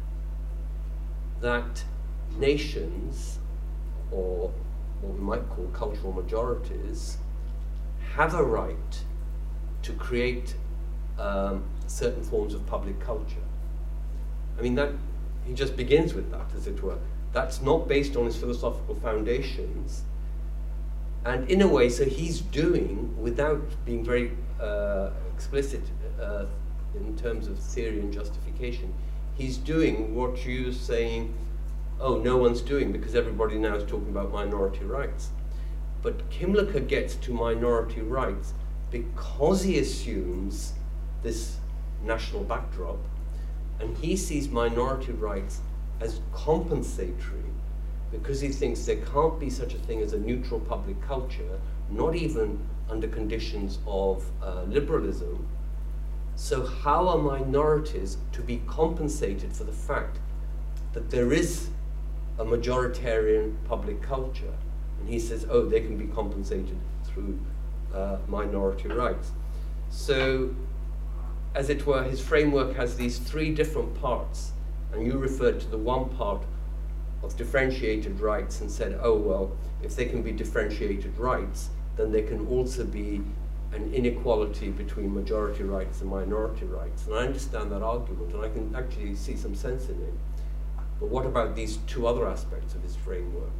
that nations, or what we might call cultural majorities, have a right to create certain forms of public culture. I mean, that he just begins with that, as it were. That's not based on his philosophical foundations. And in a way, so he's doing, without being very explicit in terms of theory and justification, he's doing what you're saying, oh, no one's doing, because everybody now is talking about minority rights. But Kymlicka gets to minority rights because he assumes this national backdrop, and he sees minority rights as compensatory, because he thinks there can't be such a thing as a neutral public culture, not even under conditions of liberalism. So how are minorities to be compensated for the fact that there is a majoritarian public culture? And he says, oh, they can be compensated through minority rights. So, as it were, his framework has these three different parts, and you referred to the one part of differentiated rights and said, oh, well, if they can be differentiated rights, then there can also be an inequality between majority rights and minority rights. And I understand that argument, and I can actually see some sense in it. But what about these two other aspects of his framework?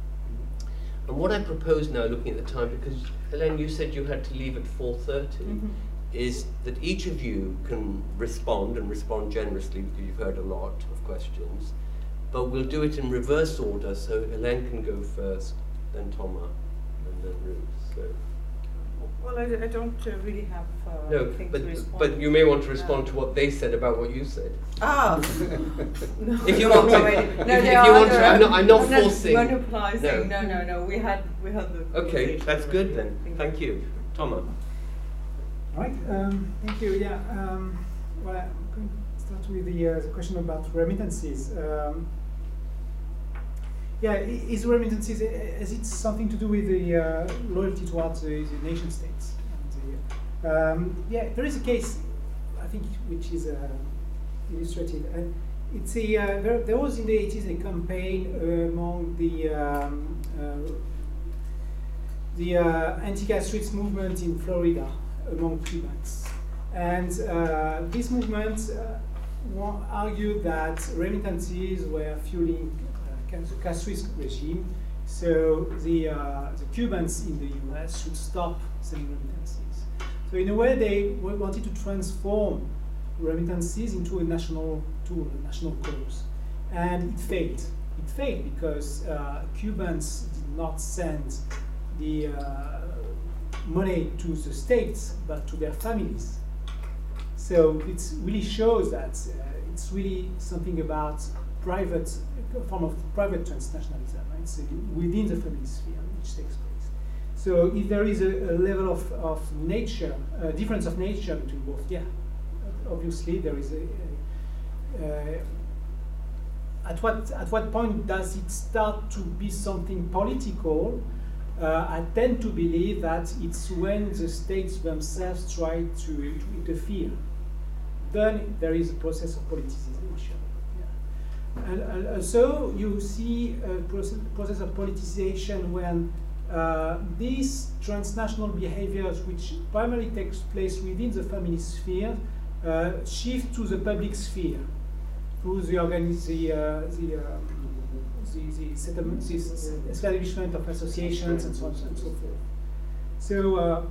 And what I propose now, looking at the time, because Hélène, you said you had to leave at 4:30, is that each of you can respond, and respond generously, because you've heard a lot of questions. But we'll do it in reverse order, so Hélène can go first, then Thomas, and then Ruth. So. Well, I don't really have things to respond. But you may want to respond to what they said about what you said. Ah! No, if you want to. If you want to, I'm not forcing. Monopolizing. No. We had the. Okay, that's good then. Thank you, Thomas. All right. Thank you. Yeah. Well, I'm going to start with the question about remittances. Yeah, is remittances, has it something to do with the loyalty towards the nation states? And yeah, there is a case, I think, which is illustrative. And it's there was in the 80s a campaign among the anti-castrists movement in Florida among Cubans. And this movement argued that remittances were fueling castrist regime, so the Cubans in the US should stop sending remittances. So in a way, they wanted to transform remittances into a national tool, a national cause, and it failed. it failed because Cubans did not send the money to the states, but to their families. So it really shows that it's really something about private, a form of private transnationalism, right? So within the family sphere, which takes place. So if there is a level of nature, difference of nature between both, yeah, obviously there is at what point does it start to be something political? I tend to believe that it's when the states themselves try to interfere. Then there is a process of politicization. Yeah. And so you see a process of politicization when these transnational behaviors, which primarily takes place within the family sphere, shift to the public sphere through the settlement, the establishment of associations and so on and so forth. So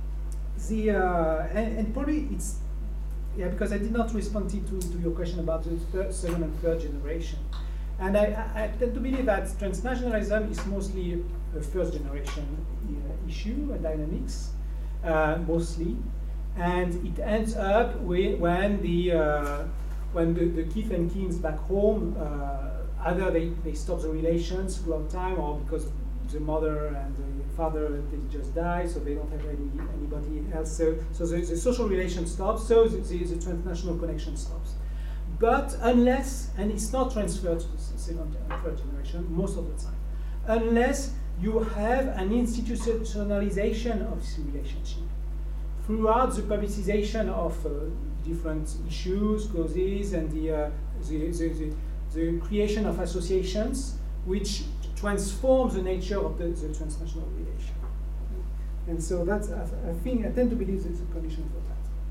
and probably it's, yeah, because I did not respond to your question about the second and third generation. And I tend to believe that transnationalism is mostly a first generation issue and dynamics, mostly. And it ends up with when the kith and kings back home, either they stop the relations for a long time, or because the mother and the father, they just die, so they don't have anybody else. So the social relation stops, so the transnational connection stops. But unless, and it's not transferred to the second and third generation most of the time, unless you have an institutionalization of this relationship throughout the publicization of different issues, causes, and the creation of associations which transform the nature of the transnational relation. And so that's, I think, I tend to believe there's a condition for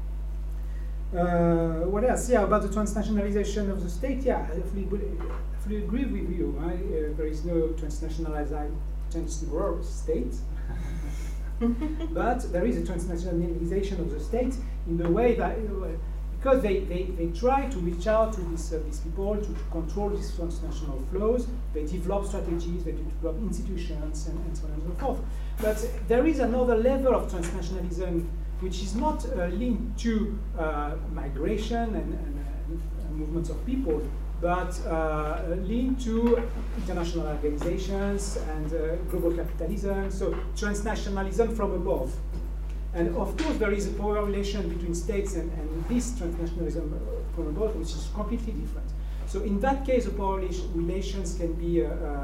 that. What else? Yeah, about the transnationalization of the state, yeah, I fully agree with you. Right? There is no transnational state. But there is a transnationalization of the state in the way that, because they try to reach out to these people, to control these transnational flows, they develop strategies, they develop institutions, and so on and so forth. But there is another level of transnationalism which is not linked to migration and movements of people, but linked to international organizations and global capitalism, so transnationalism from above. And of course, there is a power relation between states and this transnationalism from above, which is completely different. So in that case, the power relations can be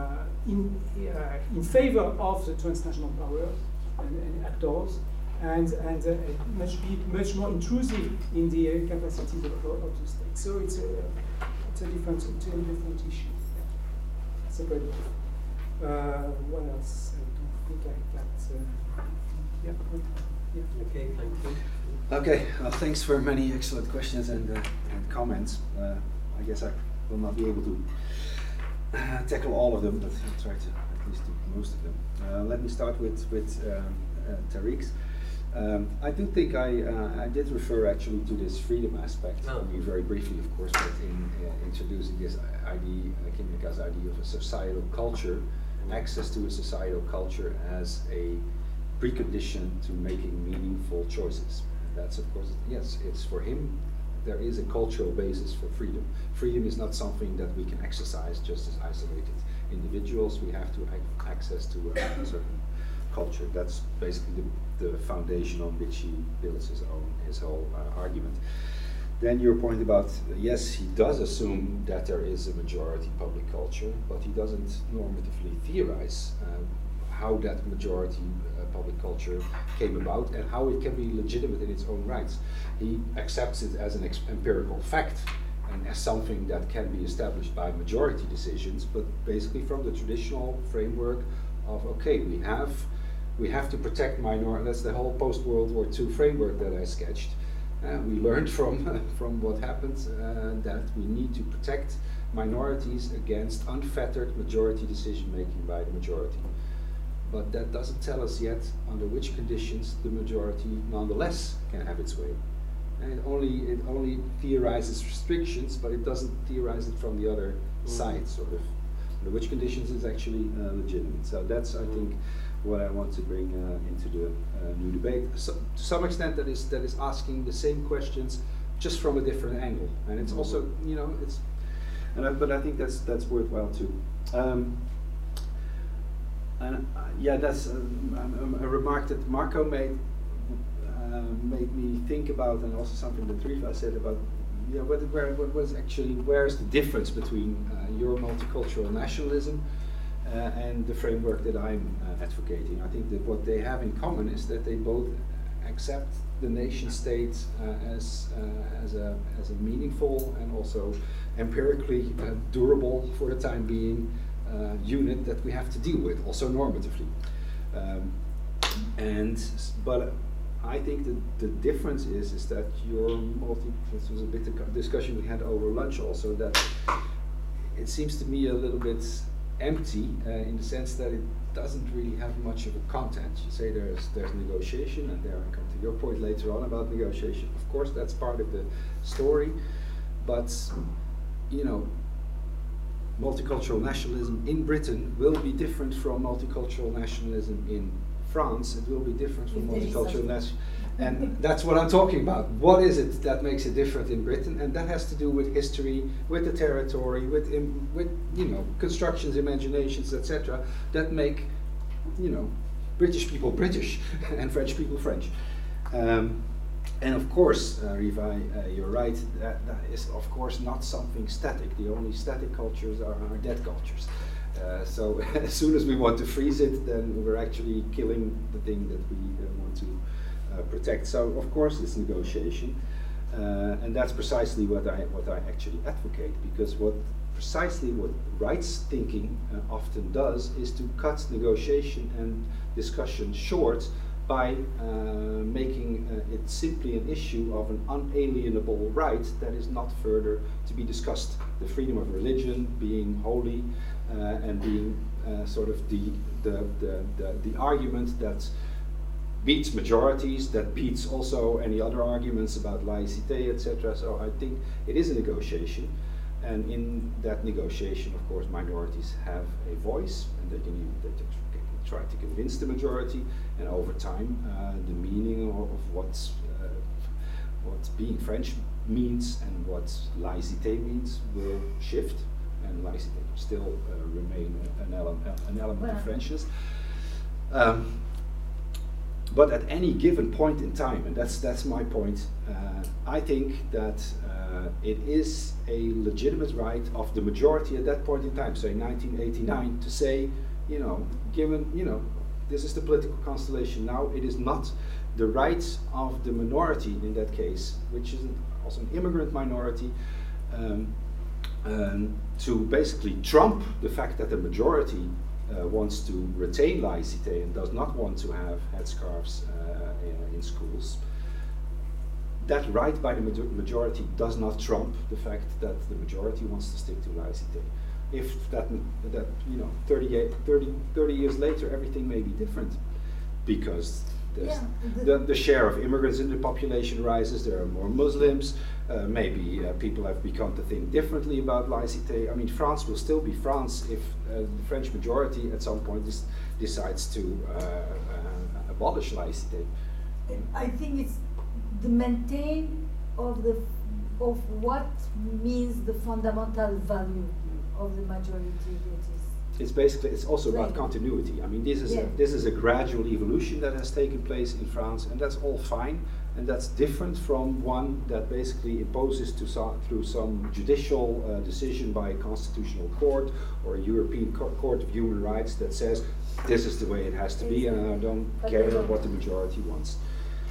in favor of the transnational powers and actors, and much more intrusive in the capacities of the state. So it's a different issue. Yeah. Separate. What else? I don't think I got. Yeah. Okay, thank you. Okay, thanks for many excellent questions and comments. I guess I will not be able to tackle all of them, but I'll try to at least do most of them. Let me start with Tariq's. I do think I did refer actually to this freedom aspect, only very briefly, of course, but in introducing this idea, Kimika's idea of a societal culture, access to a societal culture as a precondition to making meaningful choices. That's, of course, yes, it's for him, there is a cultural basis for freedom. Freedom is not something that we can exercise just as isolated individuals. We have to have access to a certain culture. That's basically the foundation on which he builds his whole argument. Then your point about, yes, he does assume that there is a majority public culture, but he doesn't normatively theorize how that majority public culture came about and how it can be legitimate in its own rights. He accepts it as an empirical fact and as something that can be established by majority decisions, but basically from the traditional framework of, okay, we have to protect minorities. That's the whole post-World War II framework that I sketched. We learned from what happened that we need to protect minorities against unfettered majority decision making by the majority. But that doesn't tell us yet under which conditions the majority nonetheless can have its way. And it only theorizes restrictions, but it doesn't theorize it from the other side, sort of. under which conditions it's actually legitimate. So that's, I think, what I want to bring into the new debate. So, to some extent, that is asking the same questions, just from a different angle, and it's also, you know, it's. But I think that's worthwhile too. Yeah, that's a remark that Marco made me think about, and also something that Riva said about, yeah, where's the difference between your multicultural nationalism and the framework that I'm advocating. I think that what they have in common is that they both accept the nation state as a meaningful and also empirically durable, for the time being, unit that we have to deal with, also normatively. But I think the difference is that this was a bit of discussion we had over lunch also, that it seems to me a little bit empty in the sense that it doesn't really have much of a content. You say there's negotiation, and there I come to your point later on about negotiation. Of course, that's part of the story, but you know, multicultural nationalism in Britain will be different from multicultural nationalism in France. It will be different from multicultural nationalism, and that's what I'm talking about. What is it that makes it different in Britain? And that has to do with history, with the territory, with you know, constructions, imaginations, etc. that make, you know, British people British and French people French. And of course, Riva, you're right, that is of course not something static. The only static cultures are dead cultures. So as soon as we want to freeze it, then we're actually killing the thing that we want to protect. So of course it's negotiation, and that's precisely what I actually advocate, because what rights thinking often does is to cut negotiation and discussion short by making it simply an issue of an unalienable right that is not further to be discussed. The freedom of religion being holy, and being sort of the argument that beats majorities, that beats also any other arguments about laïcité, etc. So I think it is a negotiation, and in that negotiation, of course, minorities have a voice, and they can try to convince the majority, and over time the meaning of what being French means and what laïcité means will shift, and laïcité will still remain an element of Frenchness. But at any given point in time, and that's my point, I think that it is a legitimate right of the majority at that point in time, say 1989, to say, you know, given, you know, this is the political constellation now, it is not the right of the minority in that case, which is also an immigrant minority, to basically trump the fact that the majority wants to retain laïcité and does not want to have headscarves in schools. That right by the majority does not trump the fact that the majority wants to stick to laïcité. If that you know, 30 years later, everything may be different, because the share of immigrants in the population rises, there are more Muslims, maybe people have begun to think differently about laïcité. I mean, France will still be France if the French majority at some point decides to abolish laïcité. I think it's the maintain of what means the fundamental value of the majority that is. It's also about continuity. I mean, this is a gradual evolution that has taken place in France, and that's all fine, and that's different from one that basically imposes through some judicial decision by a constitutional court or a European Court of Human Rights that says this is the way it has to be, and I don't care what the majority wants.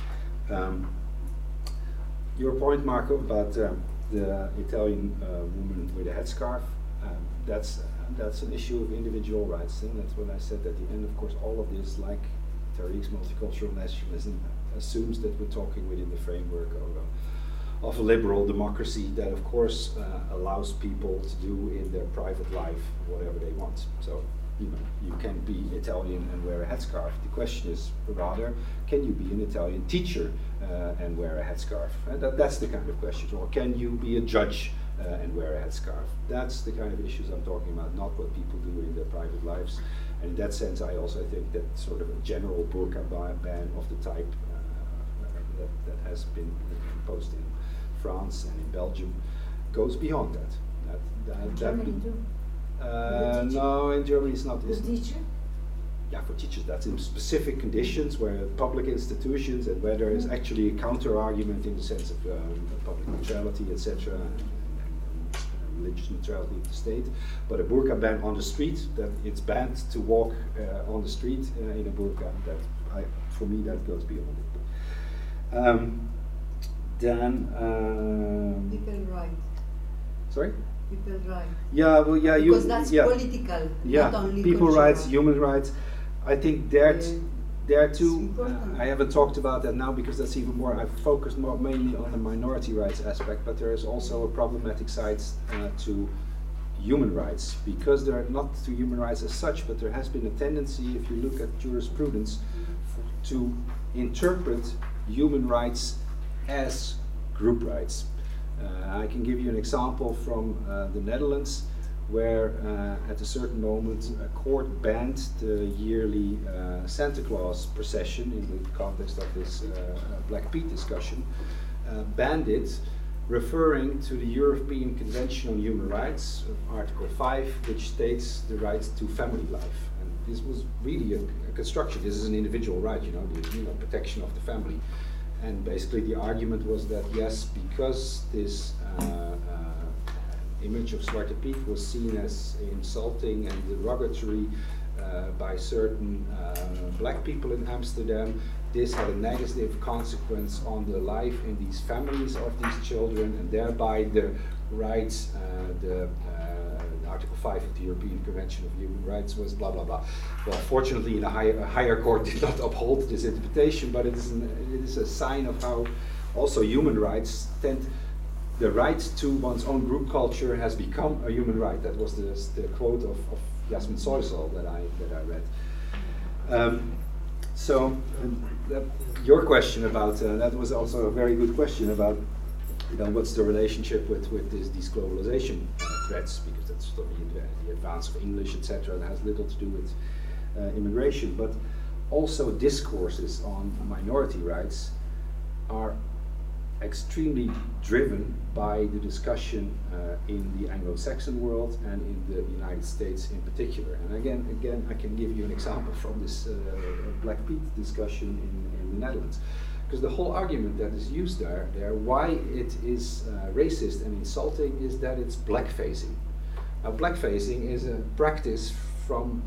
Your point, Marco, about the Italian woman with a headscarf, that's an issue of individual rights, and that's what I said at the end. Of course, all of this, like Tariq's multicultural nationalism, assumes that we're talking within the framework of a liberal democracy that, of course, allows people to do in their private life whatever they want. So, you know, you can be Italian and wear a headscarf. The question is rather, can you be an Italian teacher and wear a headscarf? And that's the kind of question. Or can you be a judge and wear a headscarf. That's the kind of issues I'm talking about, not what people do in their private lives. And in that sense, I also think that sort of a general burqa ban of the type that has been imposed in France and in Belgium goes beyond that. Germany too. No, in Germany it's not. The teacher? Yeah, for teachers, that's in specific conditions where public institutions and where there is actually a counter argument in the sense of public neutrality, etc., and religious neutrality of the state. But a burqa ban on the street, that it's banned to walk on the street in a burqa. For me, that goes beyond it. People right. Sorry? People right. Yeah, well, yeah, because that's political, yeah, not only people cultural. rights, human rights. I think there too. important. I haven't talked about that now because that's even more. I've focused more mainly on the minority rights aspect, but there is also a problematic side to human rights, because there are not to human rights as such, but there has been a tendency, if you look at jurisprudence, to interpret human rights as group rights. I can give you an example from the Netherlands, where at a certain moment a court banned the yearly Santa Claus procession in the context of this Black Pete discussion, banned it, referring to the European Convention on Human Rights, Article 5, which states the right to family life. And this was really a construction. This is an individual right, the protection of the family. And basically the argument was that yes, because this image of Zwarte Piet was seen as insulting and derogatory by certain black people in Amsterdam, this had a negative consequence on the life in these families of these children, and thereby the rights, Article 5 of the European Convention of Human Rights was blah blah blah. Well, fortunately, a higher court did not uphold this interpretation, but it is a sign of how also human rights tend. The right to one's own group culture has become a human right. That was the quote of Yasmin Soysal that I read. Your question about that was also a very good question about what's the relationship with these globalization threats, because that's the advance of English, etc. That has little to do with immigration, but also discourses on minority rights are extremely driven by the discussion in the Anglo-Saxon world and in the United States in particular. And again, I can give you an example from this Black Pete discussion in the Netherlands, because the whole argument that is used there why it is racist and insulting is that it's blackfacing. Now, blackfacing is a practice from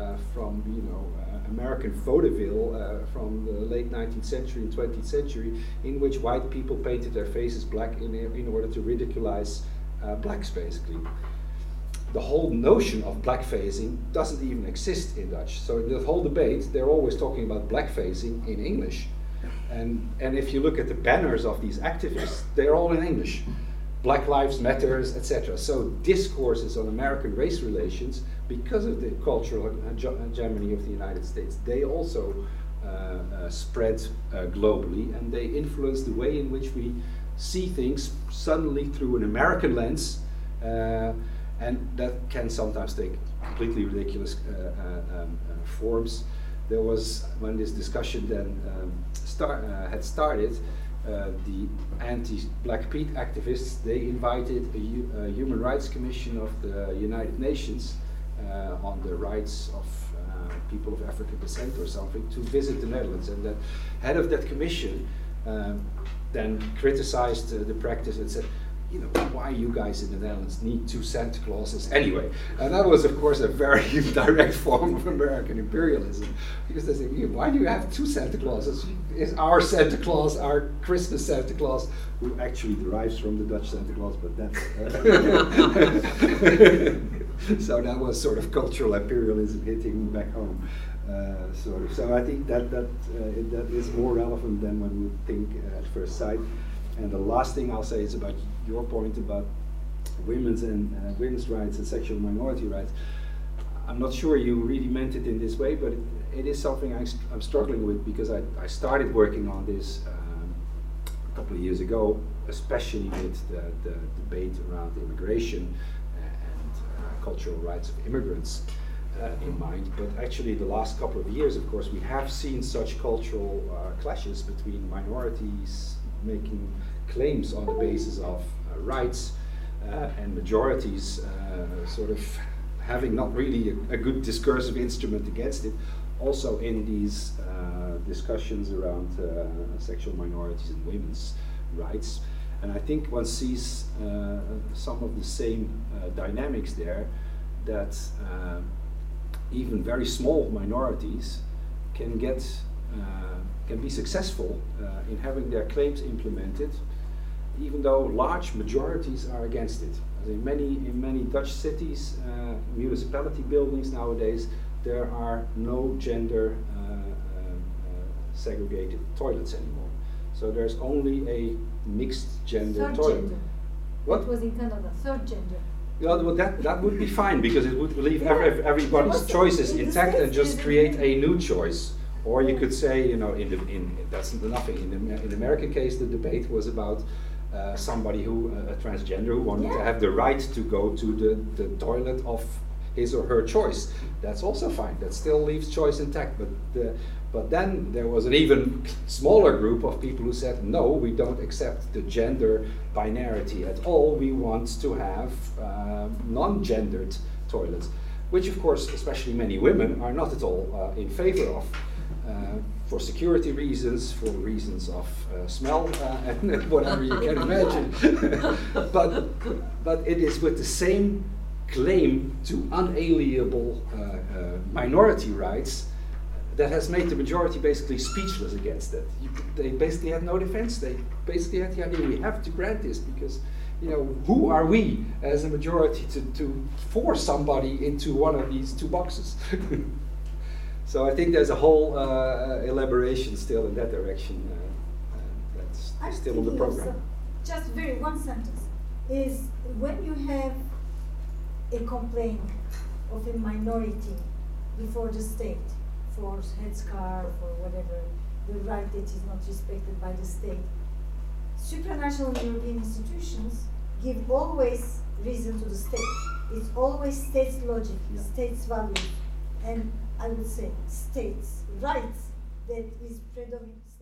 American vaudeville from the late 19th century and 20th century, in which white people painted their faces black in order to ridiculize blacks, basically. The whole notion of blackfacing doesn't even exist in Dutch. So in the whole debate, they're always talking about blackfacing in English. And if you look at the banners of these activists, they're all in English. Black Lives Matters, etc. So discourses on American race relations, because of the cultural hegemony of the United States, they also spread globally, and they influence the way in which we see things suddenly through an American lens, and that can sometimes take completely ridiculous forms. There was, when this discussion then had started, the anti-Black Pete activists, they invited a Human Rights Commission of the United Nations on the rights of people of African descent or something to visit the Netherlands, and the head of that commission then criticized the practice and said, why you guys in the Netherlands need 2 Santa Clauses anyway? And that was, of course, a very direct form of American imperialism, because they say, why do you have 2 Santa Clauses? Is our Santa Claus, our Christmas Santa Claus, who actually derives from the Dutch Santa Claus, but that's so that was sort of cultural imperialism hitting back home, sort of. So I think that is more relevant than one would think at first sight. And the last thing I'll say is about your point about women's rights and sexual minority rights. I'm not sure you really meant it in this way, but it is something I'm struggling with, because I started working on this couple of years ago, especially with the debate around immigration and cultural rights of immigrants in mind. But actually the last couple of years, of course, we have seen such cultural clashes between minorities making claims on the basis of rights and majorities sort of having not really a good discursive instrument against it. Also in these discussions around sexual minorities and women's rights. And I think one sees some of the same dynamics there, that even very small minorities can be successful in having their claims implemented, even though large majorities are against it. In many Dutch cities, municipality buildings nowadays, there are no gender segregated toilets anymore. So there's only a mixed gender third toilet. Gender. What? It was in Canada, third gender. Yeah, well, that would be fine, because it would leave everybody's choices intact and just create a new choice. Or you could say, you know, that's nothing. In the American case, the debate was about somebody a transgender who wanted to have the right to go to the toilet of his or her choice. That's also fine. That still leaves choice intact. But then there was an even smaller group of people who said, no, we don't accept the gender binarity at all. We want to have non-gendered toilets, which of course, especially many women, are not at all in favor of. For security reasons, for reasons of smell, and whatever you can imagine. but it is with the same claim to unalienable minority rights that has made the majority basically speechless against it. They basically had no defense. They basically had the idea, we have to grant this because, you know, who are we as a majority to force somebody into one of these two boxes? So I think there's a whole elaboration still in that direction that's still on the program. Just very one sentence is, when you have a complaint of a minority before the state for headscarf or whatever, the right that is not respected by the state, supranational European institutions give always reason to the state. It's always state's logic, state's values, and I would say states' rights that is predominant.